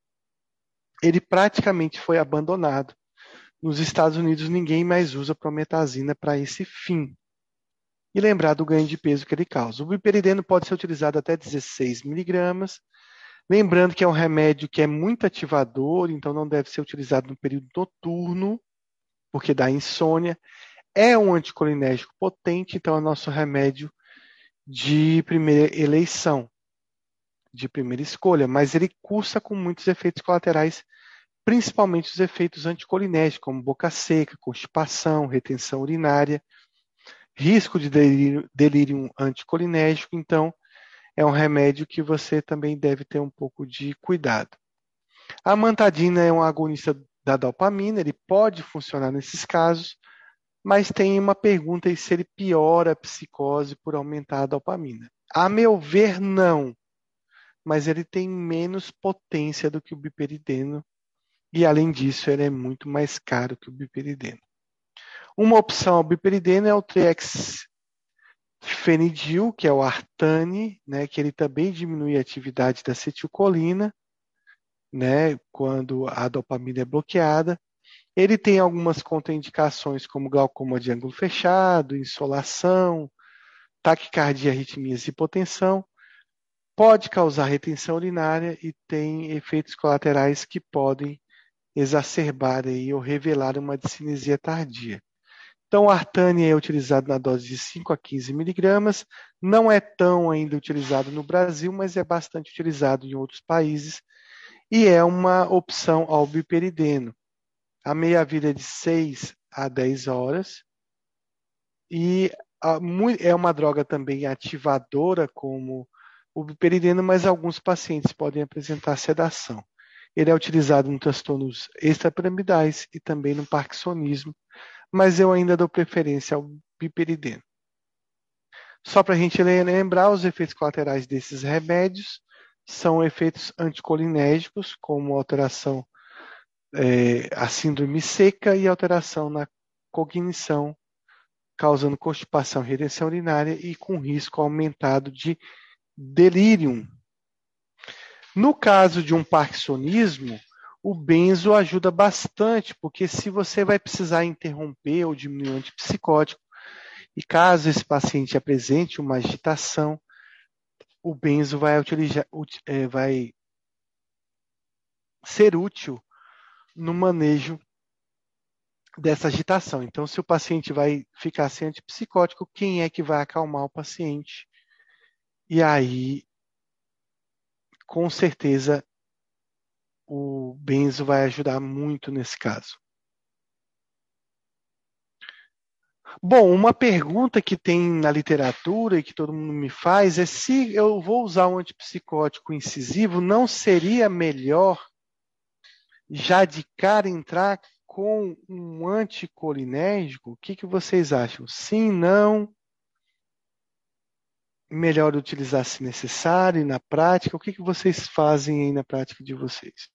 Ele praticamente foi abandonado. Nos Estados Unidos, ninguém mais usa prometazina para esse fim. E lembrar do ganho de peso que ele causa. O biperideno pode ser utilizado até dezesseis miligramas. Lembrando que é um remédio que é muito ativador, então não deve ser utilizado no período noturno, porque dá insônia. É um anticolinérgico potente, então é o nosso remédio de primeira eleição, de primeira escolha, mas ele cursa com muitos efeitos colaterais, principalmente os efeitos anticolinérgicos, como boca seca, constipação, retenção urinária, risco de delírio, delírio anticolinérgico, então é um remédio que você também deve ter um pouco de cuidado. A amantadina é um agonista da dopamina, ele pode funcionar nesses casos, mas tem uma pergunta aí se ele piora a psicose por aumentar a dopamina. A meu ver, não, mas ele tem menos potência do que o biperideno e, além disso, ele é muito mais caro que o biperideno. Uma opção ao biperideno é o trihexfenidil, que é o Artane, né, que ele também diminui a atividade da acetilcolina, né, quando a dopamina é bloqueada. Ele tem algumas contraindicações, como glaucoma de ângulo fechado, insolação, taquicardia, arritmias e hipotensão. Pode causar retenção urinária e tem efeitos colaterais que podem exacerbar aí, ou revelar uma discinesia tardia. Então, o Artane é utilizado na dose de cinco a quinze miligramas. Não é tão ainda utilizado no Brasil, mas é bastante utilizado em outros países. E é uma opção ao biperideno. A meia-vida é de seis a dez horas. E a, é uma droga também ativadora, como o biperideno, mas alguns pacientes podem apresentar sedação. Ele é utilizado em transtornos extrapiramidais e também no parkinsonismo, mas eu ainda dou preferência ao biperideno. Só para a gente lembrar, os efeitos colaterais desses remédios são efeitos anticolinérgicos, como alteração, é, a síndrome seca e alteração na cognição, causando constipação e retenção urinária e com risco aumentado de delírio. No caso de um parkinsonismo, o benzo ajuda bastante, porque se você vai precisar interromper ou diminuir o antipsicótico, e caso esse paciente apresente uma agitação, o benzo vai, utilizar, vai ser útil no manejo dessa agitação. Então, se o paciente vai ficar sem antipsicótico, quem é que vai acalmar o paciente? E aí, com certeza, o benzo vai ajudar muito nesse caso. Bom, uma pergunta que tem na literatura e que todo mundo me faz é se eu vou usar um antipsicótico incisivo, não seria melhor já de cara entrar com um anticolinérgico? O que, que vocês acham? Sim, não? Melhor utilizar se necessário e na prática? O que, que vocês fazem aí na prática de vocês?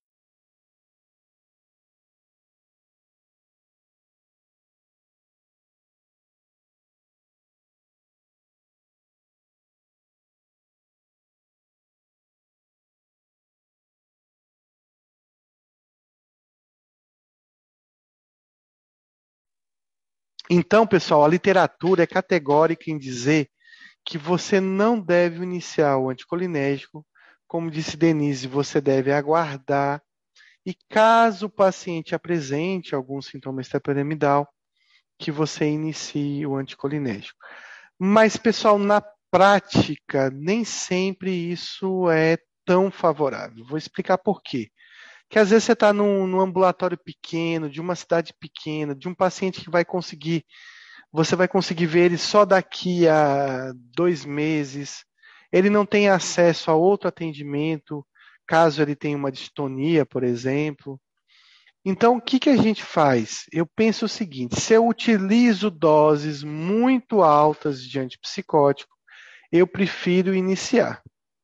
Então, pessoal, a literatura é categórica em dizer que você não deve iniciar o anticolinérgico como disse Denise, você deve aguardar. E caso o paciente apresente algum sintoma extrapiramidal, que você inicie o anticolinérgico. Mas, pessoal, na prática, nem sempre isso é tão favorável. Vou explicar por quê. Que às vezes você está num, num ambulatório pequeno, de uma cidade pequena, de um paciente que vai conseguir, você vai conseguir ver ele só daqui a dois meses. Ele não tem acesso a outro atendimento, caso ele tenha uma distonia, por exemplo. Então, o que, que a gente faz? Eu penso o seguinte: se eu utilizo doses muito altas de antipsicótico, eu prefiro iniciar.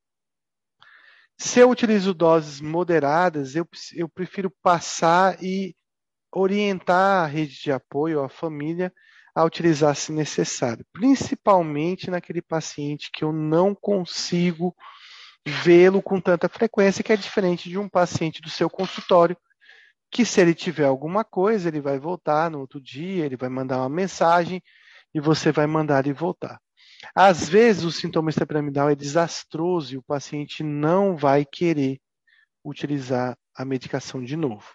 Se eu utilizo doses moderadas, eu, eu prefiro passar e orientar a rede de apoio, a família, a utilizar se necessário, principalmente naquele paciente que eu não consigo vê-lo com tanta frequência, que é diferente de um paciente do seu consultório, que se ele tiver alguma coisa, ele vai voltar no outro dia, ele vai mandar uma mensagem e você vai mandar ele voltar. Às vezes o sintoma extrapiramidal é desastroso e o paciente não vai querer utilizar a medicação de novo.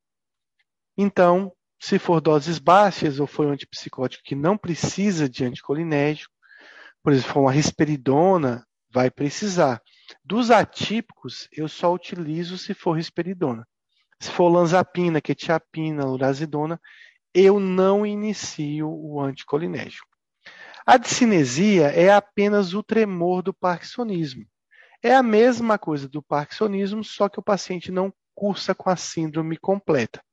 Então, se for doses baixas ou for um antipsicótico que não precisa de anticolinérgico, por exemplo, for uma risperidona, vai precisar. Dos atípicos, eu só utilizo se for risperidona. Se for olanzapina, quetiapina, lurazidona, eu não inicio o anticolinérgico. A discinesia é apenas o tremor do parkinsonismo. É a mesma coisa do parkinsonismo, só que o paciente não cursa com a síndrome completa.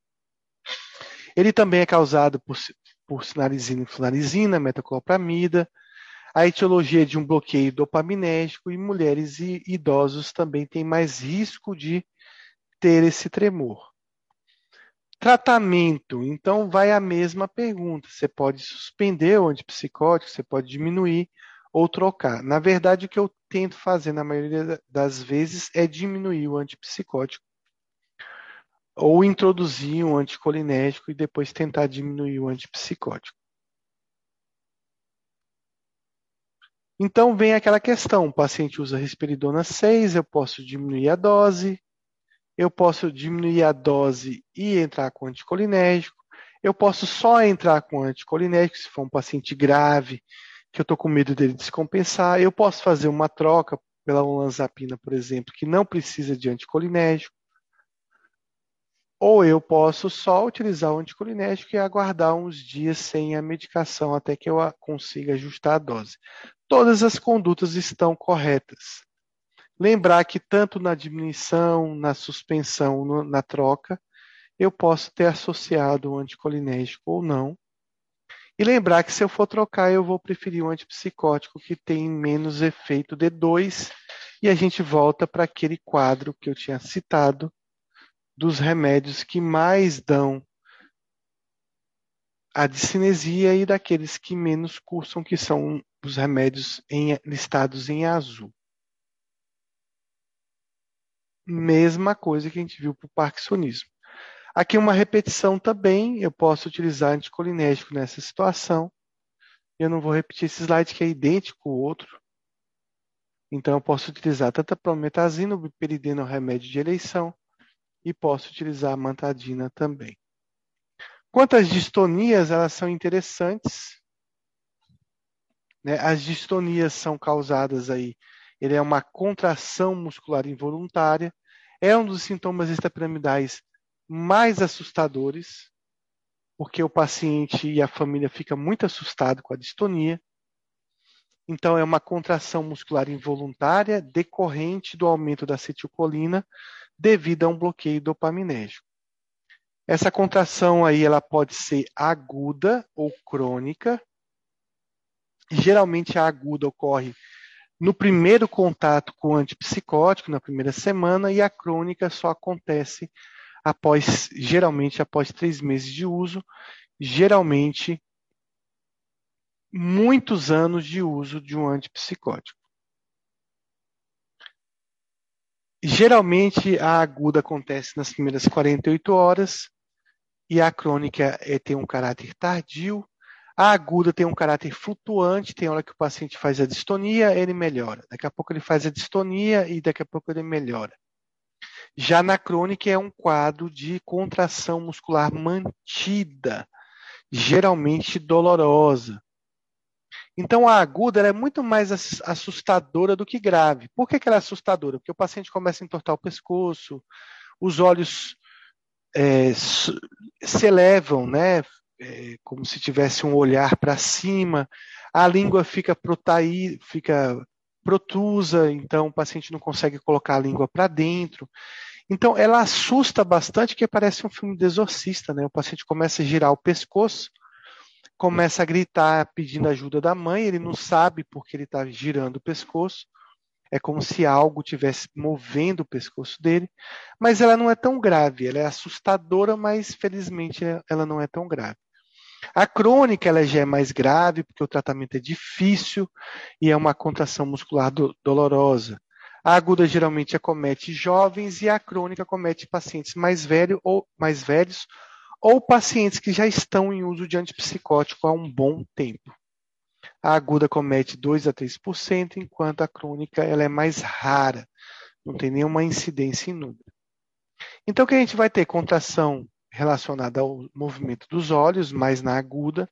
Ele também é causado por, por sinalizina e flunarizina, metoclopramida. A etiologia é de um bloqueio dopaminérgico e mulheres e idosos também têm mais risco de ter esse tremor. Tratamento, então vai a mesma pergunta. Você pode suspender o antipsicótico, você pode diminuir ou trocar. Na verdade, o que eu tento fazer na maioria das vezes é diminuir o antipsicótico ou introduzir um anticolinérgico e depois tentar diminuir o antipsicótico. Então vem aquela questão, o paciente usa risperidona seis, eu posso diminuir a dose, eu posso diminuir a dose e entrar com anticolinérgico. Eu posso só entrar com anticolinérgico se for um paciente grave, que eu estou com medo dele descompensar. Eu posso fazer uma troca pela olanzapina, por exemplo, que não precisa de anticolinérgico. Ou eu posso só utilizar o anticolinérgico e aguardar uns dias sem a medicação até que eu consiga ajustar a dose. Todas as condutas estão corretas. Lembrar que tanto na diminuição, na suspensão, no, na troca, eu posso ter associado o anticolinérgico ou não. E lembrar que se eu for trocar, eu vou preferir um antipsicótico que tem menos efeito D dois e a gente volta para aquele quadro que eu tinha citado dos remédios que mais dão a discinesia e daqueles que menos cursam, que são os remédios em, listados em azul. Mesma coisa que a gente viu para o parkinsonismo. Aqui uma repetição também, eu posso utilizar anticolinérgico nessa situação. Eu não vou repetir esse slide que é idêntico ao outro. Então eu posso utilizar tanto a prometazina, o biperidina, o remédio de eleição, e posso utilizar a mantadina também. Quanto às distonias, elas são interessantes. Né? As distonias são causadas aí, ele é uma contração muscular involuntária, é um dos sintomas extrapiramidais mais assustadores, porque o paciente e a família ficam muito assustados com a distonia. Então, é uma contração muscular involuntária decorrente do aumento da acetilcolina devido a um bloqueio dopaminérgico. Essa contração aí, ela pode ser aguda ou crônica. Geralmente a aguda ocorre no primeiro contato com o antipsicótico, na primeira semana, e a crônica só acontece após, geralmente após três meses de uso, geralmente muitos anos de uso de um antipsicótico. Geralmente a aguda acontece nas primeiras quarenta e oito horas e a crônica é, tem um caráter tardio. A aguda tem um caráter flutuante, tem hora que o paciente faz a distonia, ele melhora. Daqui a pouco ele faz a distonia e daqui a pouco ele melhora. Já na crônica é um quadro de contração muscular mantida, geralmente dolorosa. Então a aguda ela é muito mais assustadora do que grave. Por que que ela é assustadora? Porque o paciente começa a entortar o pescoço, os olhos é, se elevam, né? É, como se tivesse um olhar para cima, a língua fica, protaí, fica protusa, então o paciente não consegue colocar a língua para dentro. Então ela assusta bastante, porque parece um filme de exorcista, né? O paciente começa a girar o pescoço, começa a gritar pedindo ajuda da mãe, ele não sabe porque ele está girando o pescoço, é como se algo estivesse movendo o pescoço dele, mas ela não é tão grave, ela é assustadora, mas felizmente ela não é tão grave. A crônica ela já é mais grave, porque o tratamento é difícil e é uma contração muscular do, dolorosa. A aguda geralmente acomete jovens e a crônica acomete pacientes mais, velho, ou, mais velhos ou pacientes que já estão em uso de antipsicótico há um bom tempo. A aguda comete dois a três por cento, enquanto a crônica ela é mais rara, não tem nenhuma incidência em número. Então, o que a gente vai ter? Contração relacionada ao movimento dos olhos, mais na aguda.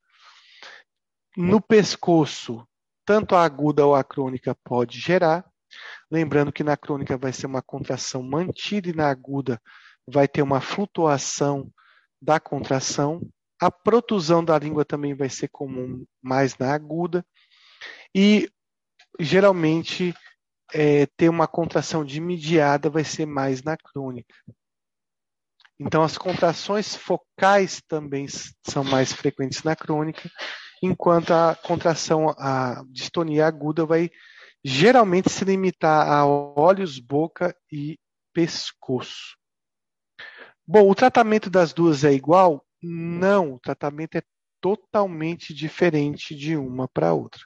No pescoço, tanto a aguda ou a crônica pode gerar. Lembrando que na crônica vai ser uma contração mantida e na aguda vai ter uma flutuação da contração. A protusão da língua também vai ser comum mais na aguda. E, geralmente, é, ter uma contração de mediada vai ser mais na crônica. Então, as contrações focais também são mais frequentes na crônica, enquanto a contração, a distonia aguda vai geralmente se limitar a olhos, boca e pescoço. Bom, o tratamento das duas é igual? Não, o tratamento é totalmente diferente de uma para outra.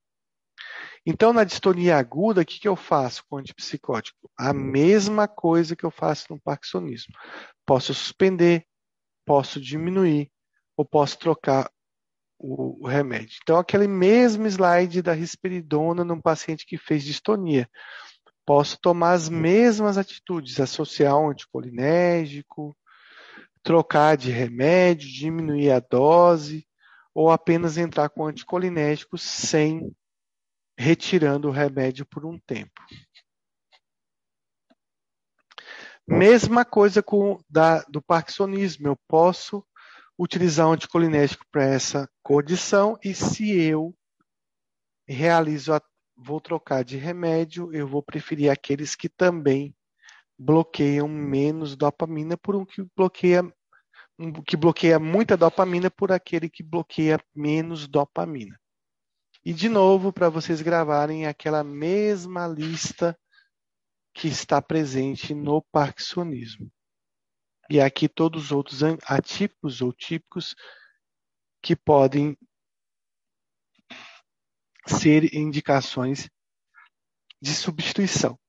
Então, na distonia aguda, o que, que eu faço com o antipsicótico? A mesma coisa que eu faço no parkinsonismo. Posso suspender, posso diminuir, ou posso trocar o, o remédio. Então, aquele mesmo slide da risperidona num paciente que fez distonia. Posso tomar as mesmas atitudes, associar um anticolinérgico, trocar de remédio, diminuir a dose, ou apenas entrar com anticolinérgico sem retirando o remédio por um tempo. Mesma coisa com da, do parkinsonismo. Eu posso utilizar um anticolinérgico para essa condição e se eu realizo, a, vou trocar de remédio, eu vou preferir aqueles que também bloqueiam menos dopamina por um que bloqueia, um que bloqueia muita dopamina por aquele que bloqueia menos dopamina. E, de novo, para vocês gravarem aquela mesma lista que está presente no parkinsonismo. E aqui todos os outros atípicos ou típicos que podem ser indicações de substituição.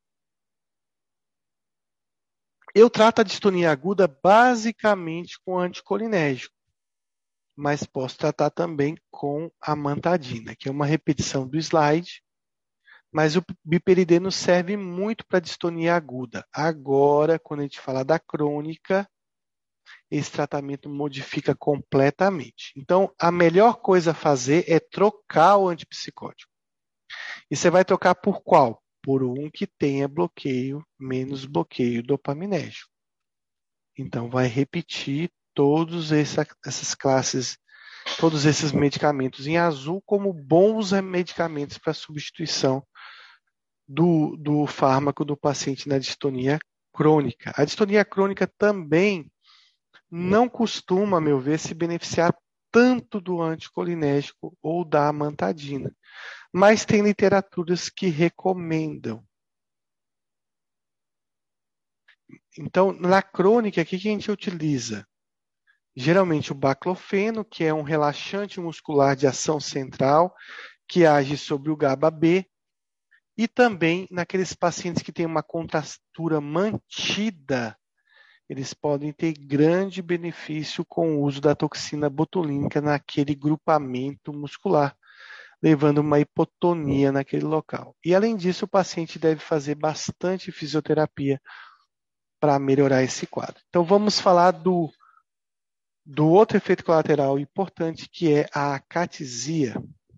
Eu trato a distonia aguda basicamente com anticolinérgico, mas posso tratar também com amantadina, que é uma repetição do slide, mas o biperideno serve muito para distonia aguda. Agora, quando a gente fala da crônica, esse tratamento modifica completamente. Então, a melhor coisa a fazer é trocar o antipsicótico. E você vai trocar por qual? Por um que tenha bloqueio, menos bloqueio dopaminérgico. Então, vai repetir todas essa, essas classes, todos esses medicamentos em azul como bons medicamentos para substituição do, do fármaco do paciente na distonia crônica. A distonia crônica também não costuma, a meu ver, se beneficiar tanto do anticolinérgico ou da amantadina, mas tem literaturas que recomendam. Então, na crônica, o que a gente utiliza? Geralmente o baclofeno, que é um relaxante muscular de ação central, que age sobre o GABA B, e também naqueles pacientes que têm uma contratura mantida, eles podem ter grande benefício com o uso da toxina botulínica naquele grupamento muscular, levando uma hipotonia naquele local. E, além disso, o paciente deve fazer bastante fisioterapia para melhorar esse quadro. Então, vamos falar do, do outro efeito colateral importante, que é a acatesia.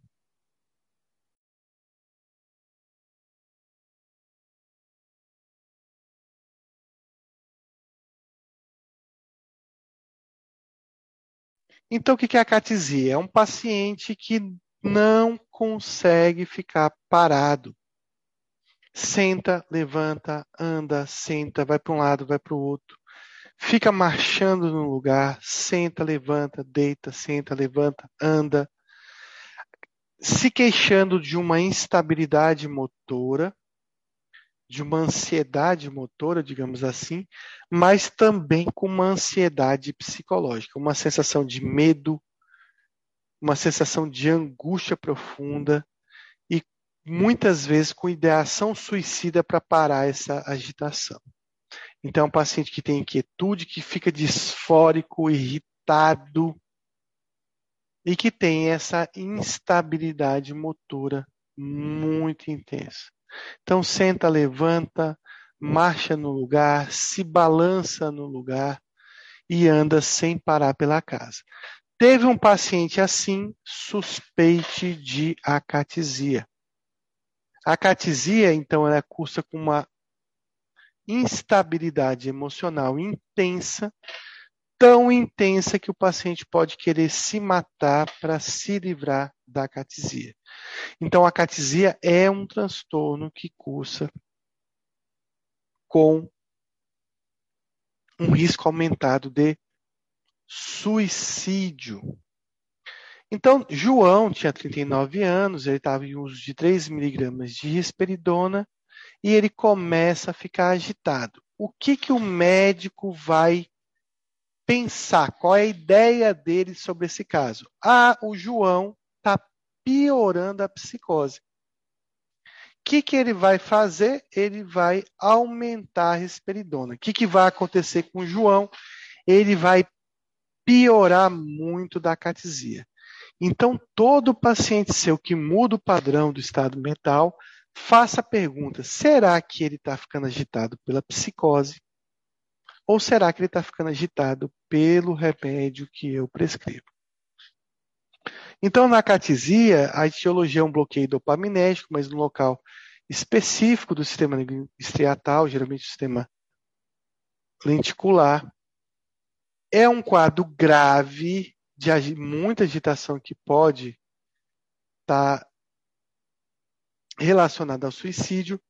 Então, o que é a acatesia? É um paciente que não consegue ficar parado. Senta, levanta, anda, senta, vai para um lado, vai para o outro. Fica marchando no lugar, senta, levanta, deita, senta, levanta, anda. Se queixando de uma instabilidade motora, de uma ansiedade motora, digamos assim, mas também com uma ansiedade psicológica, uma sensação de medo, uma sensação de angústia profunda e muitas vezes com ideação suicida para parar essa agitação. Então, é um paciente que tem inquietude, que fica disfórico, irritado e que tem essa instabilidade motora muito intensa. Então, senta, levanta, marcha no lugar, se balança no lugar e anda sem parar pela casa. Teve um paciente assim, suspeite de acatesia. A acatesia, então, ela cursa com uma instabilidade emocional intensa, tão intensa que o paciente pode querer se matar para se livrar da acatesia. Então, a acatesia é um transtorno que cursa com um risco aumentado de suicídio. Então, João tinha trinta e nove anos, ele estava em uso de três miligramas de risperidona e ele começa a ficar agitado. O que, que o médico vai pensar? Qual é a ideia dele sobre esse caso? Ah, o João está piorando a psicose. O que, que ele vai fazer? Ele vai aumentar a risperidona. O que, que vai acontecer com o João? Ele vai piorar muito da acatesia. Então, todo paciente seu que muda o padrão do estado mental, faça a pergunta: será que ele está ficando agitado pela psicose? Ou será que ele está ficando agitado pelo remédio que eu prescrevo? Então, na acatesia, a etiologia é um bloqueio dopaminérgico, mas no local específico do sistema estriatal, geralmente o sistema lenticular. É um quadro grave de muita agitação que pode estar relacionada ao suicídio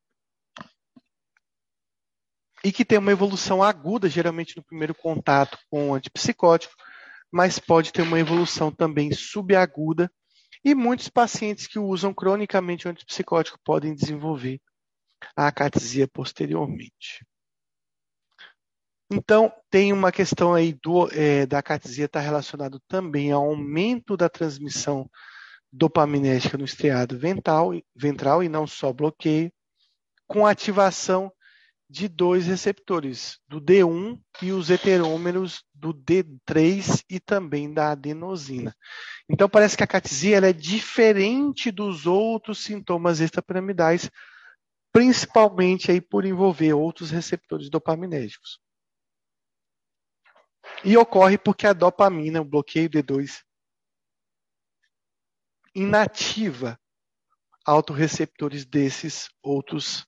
e que tem uma evolução aguda, geralmente no primeiro contato com o antipsicótico, mas pode ter uma evolução também subaguda e muitos pacientes que usam cronicamente o antipsicótico podem desenvolver a acatesia posteriormente. Então, tem uma questão aí do, é, da acatesia está relacionado também ao aumento da transmissão dopaminérgica no estriado ventral, ventral e não só bloqueio, com ativação de dois receptores, do D um e os heterômeros do D três e também da adenosina. Então, parece que a acatesia ela é diferente dos outros sintomas extrapiramidais, principalmente aí por envolver outros receptores dopaminérgicos. E ocorre porque a dopamina, o bloqueio D dois, inativa autorreceptores desses outros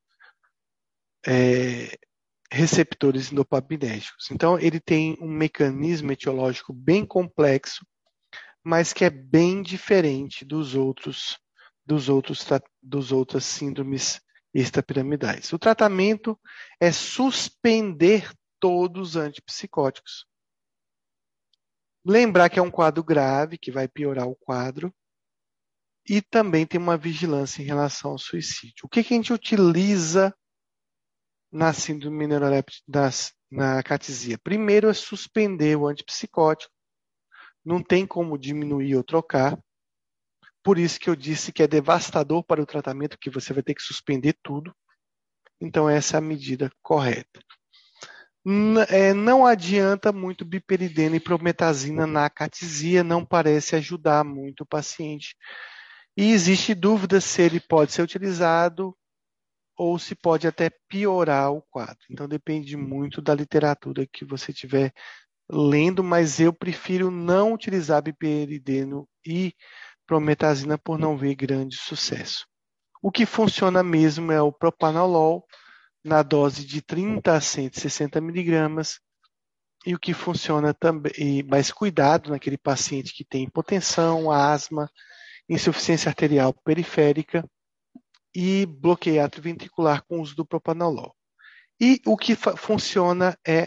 é, receptores dopaminérgicos. Então, ele tem um mecanismo etiológico bem complexo, mas que é bem diferente dos outros, dos outros, dos outras síndromes extrapiramidais. O tratamento é suspender todos os antipsicóticos. Lembrar que é um quadro grave, que vai piorar o quadro, e também tem uma vigilância em relação ao suicídio. O que, que a gente utiliza na síndrome neuroléptica, na acatesia? Primeiro é suspender o antipsicótico, não tem como diminuir ou trocar, por isso que eu disse que é devastador para o tratamento, que você vai ter que suspender tudo, então essa é a medida correta. N- é, não adianta muito biperidina e prometazina na acatisia, não parece ajudar muito o paciente. E existe dúvida se ele pode ser utilizado ou se pode até piorar o quadro. Então depende muito da literatura que você estiver lendo, mas eu prefiro não utilizar biperideno e prometazina por não ver grande sucesso. O que funciona mesmo é o propanolol na dose de trinta a cento e sessenta miligramas, e o que funciona também, mas cuidado naquele paciente que tem hipotensão, asma, insuficiência arterial periférica e bloqueio atrioventricular com o uso do propanolol. E o que funciona é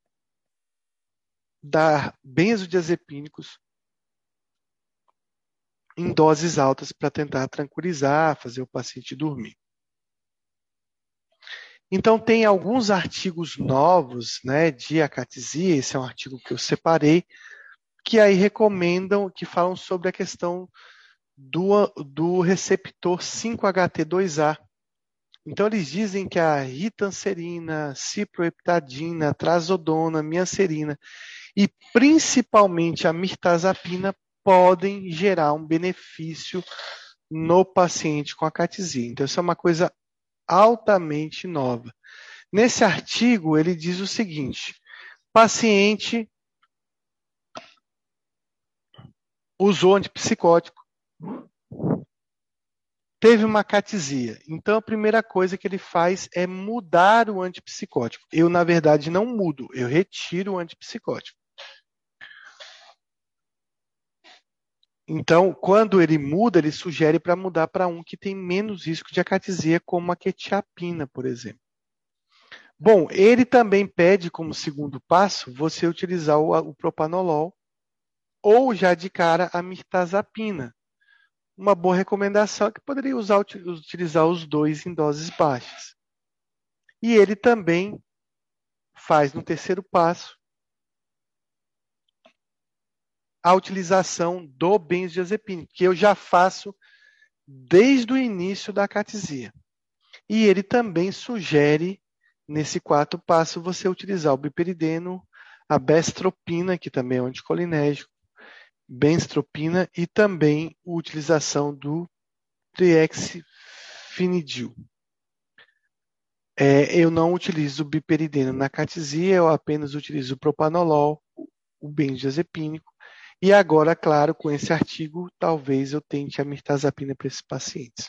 dar benzodiazepínicos em doses altas para tentar tranquilizar, fazer o paciente dormir. Então, tem alguns artigos novos, né, de acatisia, esse é um artigo que eu separei, que aí recomendam, que falam sobre a questão do, do receptor cinco H T dois A. Então, eles dizem que a ritanserina, ciproheptadina, trazodona, mianserina e principalmente a mirtazapina podem gerar um benefício no paciente com acatisia. Então, isso é uma coisa altamente nova. Nesse artigo, ele diz o seguinte: paciente usou antipsicótico, teve uma acatisia. Então, a primeira coisa que ele faz é mudar o antipsicótico. Eu, na verdade, não mudo, eu retiro o antipsicótico. Então, quando ele muda, ele sugere para mudar para um que tem menos risco de acatisia, como a quetiapina, por exemplo. Bom, ele também pede como segundo passo você utilizar o, o propanolol ou já de cara a mirtazapina. Uma boa recomendação é que poderia usar, utilizar os dois em doses baixas. E ele também faz no terceiro passo a utilização do benzodiazepínico, que eu já faço desde o início da acatisia. E ele também sugere, nesse quarto passo, você utilizar o biperideno, a bestropina, que também é um anticolinérgico, benztropina e também a utilização do triexfinidil. É, eu não utilizo o biperideno na acatisia, eu apenas utilizo o propanolol, o benzodiazepínico. E agora, claro, com esse artigo, talvez eu tente a mirtazapina para esses pacientes.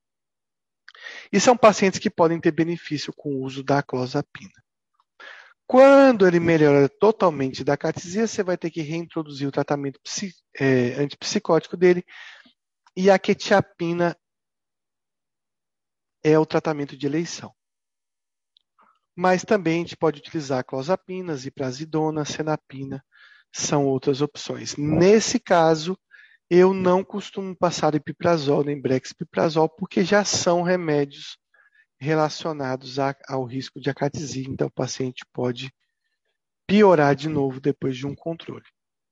E são pacientes que podem ter benefício com o uso da clozapina. Quando ele melhora totalmente da acatisia, você vai ter que reintroduzir o tratamento psi, é, antipsicótico dele, e a quetiapina é o tratamento de eleição. Mas também a gente pode utilizar clozapina, ziprasidona, senapina, são outras opções. Nesse caso, eu não costumo passar epiprazol nem brexpiprazol, porque já são remédios relacionados a, ao risco de acatisia, então o paciente pode piorar de novo depois de um controle.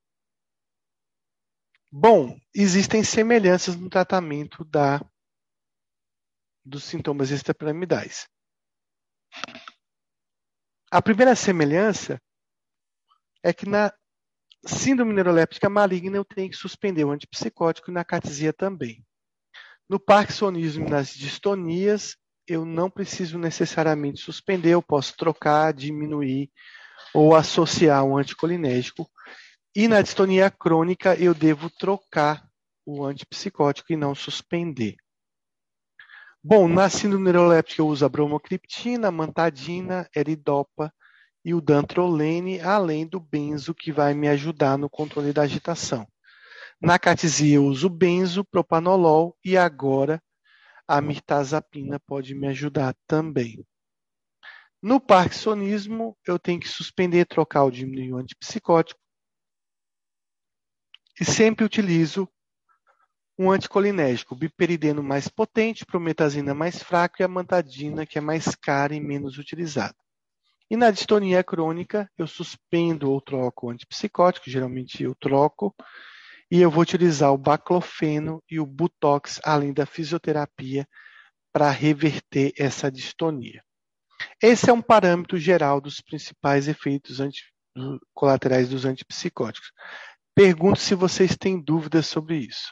Bom, existem semelhanças no tratamento da, dos sintomas extrapiramidais. A primeira semelhança é que na síndrome neuroléptica maligna eu tenho que suspender o antipsicótico e na acatisia também. No parkinsonismo e nas distonias, eu não preciso necessariamente suspender, eu posso trocar, diminuir ou associar um anticolinérgico. E na distonia crônica, eu devo trocar o antipsicótico e não suspender. Bom, na síndrome neuroléptica eu uso a bromocriptina, a mantadina, eridopa e o dantrolene, além do benzo, que vai me ajudar no controle da agitação. Na acatisia eu uso benzo, propanolol e agora a mirtazapina pode me ajudar também. No parkinsonismo, eu tenho que suspender, trocar ou diminuir o antipsicótico e sempre utilizo um anticolinérgico, o biperideno mais potente, prometazina mais fraco e a mantadina, que é mais cara e menos utilizada. E na distonia crônica, eu suspendo ou troco o antipsicótico, geralmente eu troco, e eu vou utilizar o baclofeno e o butox, além da fisioterapia, para reverter essa distonia. Esse é um parâmetro geral dos principais efeitos anti, colaterais dos antipsicóticos. Pergunto se vocês têm dúvidas sobre isso.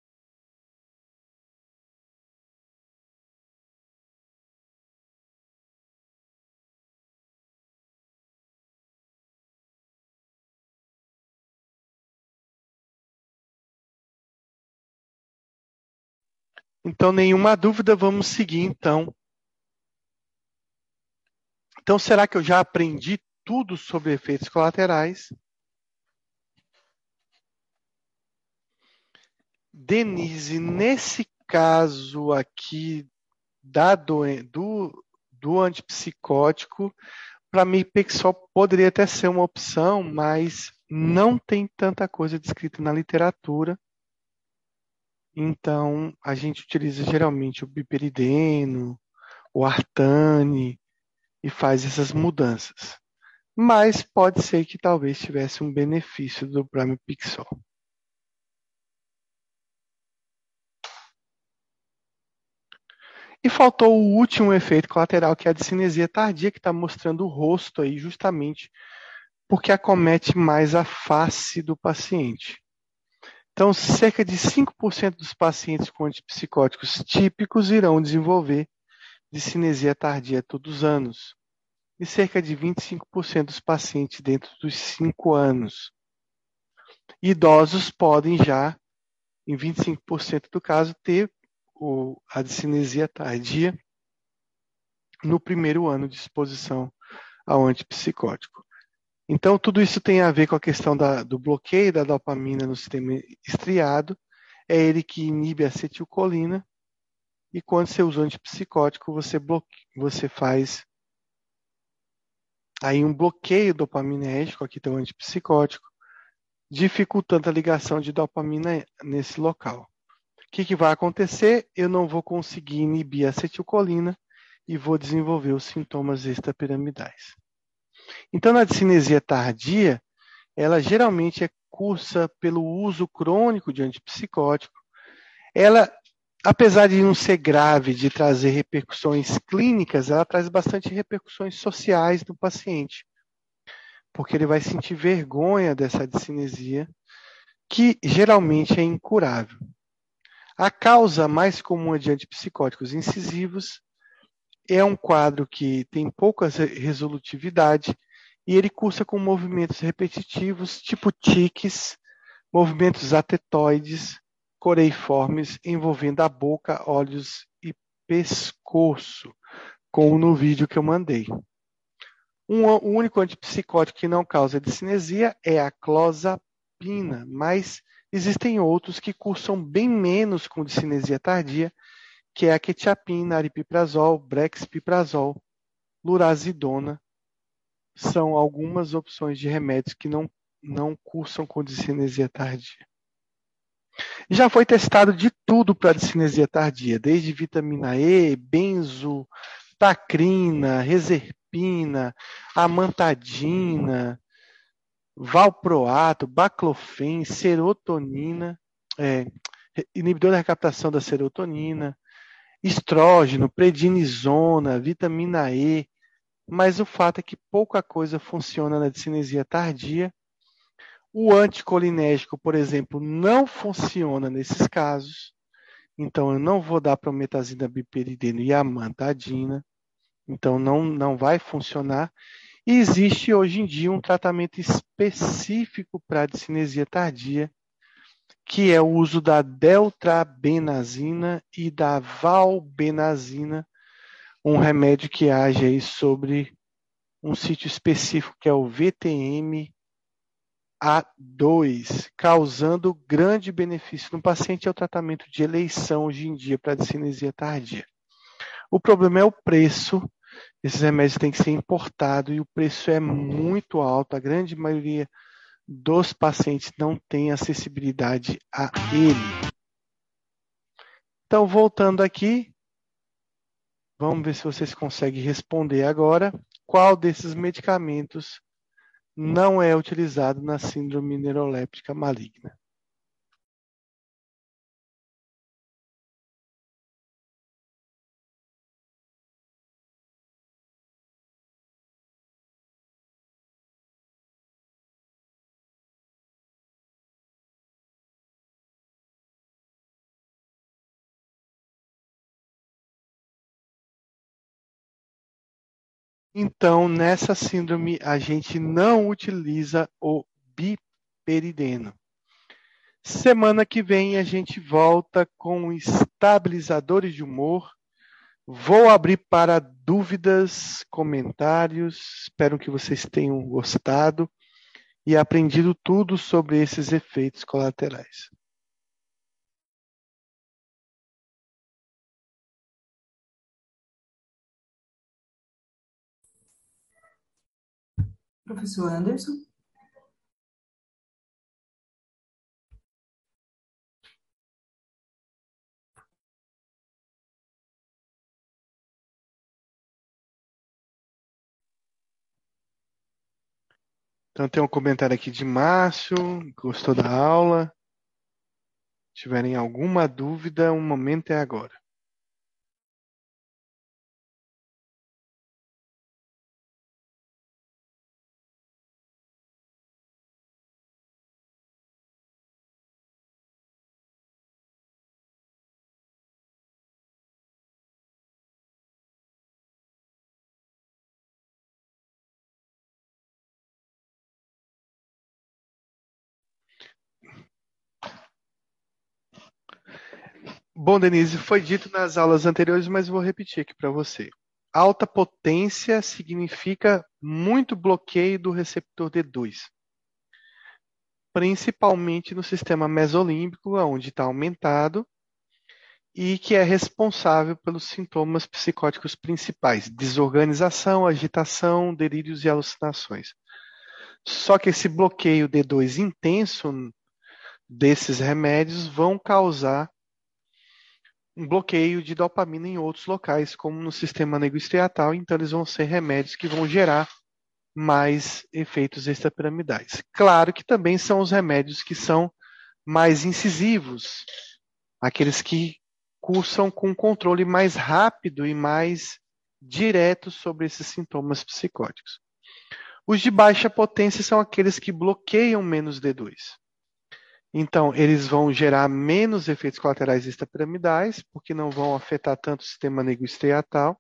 Então, nenhuma dúvida, vamos seguir então. Então, será que eu já aprendi tudo sobre efeitos colaterais? Denise, nesse caso aqui da doen- do, do antipsicótico, para mim, Pixel poderia até ser uma opção, mas não tem tanta coisa descrita na literatura. Então, a gente utiliza geralmente o biperideno, o artane e faz essas mudanças. Mas pode ser que talvez tivesse um benefício do Pramipixol. E faltou o último efeito colateral, que é a discinesia tardia, que está mostrando o rosto aí justamente porque acomete mais a face do paciente. Então, cerca de cinco por cento dos pacientes com antipsicóticos típicos irão desenvolver discinesia tardia todos os anos. E cerca de vinte e cinco por cento dos pacientes dentro dos cinco anos. Idosos podem já, em vinte e cinco por cento do caso, ter o, a discinesia tardia no primeiro ano de exposição ao antipsicótico. Então, tudo isso tem a ver com a questão da, do bloqueio da dopamina no sistema estriado. É ele que inibe a acetilcolina. E quando você usa o antipsicótico, você, bloque... você faz aí um bloqueio dopaminérgico, aqui tem o antipsicótico, dificultando a ligação de dopamina nesse local. O que, que vai acontecer? Eu não vou conseguir inibir a acetilcolina e vou desenvolver os sintomas extrapiramidais. Então, na discinesia tardia, ela geralmente é cursa pelo uso crônico de antipsicótico. Ela, apesar de não ser grave, de trazer repercussões clínicas, ela traz bastante repercussões sociais no paciente, porque ele vai sentir vergonha dessa discinesia, que geralmente é incurável. A causa mais comum de antipsicóticos incisivos é um quadro que tem pouca resolutividade e ele cursa com movimentos repetitivos, tipo tiques, movimentos atetoides, coreiformes, envolvendo a boca, olhos e pescoço, como no vídeo que eu mandei. Um, o único antipsicótico que não causa discinesia é a clozapina, mas existem outros que cursam bem menos com discinesia tardia, que é a quetiapina, aripiprazol, brexpiprazol, lurazidona. São algumas opções de remédios que não, não cursam com discinesia tardia. Já foi testado de tudo para discinesia tardia, desde vitamina E, benzo, tacrina, reserpina, amantadina, valproato, baclofen, serotonina, é, inibidor da recaptação da serotonina, estrógeno, prednisona, vitamina E, mas o fato é que pouca coisa funciona na discinesia tardia. O anticolinérgico, por exemplo, não funciona nesses casos, então eu não vou dar prometazina, biperidina e amantadina, então não, não vai funcionar. E existe hoje em dia um tratamento específico para a discinesia tardia, que é o uso da deltrabenazina e da valbenazina, um remédio que age aí sobre um sítio específico que é o V T M A dois, causando grande benefício no paciente. É o tratamento de eleição hoje em dia para a discinesia tardia. O problema é o preço. Esses remédios têm que ser importados e o preço é muito alto. A grande maioria dos pacientes não tem acessibilidade a ele. Então, voltando aqui, vamos ver se vocês conseguem responder agora. Qual desses medicamentos não é utilizado na síndrome neuroléptica maligna? Então, nessa síndrome, a gente não utiliza o biperideno. Semana que vem a gente volta com estabilizadores de humor. Vou abrir para dúvidas, comentários. Espero que vocês tenham gostado e aprendido tudo sobre esses efeitos colaterais. Professor Anderson? Então tem um comentário aqui de Márcio, gostou da aula. Se tiverem alguma dúvida, o momento é agora. Bom, Denise, foi dito nas aulas anteriores, mas vou repetir aqui para você. Alta potência significa muito bloqueio do receptor D dois, principalmente no sistema mesolímbico, onde está aumentado, e que é responsável pelos sintomas psicóticos principais: desorganização, agitação, delírios e alucinações. Só que esse bloqueio D dois intenso desses remédios vão causar um bloqueio de dopamina em outros locais, como no sistema negostriatal, então eles vão ser remédios que vão gerar mais efeitos extrapiramidais. Claro que também são os remédios que são mais incisivos, aqueles que cursam com um controle mais rápido e mais direto sobre esses sintomas psicóticos. Os de baixa potência são aqueles que bloqueiam menos D dois. Então, eles vão gerar menos efeitos colaterais extrapiramidais, porque não vão afetar tanto o sistema negostriatal.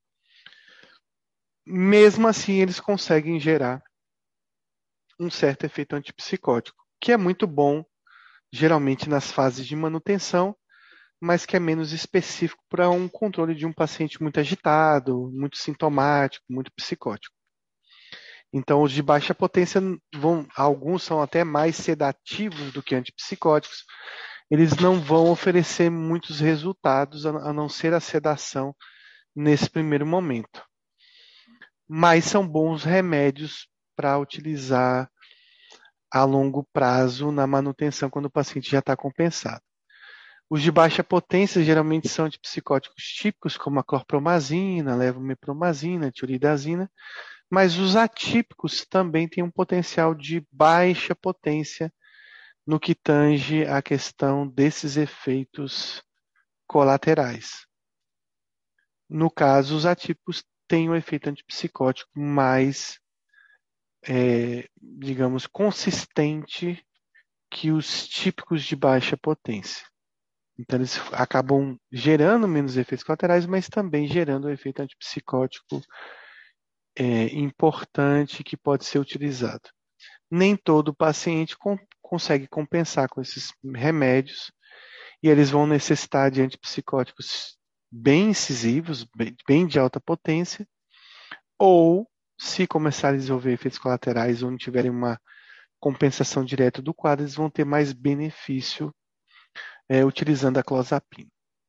Mesmo assim, eles conseguem gerar um certo efeito antipsicótico, que é muito bom, geralmente nas fases de manutenção, mas que é menos específico para um controle de um paciente muito agitado, muito sintomático, muito psicótico. Então, os de baixa potência, vão, alguns são até mais sedativos do que antipsicóticos. Eles não vão oferecer muitos resultados, a não ser a sedação nesse primeiro momento. Mas são bons remédios para utilizar a longo prazo na manutenção quando o paciente já está compensado. Os de baixa potência geralmente são de psicóticos típicos, como a clorpromazina, levomepromazina, tioridazina, mas os atípicos também têm um potencial de baixa potência no que tange a questão desses efeitos colaterais. No caso, os atípicos têm um efeito antipsicótico mais, é, digamos, consistente que os típicos de baixa potência. Então, eles acabam gerando menos efeitos colaterais, mas também gerando um efeito antipsicótico é, importante que pode ser utilizado. Nem todo paciente com, consegue compensar com esses remédios e eles vão necessitar de antipsicóticos bem incisivos, bem, bem de alta potência, ou se começarem a desenvolver efeitos colaterais ou não tiverem uma compensação direta do quadro, eles vão ter mais benefício é, utilizando a clozapina.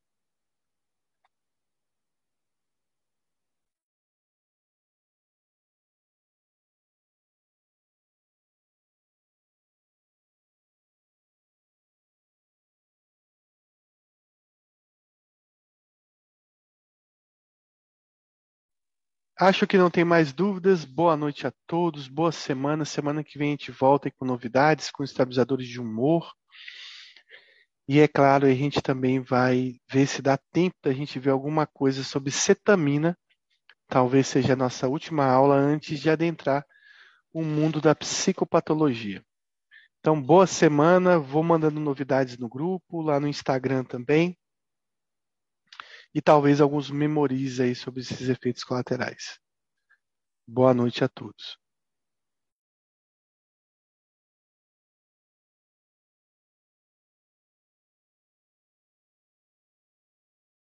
Acho que não tem mais dúvidas. Boa noite a todos, boa semana. Semana que vem a gente volta com novidades, com estabilizadores de humor. E é claro, a gente também vai ver se dá tempo da gente ver alguma coisa sobre cetamina. Talvez seja a nossa última aula antes de adentrar o mundo da psicopatologia. Então, boa semana. Vou mandando novidades no grupo, lá no Instagram também. E talvez alguns memorize aí sobre esses efeitos colaterais. Boa noite a todos.